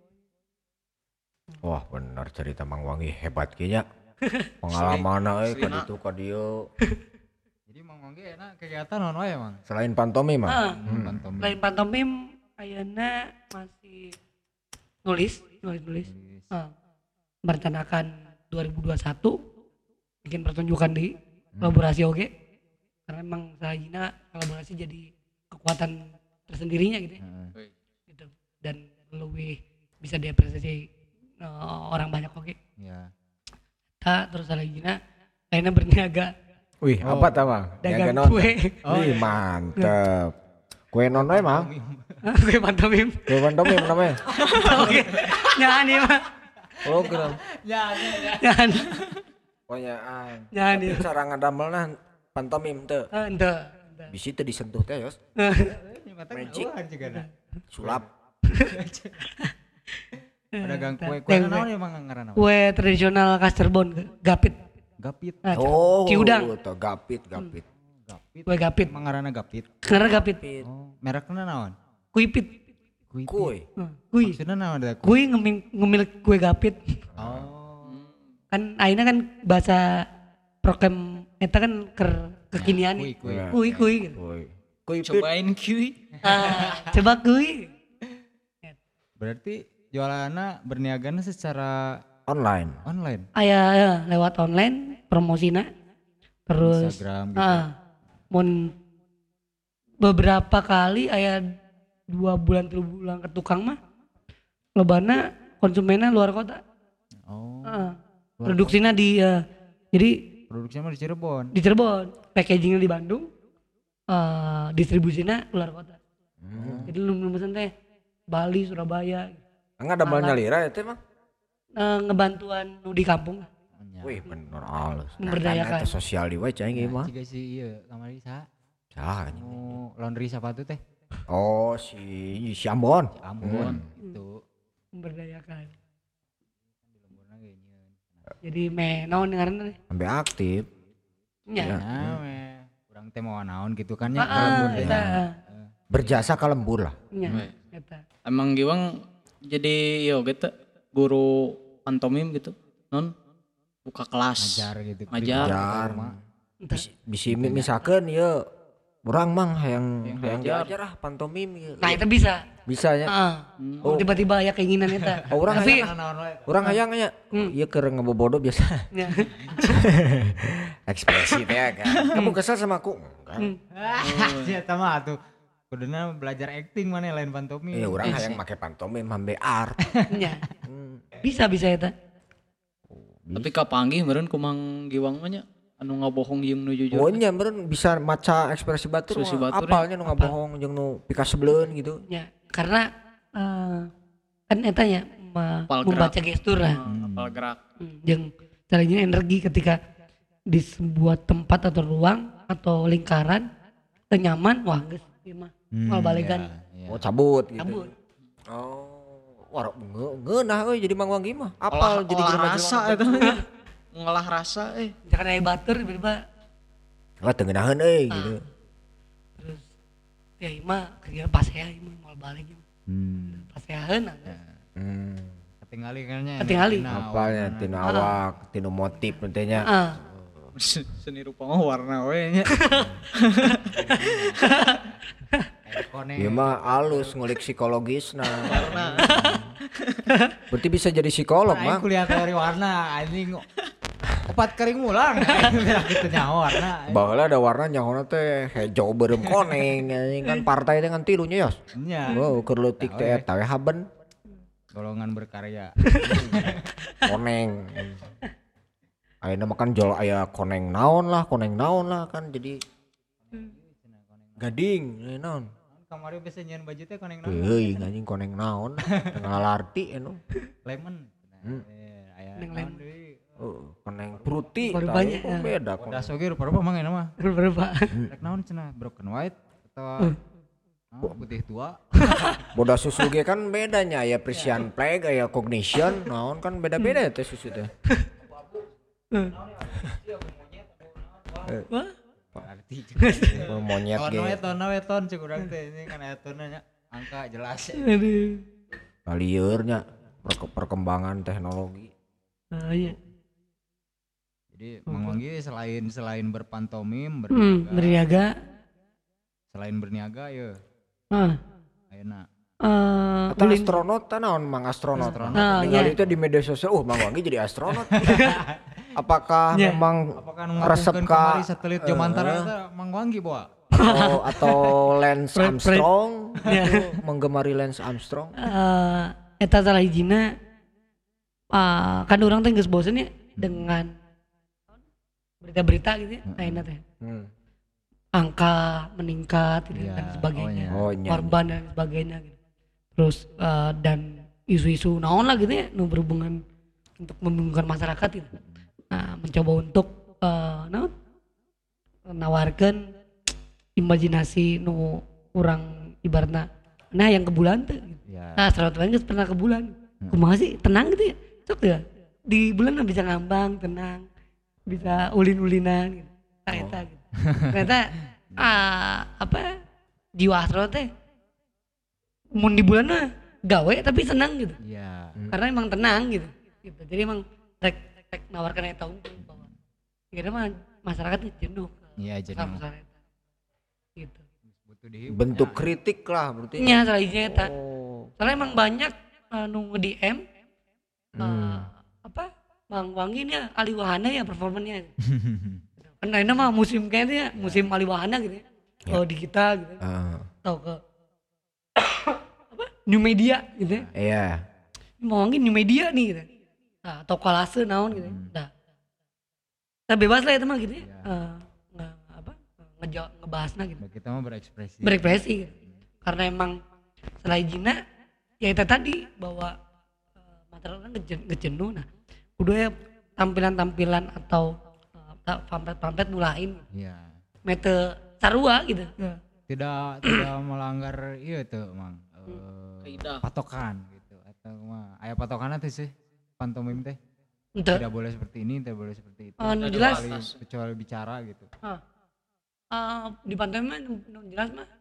Wah bener cerita Mang Wangi hebat kayaknya. Pengalaman euy ka ditu ka dieu. Jadi Mang Wangge enak kegiatan naon wae Mang? Selain pantomim mah. Ah, Hmm. Pantomim. Lain pantomim ayeuna masih nulis, nulis-nulis. Nulis. Ah, merencanakan dua ribu dua puluh satu bikin pertunjukan di kolaborasi oke. Karena emang sajina kolaborasi jadi kekuatan tersendirinya gitu ya. Heeh. Gitu. Dan lebih bisa diapresiasi eh, orang banyak oke. Iya. Ta terus lagi na akhirnya berniaga Wih, apa tah Mang? dagang Niaga naon? kue. Wih, mantep. Kue non we Mang? Kue pantomim. Kue pantomim namanya. Oke. Jangan ya mah. Program. Jangan. Pokoknya Jangan ya. cara ngadamelna pantomim teu. Ah, ente. Bisi teu disentuh teh yos. Nyata Magic. ngeueuhan juga na. Sulap. Pedagang kue kue Yang- naon ya Mang ngaranna? Kue tradisional khas Cirebon, gapit. Gapit. Nah, Oh, Ciudang. tuh gapit, gapit. Gapit. Kue gapit. Mang ngaranna gapit. Karena gapit. Oh, merekna naon? Kuipit. Kui. Kue. Hmm, Kui. Maksudna naon da kue? Kui ngemil, ngemil kue gapit. Oh. Kan akhirnya kan bahasa prokem eta kan ker kekinian. Kui kui. Nah. Kui kui gitu. Kue. Kue pit. Cobain kiwi. Ah, coba kui. Berarti jualanna berniagana secara Online. online. Aya ya, lewat online promosina. Terus Instagram gitu. ah, mun beberapa kali aya dua bulan tiga bulan ke tukang mah lobana konsumennya luar kota. Oh. Ah, produksinya di eh, jadi Produksinya mah di Cirebon. di Cirebon, packagingnya di Bandung, eh, distribusinya luar kota. Hmm. Jadi lu mesen teh Bali, Surabaya, Enggak ada balnya lira ya teh mah. eh, ngebantuan nu di kampung lah. Wih bener halus. Memberdayakan. Eta sosial di wae cai ge mah. Juga sih iya kamari sa. Saha anjing. Mau laundry sepatu teh. Oh si si Ambon. Ambon itu. Memberdayakan. Di lemburna ge nyeun. Jadi me naon ngaranna teh? Sampai aktif. Nya. Nah, we. Urang teh mau naon gitu kan ya. Heeh, lembur teh. eta. Berjasa ka lembur lah. Nya. Eta. Emang Giwang jadi yo gitu guru pantomim gitu. Non buka kelas. Ngajar gitu. Ngajar. Jar. Entah. Bisi misalkan ya urang mang hayang hayang ngajar. diajar ah pantomim ya. Nah, itu bisa. Bisa nya. Heeh. Oh. Tiba-tiba aya keinginan eta. Oh, urang Tapi hayang urang hayang nya. Hmm. Ieu keur ngebobodo biasa. nya. Ekspresi teh kan. Kamu kesal sama aku? Enggak. Hmm. Si eta mah atuh. Kuduna belajar acting mana lain pantomim. Ya urang hayang make pantomim hambe art. Nya. Bisa bisa eta. Tapi kapanggih meureun ku Mang Giwang mah nya anu ngabohong jeung nu jujur. Oh nya meureun bisa maca ekspresi batur. Ekspresi mah. batur, Apalnya nu ngabohong jeung nu pika sebeleun gitu. Ya, karena eh, kan eta nya me- Apal membaca gerak. gestur lah. Heeh, apal gerak. Hmm, jeung caranya energi ketika di sebuah tempat atau ruang atau lingkaran teu nyaman, wah geus ieu mah mal balegan Oh cabut gitu. cabut. Oh. Wah, ngeunah euy jadi Mang Wanggi mah. Apal Olah, jadi olah jelema-jelema rasa teh. eta ngolah rasa eh. Jangan aya batur tiba-tiba Wah, teu ngeunaheun euy gitu. terus ya ieu mah kegiatan pasea ieu mah mal balik ieu. Hmm. Paseaheun Hmm. Ketinggali kayaknya. Ketinggali. Apalnya tinu awak, tinu motif nanti nya. Heeh. Seni rupa mah warna we nya. Ieu mah alus ngulik psikologisna. Berarti bisa jadi psikolog, Aing Mang. kuliah teori warna anjing. Opat kering mulang. Bilang gitu nyawa warna. Baheula ada warna nyahona teh hejo beureum koneng anjing kan partai teh ngan tilu nya yos. Nya. Wow, keur leutik teh eta we haben Golongan berkarya. koneng. Ayeuna mah kan jol aya koneng naon lah, koneng naon lah kan jadi gading eh, naon. Kamari bisa nyeun baju teh koneng naon? Teuing anjing koneng naon, tengah larti anu. Lemon. Hmm. Eh, aya Koneng naon lemon. deui? Oh, koneng fruity. Baru tah, banyak, oh, ya. beda Udah koneng. soge rupa-rupa mang enak mah. Berapa? Rek naon cenah? Broken white atau oh, putih tua? Boda susu ge kan bedanya ya Prisian Plague aya Cognition, naon kan beda-beda ya teh susu teh. Wah, Arti. Oh, monyet Ton ge. we ton we ton cek urang teh ini kan aya tonna nya. Angka jelas. aduh. Lieur nya perke- perkembangan teknologi. Ah, iya. Jadi Mang Wanggi selain selain berpantomim, Hmm, berniaga, berniaga. selain berniaga ya Ah, ayeuna eh, Atau ulin- astronot tah naon Mang astronot. Nah, Ningali iya. itu di media sosial, uh Mang Wanggi jadi astronot. Apakah Iya. memang apakah resep ngapungkeun ka kamari satelit Jomantara eta Mang Wanggi bawa? atau atau Lance Fred- Fred. Armstrong Iya. itu menggemari Lance Armstrong? eh eta salah hijina ah, kan orang teh geus bosen ya dengan berita-berita gitu ya, ayeuna teh. Hmm. Angka meningkat gitu Iya, dan sebagainya. oh, iya. Korban dan sebagainya gitu. Terus eh, dan isu-isu naon lah gitu ya nu berhubungan untuk membingungkan masyarakat gitu. Nah, mencoba untuk eh naon nawarkeun imajinasi nu urang ibaratna nah yang ke bulan tuh gitu. Ya. Nah, astronot lain geus pernah ke bulan. Kumaha sih tenang gitu ya. Sok ya. Di bulan mah bisa ngambang, tenang. Bisa ulin-ulinan gitu. Nah, eta gitu. Ternyata ah, apa jiwa astronot teh mun di bulan mah gawe tapi senang gitu. Iya. Karena emang tenang gitu. gitu. Jadi emang rek rek nawarkan eta unggul bahwa kira mah masyarakat tuh jenuh. Iya jenuh. Sama eta. Gitu. Butuh dihibur. Bentuk kritik lah berarti. Nya salah hiji eta. Oh. Soalnya emang banyak anu nge-D M Hmm. eh, apa Bang Wangi nih Ali Wahana ya performanya. Kan ini mah musim kayaknya musim Ali Wahana gitu ya. Kalau di kita gitu. Ah, Atau ke apa? New media gitu ya. iya. Mau Wangi new media nih gitu. Nah, atau kolase naon gitu. ya. Nah. Nah, bebas lah itu mah gitu ya. Eh, nggak apa? ngeja- ngebahasna gitu. Kita mah berekspresi. Berekspresi gitu. Karena emang selain jina ya itu tadi bahwa uh, material kan ngejen- ngejenuh nah kudu ya tampilan-tampilan atau uh, pamflet-pamflet nulain Iya. mete sarua gitu. Tidak tidak melanggar iya tuh Mang. Eh, Kaidah. patokan gitu atau mah aya patokanna teh sih pantomim teh. Ente Tidak boleh seperti ini, tidak boleh seperti itu. Oh, nu jelas. Kecuali, kecuali bicara gitu. ah, ah, di pantai mah nu- nu jelas mah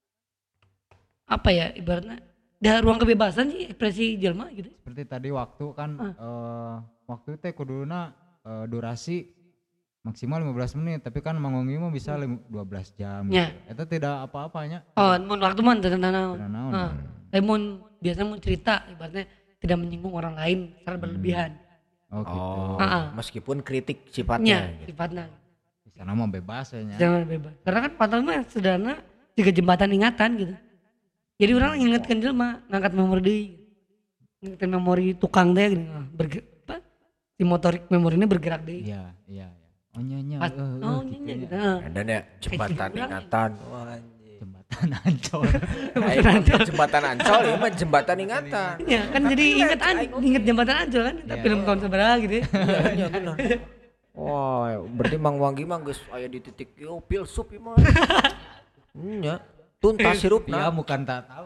apa ya ibaratnya ada ruang kebebasan sih ekspresi jelma gitu. Seperti tadi waktu kan eh, waktu teh kuduna eh, durasi maksimal lima belas menit, tapi kan mangonggi mah bisa lim- dua belas jam. Ya. Gitu. Itu tidak apa-apanya. Oh, mun waktu mah teu naon. Tidak naon. Ah, tapi mun biasanya mun cerita ibaratnya tidak menyinggung orang lain secara berlebihan. Oh gitu. Oh, Ah, ah. meskipun kritik Nya sifatnya gitu. sifatnya. Di sana mah bebas ya. nya. Jangan bebas. Karena kan pantai mah sederhana juga jembatan ingatan gitu. Jadi orang ingatkan jelma ngangkat memori deui. Ngangkat memori tukang teh gitu. Berge- apa? Si motorik memorinya bergerak deui. Iya, iya, iya. Oh nyanyi. Pas- oh nyanyi gitu. Ah. Dan ya jembatan Kayak ingatan. Wah, anjing. Jembatan Ancol. Aing mah jembatan Ancol ini mah jembatan ingatan. Ya kan jadi inget an, inget jembatan Ancol kan. Kita film tahun seberapa gitu ya. Iya benar. Wah, berarti Mang Wanggi mah geus aya di titik yo filsuf ieu mah. Nya, tuntas Iya hirupna. bukan tak tahu.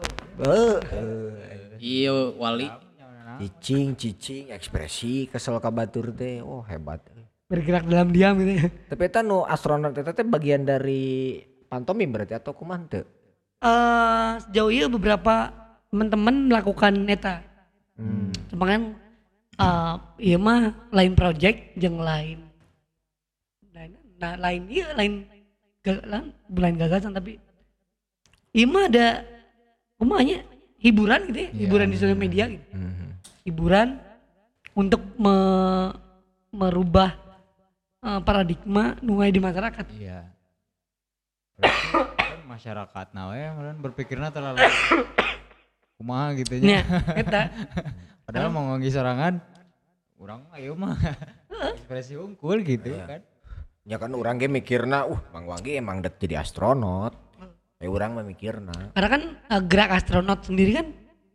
Heeh. Iya wali. Cicing, cicing, ekspresi kesel ka batur teh. Oh, hebat. Bergerak dalam diam gitu ya. Tapi eta nu astronot eta teh bagian dari pantomim berarti atau kumaha teu? Eh sejauh ini beberapa teman-teman melakukan neta. Hmm. Cuma kan eh iya mah lain project jeung lain lain nah, lain iya lain ga- lain, lain gagasan tapi iya mah ada kumanya hiburan gitu ya, hiburan di sosial media gitu. Hmm. Hiburan untuk me- merubah eh, paradigma nungai di masyarakat. Iya. Berarti kan masyarakat nah we meureun berpikirna terlalu kumaha gitu Nya, nya. eta. Padahal mau ngomongin sorangan urang ayo mah ekspresi unggul gitu kan. Ya kan urang ge mikirna, uh Mang Wanggi emang dek jadi astronot. Ya urang mah mikirna. Karena kan eh, gerak astronot sendiri kan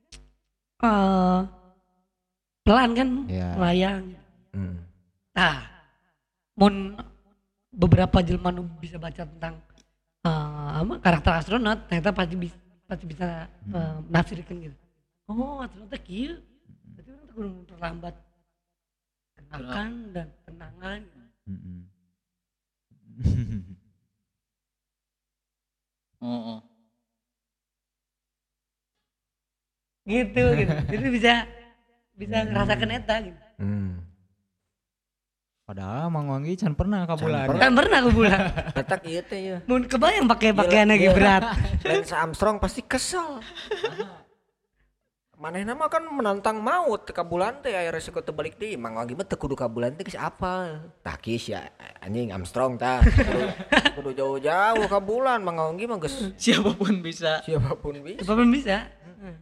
eh pelan kan Iya. melayang. Hmm. Nah, mun beberapa jelma nu bisa baca tentang eh, apa karakter astronot, ternyata pasti bisa pasti bisa eh, menafsirkan gitu. Oh, astronot teh kieu. Berarti orang tuh kudu memperlambat gerakan dan tenangan. Heeh. Oh, oh. Gitu gitu. Jadi bisa bisa ngerasakan eta gitu. Hmm. Padahal Mang Wanggi can pernah ka bulan. pernah. Kan pernah aku bulan. Letak ieu teh ya. Mun kebayang pakai pakaian lagi berat. Lance Armstrong pasti kesel. Manehna mah kan menantang maut ka bulan teh aya resiko teu balik deui. Mang Wanggi mah teu kudu ka bulan teh geus apa? Tah geus ya anjing Armstrong tah. Kudu, kudu jauh-jauh ka bulan. Mang Wanggi mah geus Siapapun bisa. siapapun bisa. Apa pun bisa.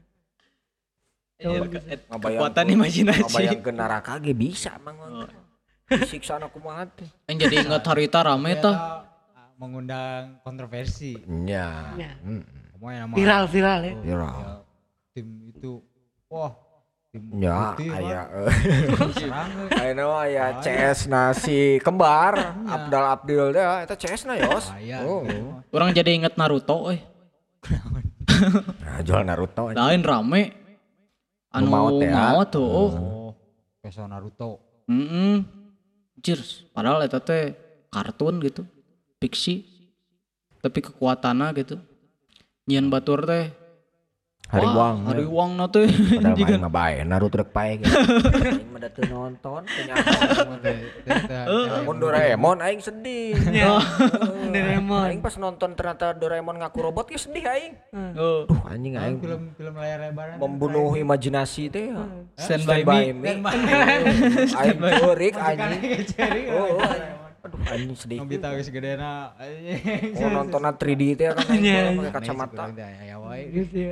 Iya, bisa. et- kekuatan imajinasi. Ngabayangkeun neraka ge bisa Mang Wanggi. Disiksa anak kumaha teh. Yang jadi ingat harita rame Eta, tah. ah, mengundang kontroversi. Nya. Ya. Heeh. Kamu yang nama Viral viral ya. Viral. ya, tim itu wah tim Ya, putih, aya Bang. serang we. Ayeuna mah aya C S na si kembar Abdal Abdil teh eta C S na yos. Aya, Oh. gitu. Orang jadi inget Naruto euy. Nah, jual Naruto. Lain rame. Anu maot ya? maot tuh. Oh. Oh, keso Naruto. Heeh. Cheers. Padahal eta teh kartun gitu. Fiksi. Tapi kekuatanna gitu. Nyian batur teh. Hariwang. Wah, Hariwang na teh. Padahal main mah bae Naruto rek pae gitu. Aing mah da teu nonton teu nyaho. Mun Doraemon aing sedih. Ya. Oh, Doraemon. Aing pas nonton ternyata Doraemon ngaku robot ge sedih aing. Oh. Duh anjing aing Film film layar lebar. membunuh imajinasi teh. Stand by me. Aing ceurik anjing. Oh, anjing. Aduh anjing sedih. Nobita geus gedena anjing. Oh nontonna tiga D teh kan aing Iya, pakai kacamata. Ya wae. Gitu ya.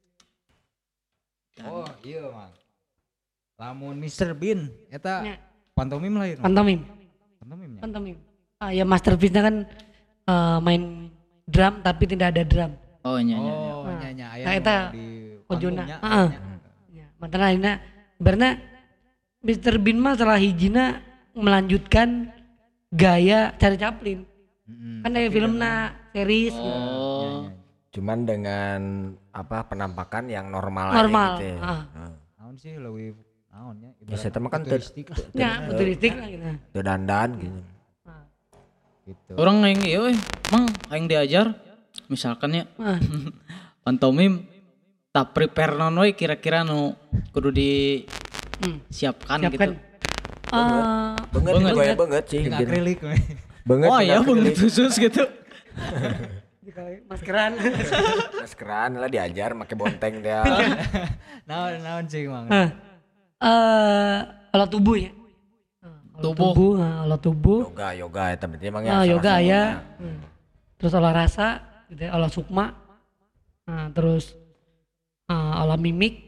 Oh, iya, Mang. Lamun mister Bean eta Ya. pantomim lain. Pantomim. Pantomimnya. Pantomim. Ah ya masterpiece-nya kan eh, main drum tapi tidak ada drum. Oh nya nya. Oh, Nah, nya nya aya nah, nu eta di ojona. panggungnya, Heeh. nya. Ya, mantena ayeuna ibaratna mister Bean mah setelah hijina melanjutkan gaya Charlie Chaplin. Mm-mm. Kan dari filmna, series gitu. Oh. Cuman dengan apa penampakan yang normal, Normal. aja gitu. Ya. Ah. Heeh. Naon sih leuwih naonnya? Ya saya mah kan teu futuristik lah, Ya, futuristik lah gitu. teu dandan gitu. Nah, gitu. Orang aing ieu euy, mang aing diajar misalkan ya nah, pantomim tak prepare non we kira-kira nu kudu disiapkan hmm, gitu. siapkan. Eh, Banget Banget. banget, banget sih. Jeung gitu. akrilik we. Banget. Oh dengan iya banget akrilik. khusus gitu. maskeran. Maskeran lah diajar make bonteng dia. Naon naon sih mang. Nah, eh, alat tubuh ya. Nah, alat Tubuh. tubuh, nah, alat tubuh. Yoga, yoga eta berarti emang ya. Ah, salah yoga satunya. ya. Hmm. Terus olah rasa, gitu ya, olah sukma. Nah, terus ah, olah mimik.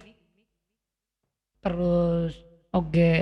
Terus oke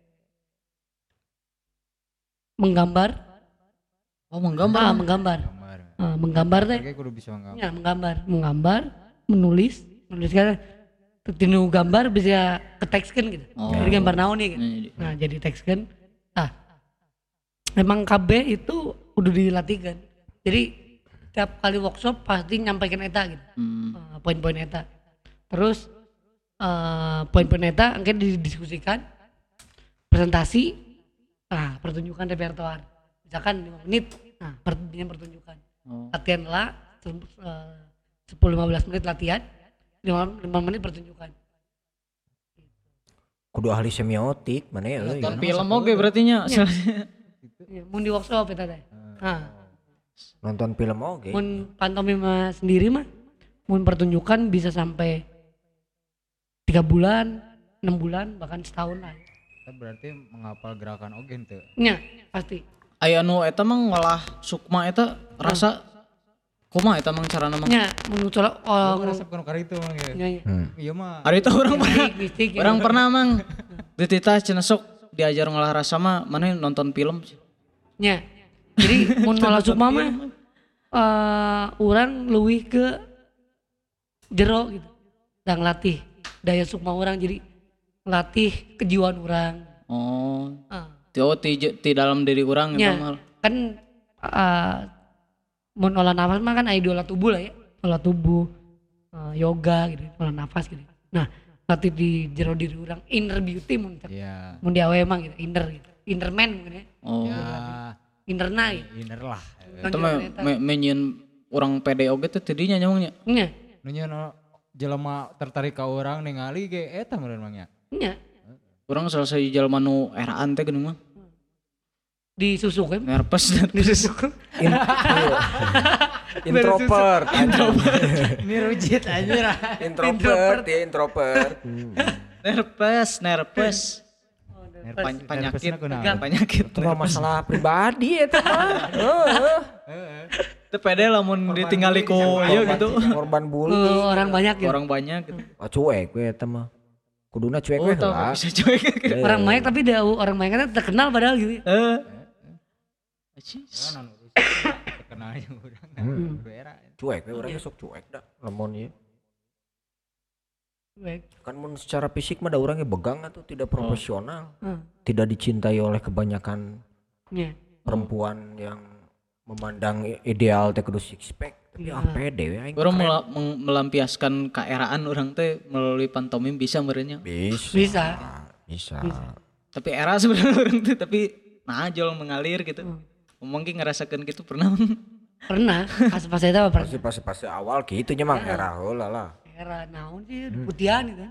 menggambar. Oh menggambar. Ah, menggambar. Gambar. Ah, menggambar teh. Oke kudu bisa nggambar. Ya, menggambar, menggambar, menulis, menuliskan tinu gambar bisa ketekskan gitu. Oh. Dari gambar naon nih gitu. Nah, Nah, jadi tekskan. Ah. Memang K B itu udah dilatihkan. Jadi tiap kali workshop pasti nyampaikan eta gitu. Hmm. Eh, poin-poin eta. Terus eh, poin-poin eta akhirnya didiskusikan, presentasi, nah pertunjukan repertoar. Misalkan lima menit, nah pertunjukan pertunjukan. Oh. Latihan lah, sepuluh lima belas menit latihan, lima menit pertunjukan. Kudu ahli semiotik mana ya euy. Nonton film oge berarti nya. Ya, mun di workshop eta teh. Nah, Nonton film oge. mun pantomima sendiri mah, mun pertunjukan bisa sampai tiga bulan, enam bulan, bahkan setahun lah. Kita berarti menghafal gerakan oge teu. Ya, pasti. Aya nu eta mah ngolah sukma eta rasa kumaha eta mang carana mang. Ya, menurut soal Oh, oh, resep kan kari itu mang ya. ya, ya. Hmm. Iya mah. Ari teh urang pernah. Mistik, mistik, ya. Orang pernah mang. Dititah cenah sok diajar ngolah rasa mah mana nonton film. Ya. Jadi mun olah sukma mah eh urang leuwih ke jero gitu. Dan latih daya sukma orang jadi latih kejiwaan orang. Oh. Ah. Ti oh, ti, ti dalam diri orang Ya, eta mah. kan eh mun olah nafas mah kan aya olah tubuh lah ya. Olah tubuh, eh, yoga gitu, olah nafas gitu. Nah, latih di jero diri orang inner beauty mun Iya. mun di awe mah gitu, inner gitu. Inner man mungkin ya. Oh. Ya, Interna gitu. inner lah. Eta mah me, menyin orang pede oge teh tidinya nyamangnya. Nya, Nu nya jelema tertarik ka urang ningali ge eta meureun mang ya. nya Urang selesai jalma nu eraan teh geuning mah. disusuk kan. Nerpes. Disusuk. In- iya. Introvert. Ini rujit anjir. Introvert ya introvert. Nerpes, nerpes. Nervous- Pan- penyakit, nervousna kunaon? penyakit. Itu mah masalah pribadi eta mah. Heeh. Teu pede lamun ditinggali ku ieu gitu. Korban Eh, bully. orang banyak gitu. Orang banyak gitu. Ah, cuek we eta mah. Kuduna cuek Oh, we tau heula. bisa cuek. Orang banyak tapi dia orang banyak kan terkenal padahal gitu. Eh. Naon urusan terkenal yang urang. Hmm. Era. Cuek we urang sok cuek dah lamun ieu. Baik. Kan mun secara fisik mah da urangnya begang atuh tidak profesional. Hmm. Tidak dicintai oleh kebanyakan Ya. perempuan yang memandang ideal teh kudu six pack. Tapi Iya. ah pede we aing. Orang mela- meng- melampiaskan keeraan orang teh melalui pantomim bisa merenya. Bisa. Bisa. Bisa. Tapi era sebenarnya orang teh tapi najol mengalir gitu. Mungkin ngerasakan gitu pernah. Pernah. Pas pas itu apa pernah? Pasti pasti pasti awal gitu nya mah era heula lah. Era naon sih putihan gitu.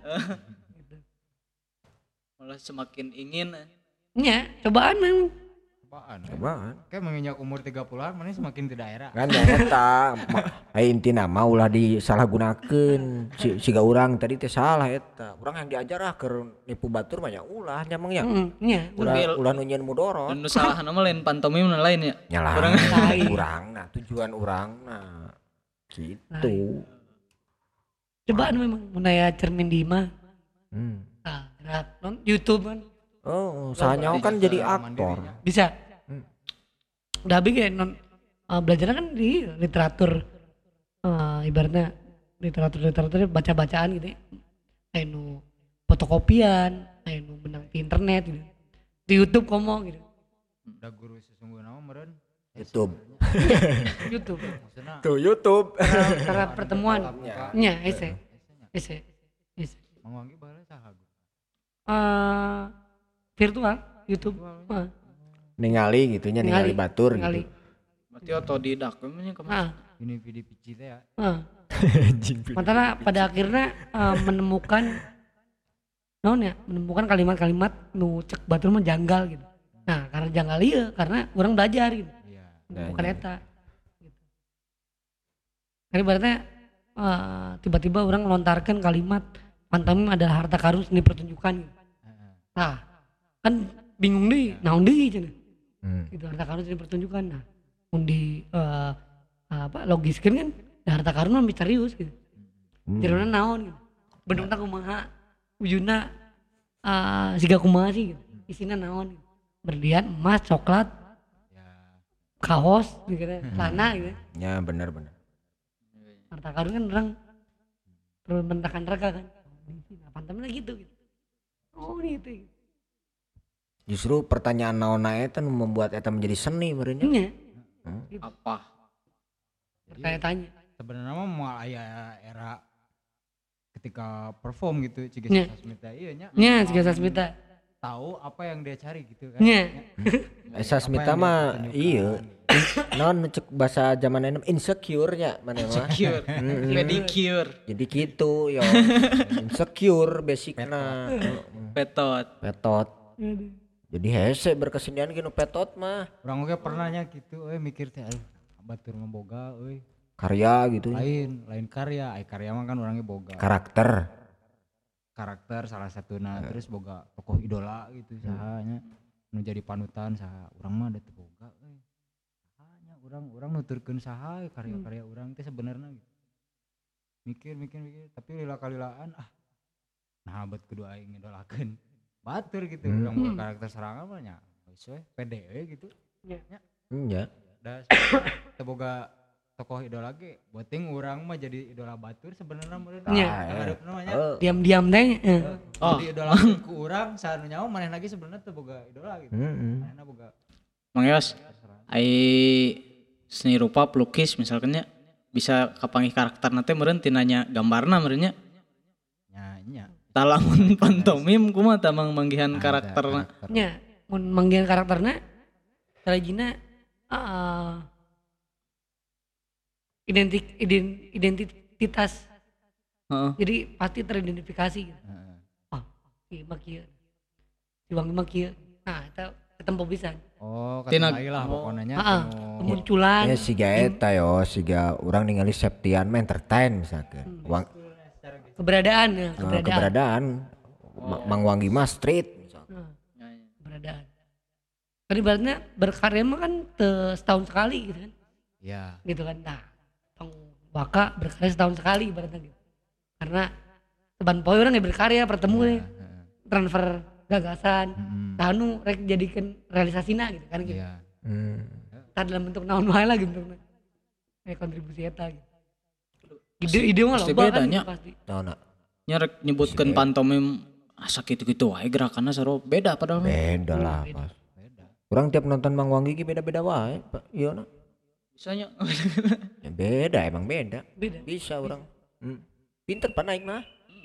Malah semakin ingin. Nya, cobaan memang. Apaan? Cobaan. Kayak menginjak umur tiga puluhan mana semakin tidak era. Kan ya eta ai intina mah ulah disalahgunakeun si siga urang tadi teh salah eta. Urang yang diajar ah keur nipu batur mah nya ulah nya mah nya. Heeh, nya. Ulah ulah nu nyieun mudorot. Dan salah nama lain pantomim nu lain ya. Nyalah Lain. urangna tujuan urangna. Gitu. Cobaan memang mun aya cermin di imah. Hmm. Ah, gerak non YouTube kan. Oh, sahanya kan jadi aktor. Bisa. Hmm. Udah habis kayak non uh, belajarnya kan di literatur, uh, ibaratnya literatur-literatur baca-bacaan gitu ya. Anu fotokopian, anu benang di internet gitu. Di YouTube komo gitu. Da guru sesungguhnya mah meureun YouTube. YouTube. maksudna Tuh YouTube. Karena, karena pertemuan. Nya, ese. Ese. Ese. Mang Wanggi baheula saha guru? Uh, virtual YouTube. Uh, Ningali gitunya ningali batur ningali. gitu. Berarti otodidak emangnya kemana? Ah, Ini video pici teh ya. ah. Mantara pada akhirnya uh, menemukan naon ya, menemukan kalimat-kalimat nu cek batur mah janggal gitu. Nah, karena janggal ieu karena orang belajar gitu. Iya. Bukan eta. Gitu. Jadi berarti uh, tiba-tiba orang melontarkan kalimat pantomim adalah harta karun seni pertunjukan. Gitu. Heeh. Nah, kan bingung deh, naon deui cenah. Hmm. Gitu harta karun seni pertunjukan. Nah, mun di uh, apa logiskeun kan da harta karun mah misterius gitu. Hmm. Jerona naon gitu. Bentukna kumaha, wujudna uh, siga kumaha sih gitu. Isina naon gitu. Berlian, emas, coklat, Ya. kaos gitu kan, celana gitu. Ya benar-benar. Harta karun kan orang perlu bentakan rega kan. Nah, pantamnya gitu gitu. Oh gitu. gitu. Justru pertanyaan naonna eta nu membuat eta menjadi seni meureun nya. Nya, Apa? bertanya-tanya. Sebenarnya mah moal aya era ketika perform gitu Ciges Nya. Sasmita iya nya. Nya, jika Sasmita. Tahu apa yang dia cari gitu kan. Nya. Esa Smita mah iya. Non cek bahasa zaman enem insecure nya mana mah. Cure, pedicure, Jadi gitu yo. Insecure basicna. petot. Petot. Jadi hese berkesenian gini petot mah. Orang oge pernahnya gitu euy mikir teh aduh batur mah boga euy. Karya gitu. Lain, lain karya, ai karya mah kan orangnya boga. Karakter. Karakter salah satuna terus boga tokoh idola gitu sahanya nu jadi panutan saha urang mah da teu boga euy. Sahanya urang urang nuturkeun saha karya-karya urang teh sebenarnya gitu. Mikir mikir mikir tapi lila-kalilaan ah nah bet kudu aing ngidolakeun batur gitu Hmm. urang boga karakter serangan mah nya geus we pede we gitu. Iya. Da teu boga tokoh idola ge beuting urang mah jadi idola batur sebenarnya meureun. Nya. Ngareupna mah nya. Oh, Diam-diam teh. eh. Oh. Jadi idola ku urang saat nyawa maneh lagi sebenarnya teu boga idola gitu. heeh. Manehna boga Mang Yos, ai seni rupa pelukis misalkannya bisa kapanggih karakter nanti meureun tina nya gambarna meureun nya. nya. Talamun pantomim kumaha tah mang manggihan karakterna. Nya, mun manggihan karakterna salajina uh, identik ident, identitas. Heeh. Jadi pasti teridentifikasi gitu. Heeh. Oh, ieu mah kieu. Si Wangi mah kieu. Nah, eta ketempo pisan. Oh, Tina- katinai lah oh. pokoknya Heeh, kemunculan. Ya siga eta yo, siga urang ningali Septian mah entertain misalkan. Wang, Keberadaan ya, eh, keberadaan. keberadaan Ma- Mang Wanggi Mas Street. Nah, keberadaan. Kan ibaratnya berkarya mah kan te- setahun sekali gitu kan. Ya. Gitu kan. Nah, tong baka berkarya setahun sekali ibaratnya gitu. Karena teban poe orang ya berkarya bertemu ya, Heeh. transfer gagasan. Mm-mm. Tanu rek jadikan realisasina gitu kan gitu. Iya. Hmm. Tah dalam bentuk naon wae lah gitu. Kayak kontribusi eta gitu. Ide-ide mah pasti loba kan bedanya. gitu pasti. Tahu nak? Nya rek nyebutkeun pantomim asa kitu-kitu wae gerakanna saro beda padahal. mah. Beda lah pas. Orang tiap nonton Mang Wanggi ge beda-beda wae, Pak. Iya nak. Bisanya Ya, beda emang beda. Beda. Bisa orang. Hmm. Pinter pak naik mah.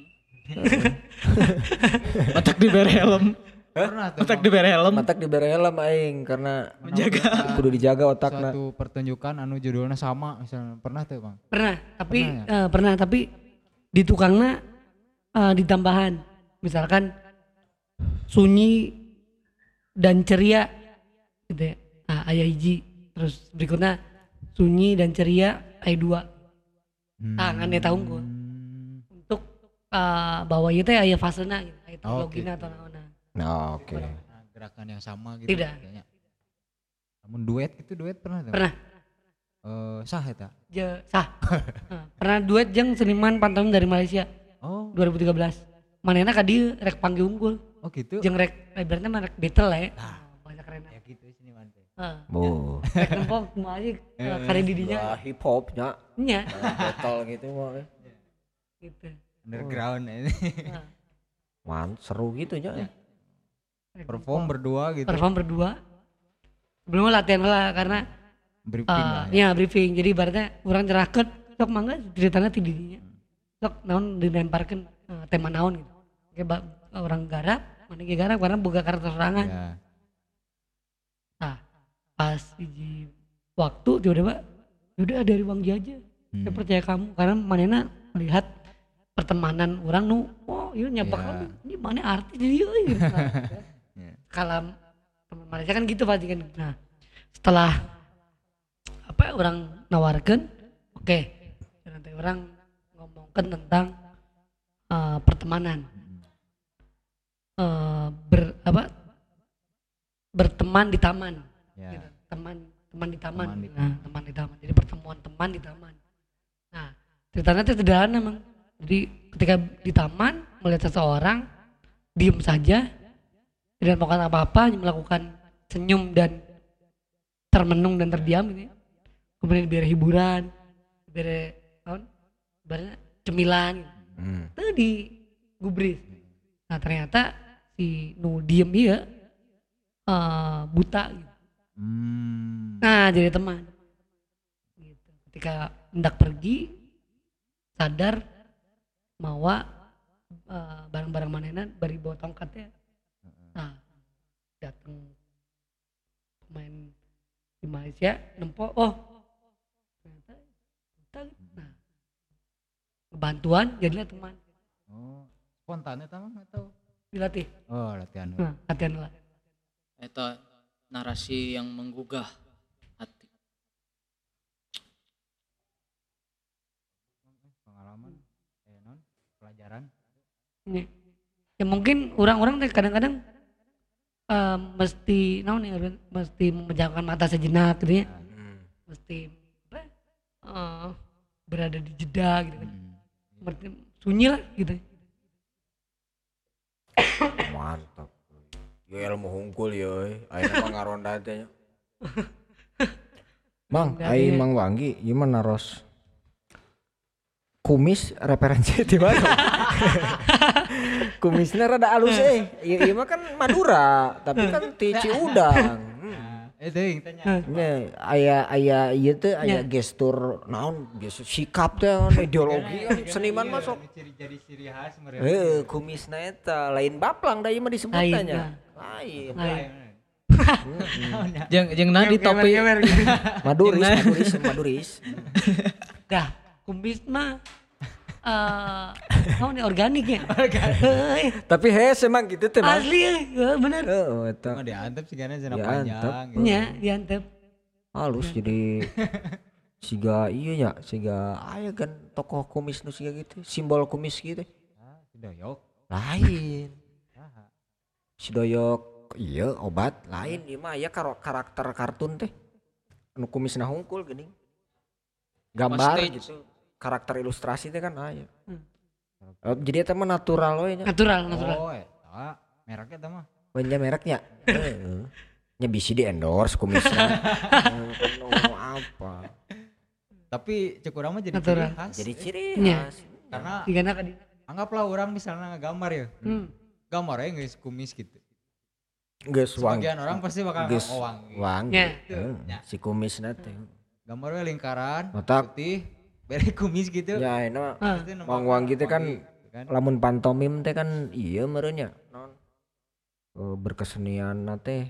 matak dibere helm. Pernah tuh Matak dibere helm. Matak dibere helm aing karena Menjaga. kudu dijaga otakna. suatu pertunjukan anu judulnya sama misalnya pernah tuh Bang. Pernah, tapi Pernah eh, pernah tapi di tukangnya eh, ditambahan. Misalkan sunyi dan ceria gitu ya. Nah, aya hiji, terus berikutnya sunyi dan ceria aya dua. Tangan eta unggul. Untuk eh, bawa ieu teh aya fasena gitu, aya Oh, teknologina gitu. atau naonna. Nah, oke. Nah, gerakan yang sama gitu. Tidak. kayaknya. Namun duet itu duet pernah tuh? Pernah. Eh, sah eta. Je, sah. Nah, pernah duet jeung seniman pantomim dari Malaysia Oh, dua ribu tiga belas. Manehna ka dieu rek panggil unggul. oh gitu. Jeung rek ibaratnya mah rek battle lah ya. Banyak keren. Ya gitu sini mante. Heeh. Oh. Rek nempo kumaha aja uh, kare didinya. Lah hip hop nya. Nya Battle gitu mah. gitu. Underground ini. Nah, Man, seru gitu nya. rek Perform nempo. berdua gitu. Perform berdua. Belum latihan lah karena Briefing uh, lah ya. ya briefing. Jadi ibaratnya urang nyerahkeun sok mangga ceritana ti didinya. Sok naon dilemparkeun uh, tema naon gitu. Oke ba, orang garap, mana ge garap karena boga karakter serangan. Ya. Nah, pas hiji waktu tiba-tiba udah dari Bang Jaja. Saya Hmm. percaya kamu karena manena melihat pertemanan orang nu oh iya nyapak Ya. lagi ini mana artis dia gitu. Ya. Kalau teman Malaysia kan gitu pasti kan. Nah, setelah apa ya, orang nawarkan oke nanti orang ngomongkan tentang eh, pertemanan. Eh, ber apa berteman di taman. Ya. Gitu. Teman teman di taman. Teman di Nah, teman di taman. Jadi pertemuan teman di taman. Nah, ceritanya itu sederhana memang. Jadi ketika di taman melihat seseorang diem saja tidak melakukan apa-apa, hanya melakukan senyum dan termenung dan terdiam gitu. Ya. Kemudian diberi hiburan, diberi tahun, ibaratnya cemilan gitu. Hmm. Itu di gubris. Nah, ternyata si nu diem iya eh, buta gitu. Hmm. Nah, jadi teman. Gitu. Ketika hendak pergi, sadar mawa eh, barang-barang manehna bari bawa tongkatnya. Nah, datang pemain di Malaysia nempo, oh ternyata buta. Nah, bantuan jadilah teman. Oh, spontan eta mah atau? Dilatih. Oh, latihan. Nah, latihan lah. Eta narasi yang menggugah hati. Pengalaman eh non pelajaran. Ya, ya mungkin orang-orang teh kadang-kadang eh, mesti naon ya Ruben? Mesti memejamkan mata sejenak gitu ya. Hmm. Mesti apa? eh, berada di jeda gitu kan. Hmm. Seperti sunyi lah gitu. Mantap. Yo ilmu hungkul yo. Ayeuna mah ngaronda teh nya. Mang, ai Mang Wanggi gimana Ros? Kumis referensi di mana? Kumisnya rada halus eh. Ieu ieu mah kan Madura, tapi kan ti Ciudang. Hmm. Eh teuing tanya. Nya aya aya ieu teh aya gestur naon gestur sikap teh ideologi kan seniman mah sok. Ciri jadi ciri khas mereka. Heuh kumisna eta lain baplang da ieu mah disebutna Lain, nya. nah. Lain. Lain. Jeung jeung nah di topi Maduris, Maduris, Maduris. Dah, kumis mah eh naon ya organik ya. Organik. Tapi hes emang gitu teh Mang. Asli ya, bener. Heeh eta. Mah diantep sih karena zona Diantep. panjang. gitu. Nya, diantep. Halus jadi siga iya nya, siga aya kan tokoh kumis nu siga gitu, simbol kumis gitu. Ah, si doyok. Lain. Saha? Si doyok iya obat lain ieu mah aya karo- karakter kartun teh. Anu kumisna hungkul geuning. Gambar Stage. gitu. Karakter ilustrasi teh kan aya. Hmm. Eh, jadi eta mah natural we nya. Natural, natural. Oh, eta mereknya eta mah. Banyak mereknya. Heeh. Nya bisi di endorse kumisnya. Eh, kan ngomong apa? Tapi cek urang mah jadi Natural. ciri khas. Jadi ciri Nya. khas. Karena Digana ka di. anggaplah orang misalnya ngegambar ya. Hmm. Gambarnya guys kumis gitu. Geus wangi. Sebagian orang pasti bakal Geus oh, wangi. wangi. Nya. Heeh, si kumisna teh. Gambarnya lingkaran, Otak. putih, beri kumis gitu. Ya enak. Ah. Pasti nembak Wang wangi teh kan wangi, kan? lamun pantomim teh kan iya meureun nya. Non. Eh, berkesenian teh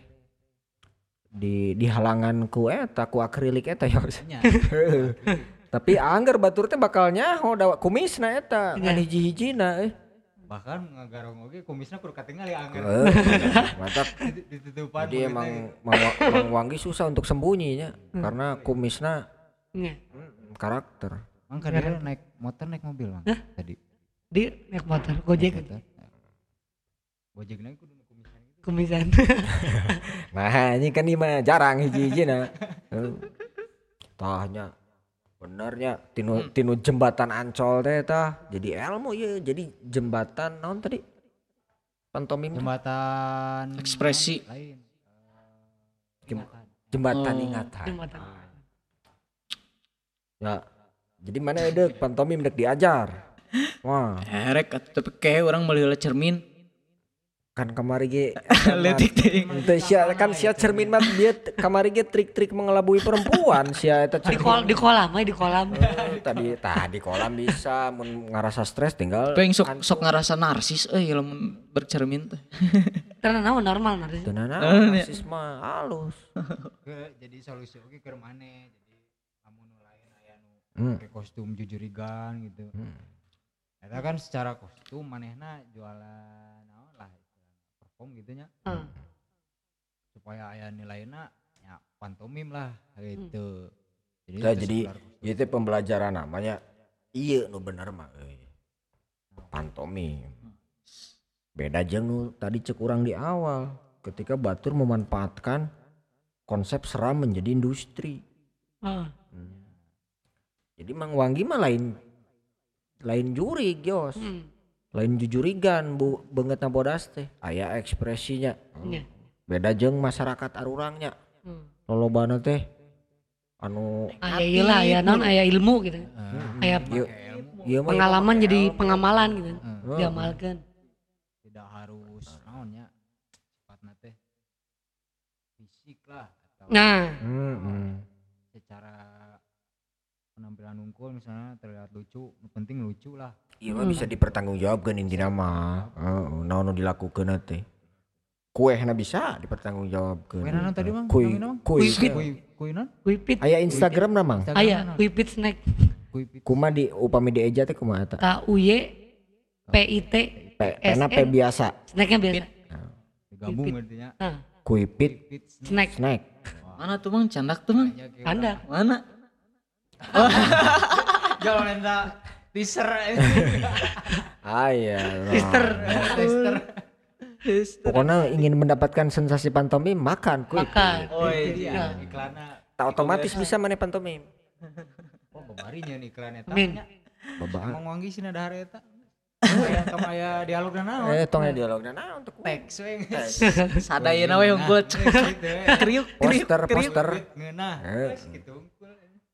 di di halangan ku eta ku akrilik eta ya. Nya. Heeh. Tapi anggar batur teh bakal nyaho da kumisna eta Nya. ngan hiji-hijina eh. Bahkan ngagarong oge kumisnya kudu katingal ya anggar. Heeh, mantap. Ditutupan. Jadi begitu. emang Mang Wa- Mang Wanggi susah untuk sembunyinya karena kumisna Nya. mm, karakter. Mang kadang naik motor naik mobil mang tadi. Di naik motor, gojek Motor. Gojek naik kudu nu kumisan gitu. kumisan. Nah, ini kan ini mah jarang hiji-hijina. Heeh. Tahnya benernya tinu tinu jembatan Ancol teh tah jadi ilmu ya jadi jembatan naon tadi pantomim teh. Jembatan Ekspresi. lain. Gim- Jembatan Oh. ingatan. Jembatan. Ya. Jadi mana ada pantomim dek diajar. Wah, Erek atuh tapi kayak orang melihat cermin. kan kamari ge Letik teh. Ente sia kan sia cermin mah dia t- kamari ge trik-trik mengelabui perempuan sia eta Di kol di kolam, aja di kolam. Eh, tadi tah di kolam bisa mun ngarasa stres tinggal Pengen sok sok ngerasa narsis euy lamun bercermin teh. Karena naon normal narsis. teunana Eh, narsis mah halus. Ke jadi solusi oke keur maneh jadi lamun nu lain aya nu Hmm. pakai kostum jujurigan gitu. Hmm. Eta kan secara kostum manehna jualan naon lah istilahna, perform gitu nya Heeh. supaya aya nilainya ya pantomim lah gitu. Jadi Tah, itu jadi sekedar kostum. ieu teh pembelajaran namanya ieu nu bener mah euy. Pantomim. Beda jeung nu tadi cek urang di awal ketika batur memanfaatkan konsep seram menjadi industri. Heeh. Jadi Mang Wanggi mah lain lain jurig Yos. Hmm. Lain jujurigan bu beungeutna bodas teh aya ekspresinya. Iya. Beda jeung masyarakat arurangnya. Hmm. Lolobana teh anu Aya ieu lah, aya naon aya ilmu gitu. Aya ieu ieu mah pengalaman jadi pengamalan gitu. Heeh. Diamalkeun. Tidak harus naonnya sifatna teh fisik lah atau Nah, Heeh. secara penampilan unggul misalnya terlihat lucu, nu penting lucu lah. Ieu mah bisa dipertanggungjawabkeun intina mah. Heeh, naon nu dilakukeun teh. Kuehna bisa dipertanggungjawabkeun. Kue naon tadi Mang? Kuy, Namina, Mang? kuy. Kue kue naon? kuipit. Aya Instagram na Mang. Aya kuipit snack. Kue pit. Kumaha di upami dieja teh kumaha eta? K U Y P I T P pena P biasa. snacknya biasa. Digabung artinya. Nah, Kuipit Pit snack. snack. Mana tuh Mang candak tuh Mang? Anda Mana? Jangan minta teaser. Aya. sister. Pokoknya ingin mendapatkan sensasi pantomim makan kuipit. Makan. Oh Iya, iklannya. Tak otomatis bisa mana pantomim. Oh, babarinya nih iklan eta. Amin. Babaan. Emang wangi sih ada hari eta. Aya tong aya dialog naon. Eh tong aya dialogna nah untuk Teks we. Sadayana we unggul. Kriuk kriuk poster kriuk. poster. Ngeunah. Eh. Wes gitu unggul.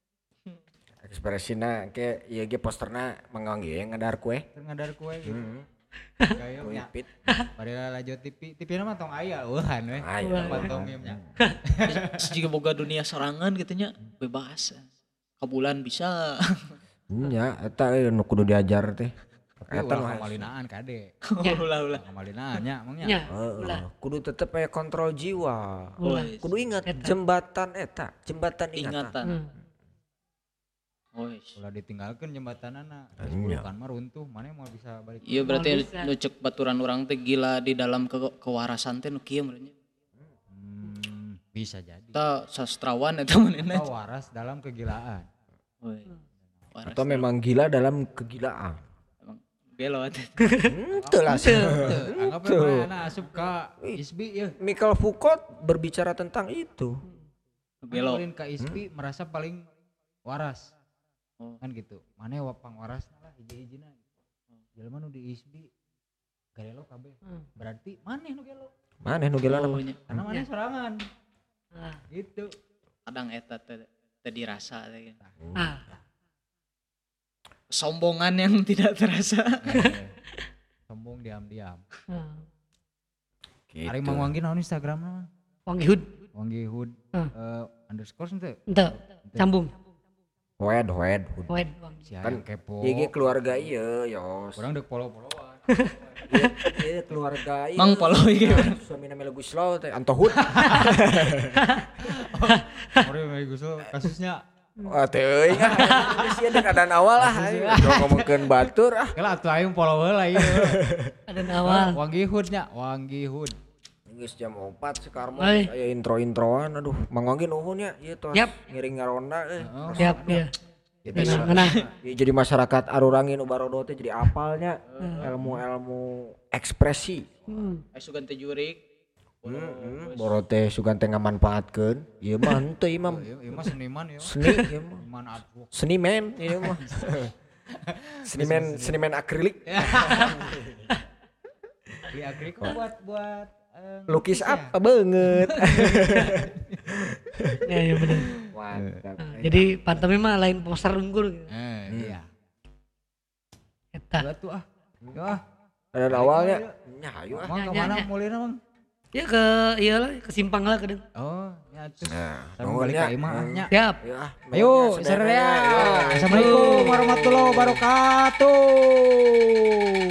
Ekspresina ke ieu ge posterna mangangge ngadar kue. Keur ngadar kue gitu. Heeh. Gayungnya. Kuipit. Padahal lanjut T V, T V mah tong aya eueuhan we. Aya. Pantomimnya. Jika boga dunia sorangan gitu nya bebas. Kabulan bisa. Nya eta eh, nu kudu diajar teh. Eta Eta nu ulah harus- kamalinaan kade. Ulah ulah. Kamalinaan nya emangnya. Ya, Heeh, ulah. kudu tetep aya kontrol jiwa. Ulah. Kudu ingat jembatan eta, jembatan ingatan. Ingatan. Hmm. Woi. Ulah ditinggalkeun jembatanana. Iya. Bukan mah runtuh, mana mau bisa balik. Iya berarti Mau bisa. nu cek baturan orang teh gila di dalam ke kewarasan teh nu kieu meureunnya. Hmm, bisa jadi. Eta sastrawan eta manehna. Atau waras dalam kegilaan. Woi. Waras Atau memang gila dalam kegilaan. emang gelo teh. Henteu lah. Anggap aja anak asup ka Isbi ya. Michael Foucault berbicara tentang itu. Gelo. Paling ka Isbi merasa paling waras. Oh. Kan gitu. Mana wapang waras lah hiji-hijina. Jelema nu di Isbi garelo kabeh. Hmm. Berarti maneh nu gelo. Maneh nu gila Oh, nama? nya. Karena maneh sorangan. Ah. Gitu. Kadang eta teh teh dirasa teh. Ah. Sombongan yang tidak terasa. Eh, Sombong diam-diam. Ah. Gitu. Ari Mang Wanggi naon Instagramna mah? Wangi Hood. Wanggi Hood Hmm. eh, underscore ente. Ente, sambung. Wed, wed. Wed Wangi. Si Kan aya kepo. Ieu ge keluarga ieu, Yos. Urang dek follow-followan. Ieu keluarga ieu. Mang follow ieu. Suamina Melo Guslow teh Antohut. Ore mah Gusul kasusnya Wah teh euy kan. Geus ieu dek adan awal lah. Udah ngomongkeun batur ah. kala atuh aing follow heula ieu. Ada awal. Wanggi Hood nya, Wanggi Hood. Geus jam opat sekarang mah Oi. aya intro-introan aduh Mang Wanggi nuhun ya ieu tos Yap. ngiring ngaronda eh. Siap ya. Nah, nah. Ieu jadi masyarakat arurangin nu barodo teh jadi apalnya ilmu-ilmu ekspresi. Hmm. Eh sugan teh jurik. Heeh, boro teh sugan teh ngamanfaatkeun. Ieu mah henteu ieu mah Ieu ieu mah seniman ya. seni ieu mah. Seniman artwork. Seniman ieu mah. Seniman seniman akrilik. Beli akrilik kok buat buat eh, Lukis ya? apa banget. Ya ya benar. Mantap. Jadi pantemnya mah lain poster unggul gitu. Eh, iya. Eta. Gua tuh ah. Yo ah. Dan awalnya nya ayo ah. Mau Nya, ke nya, mana nya. mulina, Mang? Ya ke iyalah ke simpang lah kadang. Oh, nya atuh. Nah, Sareng balik nongolnya. ka imah ah, nya. Siap. Ayo ah. Ayo, nongolnya sare ya. sebenarnya. Ayo. Assalamualaikum warahmatullahi wabarakatuh.